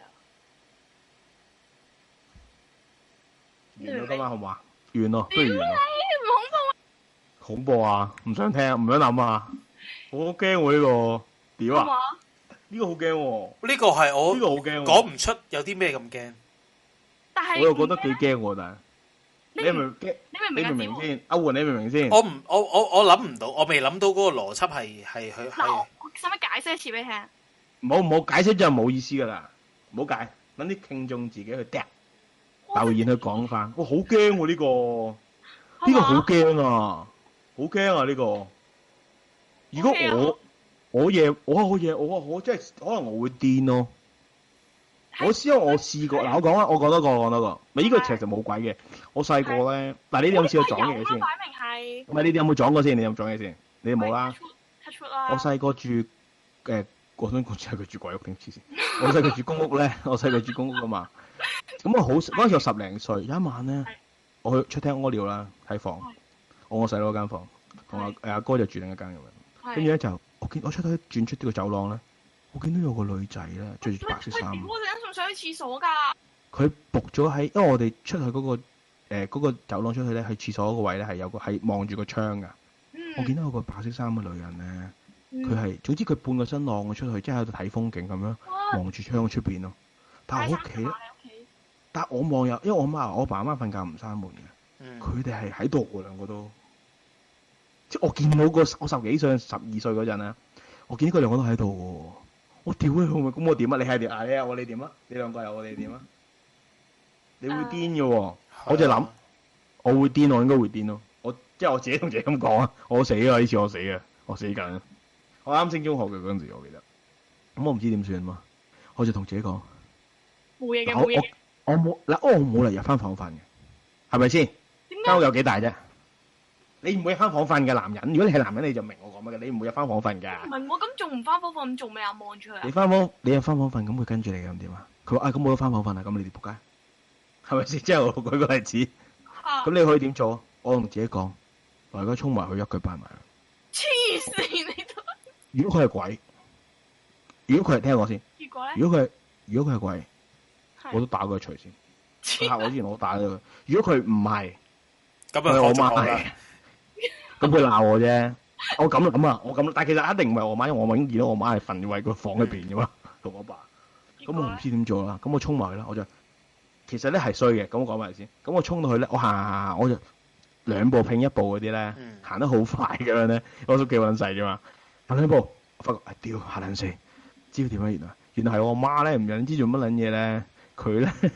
完咗今晚好嘛？完咯，不如完咯。 唔恐怖啊！ 恐怖啊！唔想聽，唔想諗啊！好驚喎呢個，屌啊！呢個好驚喎。 呢個係我呢個好驚， 講唔出有啲咩咁驚。 但係我又覺得幾驚喎，但係。你明唔明先？阿媛，你明唔明先？ 我諗唔到，我未諗到嗰個邏輯係佢。 嗱，我使唔使解釋一次俾你聽？ 唔好解釋就冇意思噶啦，唔好解，等啲聽眾自己去掟留言去講翻。哇，好驚喎呢個，呢個好驚啊，好驚啊呢個。如果我真係可能我會癲咯。我試過，嗱我講啦，我講多個，咪呢個其實冇鬼嘅。我細個咧，嗱你哋有冇試過撞嘢先？ 擺明係。 唔係你哋有冇撞過先？你有冇撞嘢先？你哋冇啦。我細個住我想講係佢住鬼屋定黐線？我細個住公屋咧，我細個住公屋噶嘛。咁我嗰陣時我10零歲，有一晚咧，我去出廳屙尿啦，喺房，我細佬間房，同阿哥就住另一間咁樣。跟住咧就我出去轉出呢個走廊咧。我見到有個女仔咧，着住白色衫。 我陣間仲想去廁所㗎。佢仆咗喺，因為我哋出去嗰個走廊出去咧，去廁所嗰個位咧係望住個窗㗎。我見到有個白色衫嘅女人咧，佢係總之佢半個身晾咗出去，即係喺度睇風景咁樣望住窗出邊咯。但係我屋企，但係我望入，因為我爸阿媽瞓覺唔閂門嘅，佢哋係喺度喎兩個都。即係我見到我10幾歲、12歲嗰陣咧，我見到佢兩個都喺度喎。我屌你老味，咁我點啊？你係點啊？你有我你點啊？你兩個有我你點啊？你會癲嘅喎，我就諗，我會癲，我應該會癲咯。即係我自己同自己咁講啊，我死啊！呢次我死嘅，我死緊。我啱升中學嘅嗰陣時，我記得。咁我唔知點算嘛，我就同自己講， 冇嘢嘅，冇嘢。 我冇嚟入翻房瞓嘅，係咪先？間屋有幾大啫？你唔會入翻房瞓嘅男人，如果你係男人，你就明我講乜嘅。你唔會入翻房瞓㗎。 唔係我咁仲唔翻房瞓，咁做咩啊？望住佢啊！ 你入翻房瞓，咁會跟住你嘅咁點啊？佢話咁我都翻房瞓啊，咁你哋仆街，係咪先？即係我舉個例子。咁你可以點做啊？ 我同自己講，我而家衝埋去一句拜埋。 黐線你都。 如果佢係鬼，如果佢係聽我先， 結果咧？ 如果佢係鬼， 係我都打佢除先。佢嚇我之前我打咗佢。如果佢唔係， 咁佢係我啊， 媽係，咁佢鬧我啫。我咁，但係其實一定唔係我媽，因為我已經見到我媽係瞓喺個房裏邊噶嘛，同我爸。咁我唔知點做啦。咁我衝埋去啦，我就其實咧係衰嘅。咁我講埋先。咁我衝到去咧，我行，我就兩步拼一步嗰啲咧，行得好快咁樣咧，我都幾撚細啫嘛。行兩步，我發覺屌嚇撚死，知道點解？原來係我媽咧，唔撚知做乜撚嘢咧，佢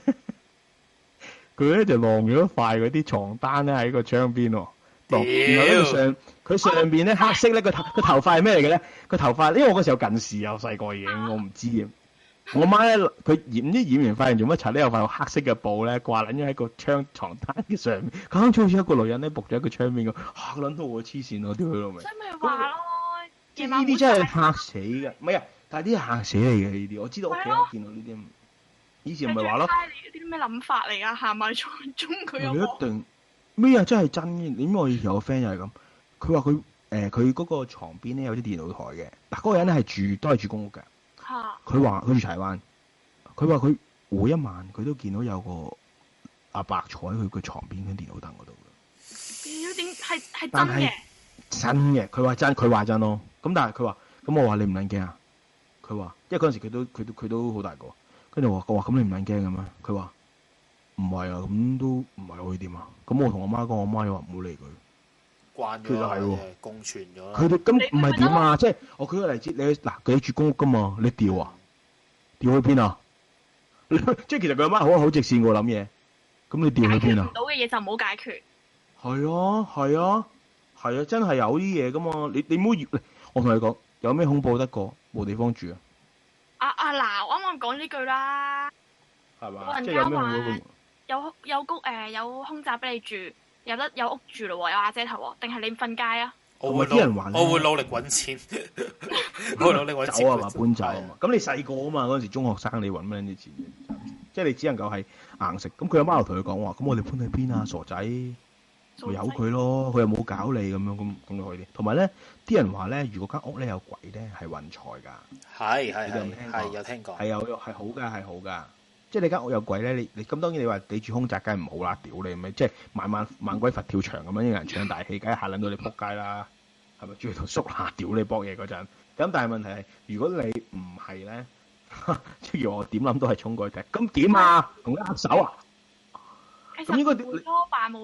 咧就晾咗一塊嗰啲床單咧喺個窗邊喎。然後咧佢上邊咧黑色咧個頭髮係咩嚟嘅咧？個頭髮因為我嗰時候近視又細個已經，我唔知嘅。我媽咧佢染完髮型做乜柒咧？有塊黑色嘅布咧掛撚咗喺個床單嘅上面，咁好似一個女人咧仆咗喺個窗邊咁，嚇撚到我黐線咯！屌佢老味！ 所以咪話咯， 即係呢啲真係嚇死嘅，唔係啊！但係啲嚇死你嘅呢啲，我知道屋企人見到呢啲，以前唔係話咯， 你啲咩諗法嚟㗎？行埋中佢有你一定咩啊？真係真嘅。點解我以前有個 friend 又係咁？佢話佢嗰個床邊咧有啲電腦台嘅，嗱嗰個人咧都係住公屋嘅。 嚇！ 佢話佢住柴灣，佢話佢每一晚佢都見到有個阿伯坐喺佢個床邊嘅電腦凳嗰度嘅。 屌點係但係真嘅？ 真嘅，佢話真咯。咁但係佢話，咁我話你唔撚驚啊？佢話，因為嗰陣時佢都好大個，跟住我話咁你唔撚驚嘅咩？佢話唔係啊，咁都唔係可以點啊？咁我同我媽講，我媽又話唔好理佢。 慣咗， 其實係喎， 共存咗啦。 佢哋咁唔係點啊？即係我舉個例子，佢住公屋噶嘛，你調啊？調去邊啊？即係其實佢阿媽好直線喎諗嘢，咁你調去邊啊？ 到嘅嘢就唔好解決。 係啊，真係有啲嘢噶嘛。你唔好我同你講，有咩恐怖得過冇地方住啊？ 嗱，啱啱講呢句啦， 係嘛？ 老人即係有家話咩恐怖？ 有空宅俾你住，有屋住咯喎，有瓦遮頭喎，定係你瞓街啊？ 我會啲人話我會努力揾錢，我會努力揾錢走啊嘛，搬走啊嘛。咁你細個啊嘛，嗰陣時中學生你揾乜啲錢啫？即係你只能夠係硬食。咁佢阿媽又同佢講話，咁我哋搬去邊啊？傻仔，咪由佢咯。佢又冇搞你咁樣，咁你可以啲。同埋咧，啲人話咧，如果間屋咧有鬼咧，係運財㗎。 係有聽過， 係好㗎。即係你間屋有鬼咧，你咁當然你話你住空宅梗係唔好啦，屌你咪即係猛鬼佛跳牆咁樣，有人唱大戲，梗係嚇撚到你仆街啦，係咪？住喺度縮下屌你搏嘢嗰陣，咁但係問題係，如果你唔係咧，即係我點諗都係衝過去踢，咁點啊？同佢握手啊？ 其咁應該實會咯，扮冇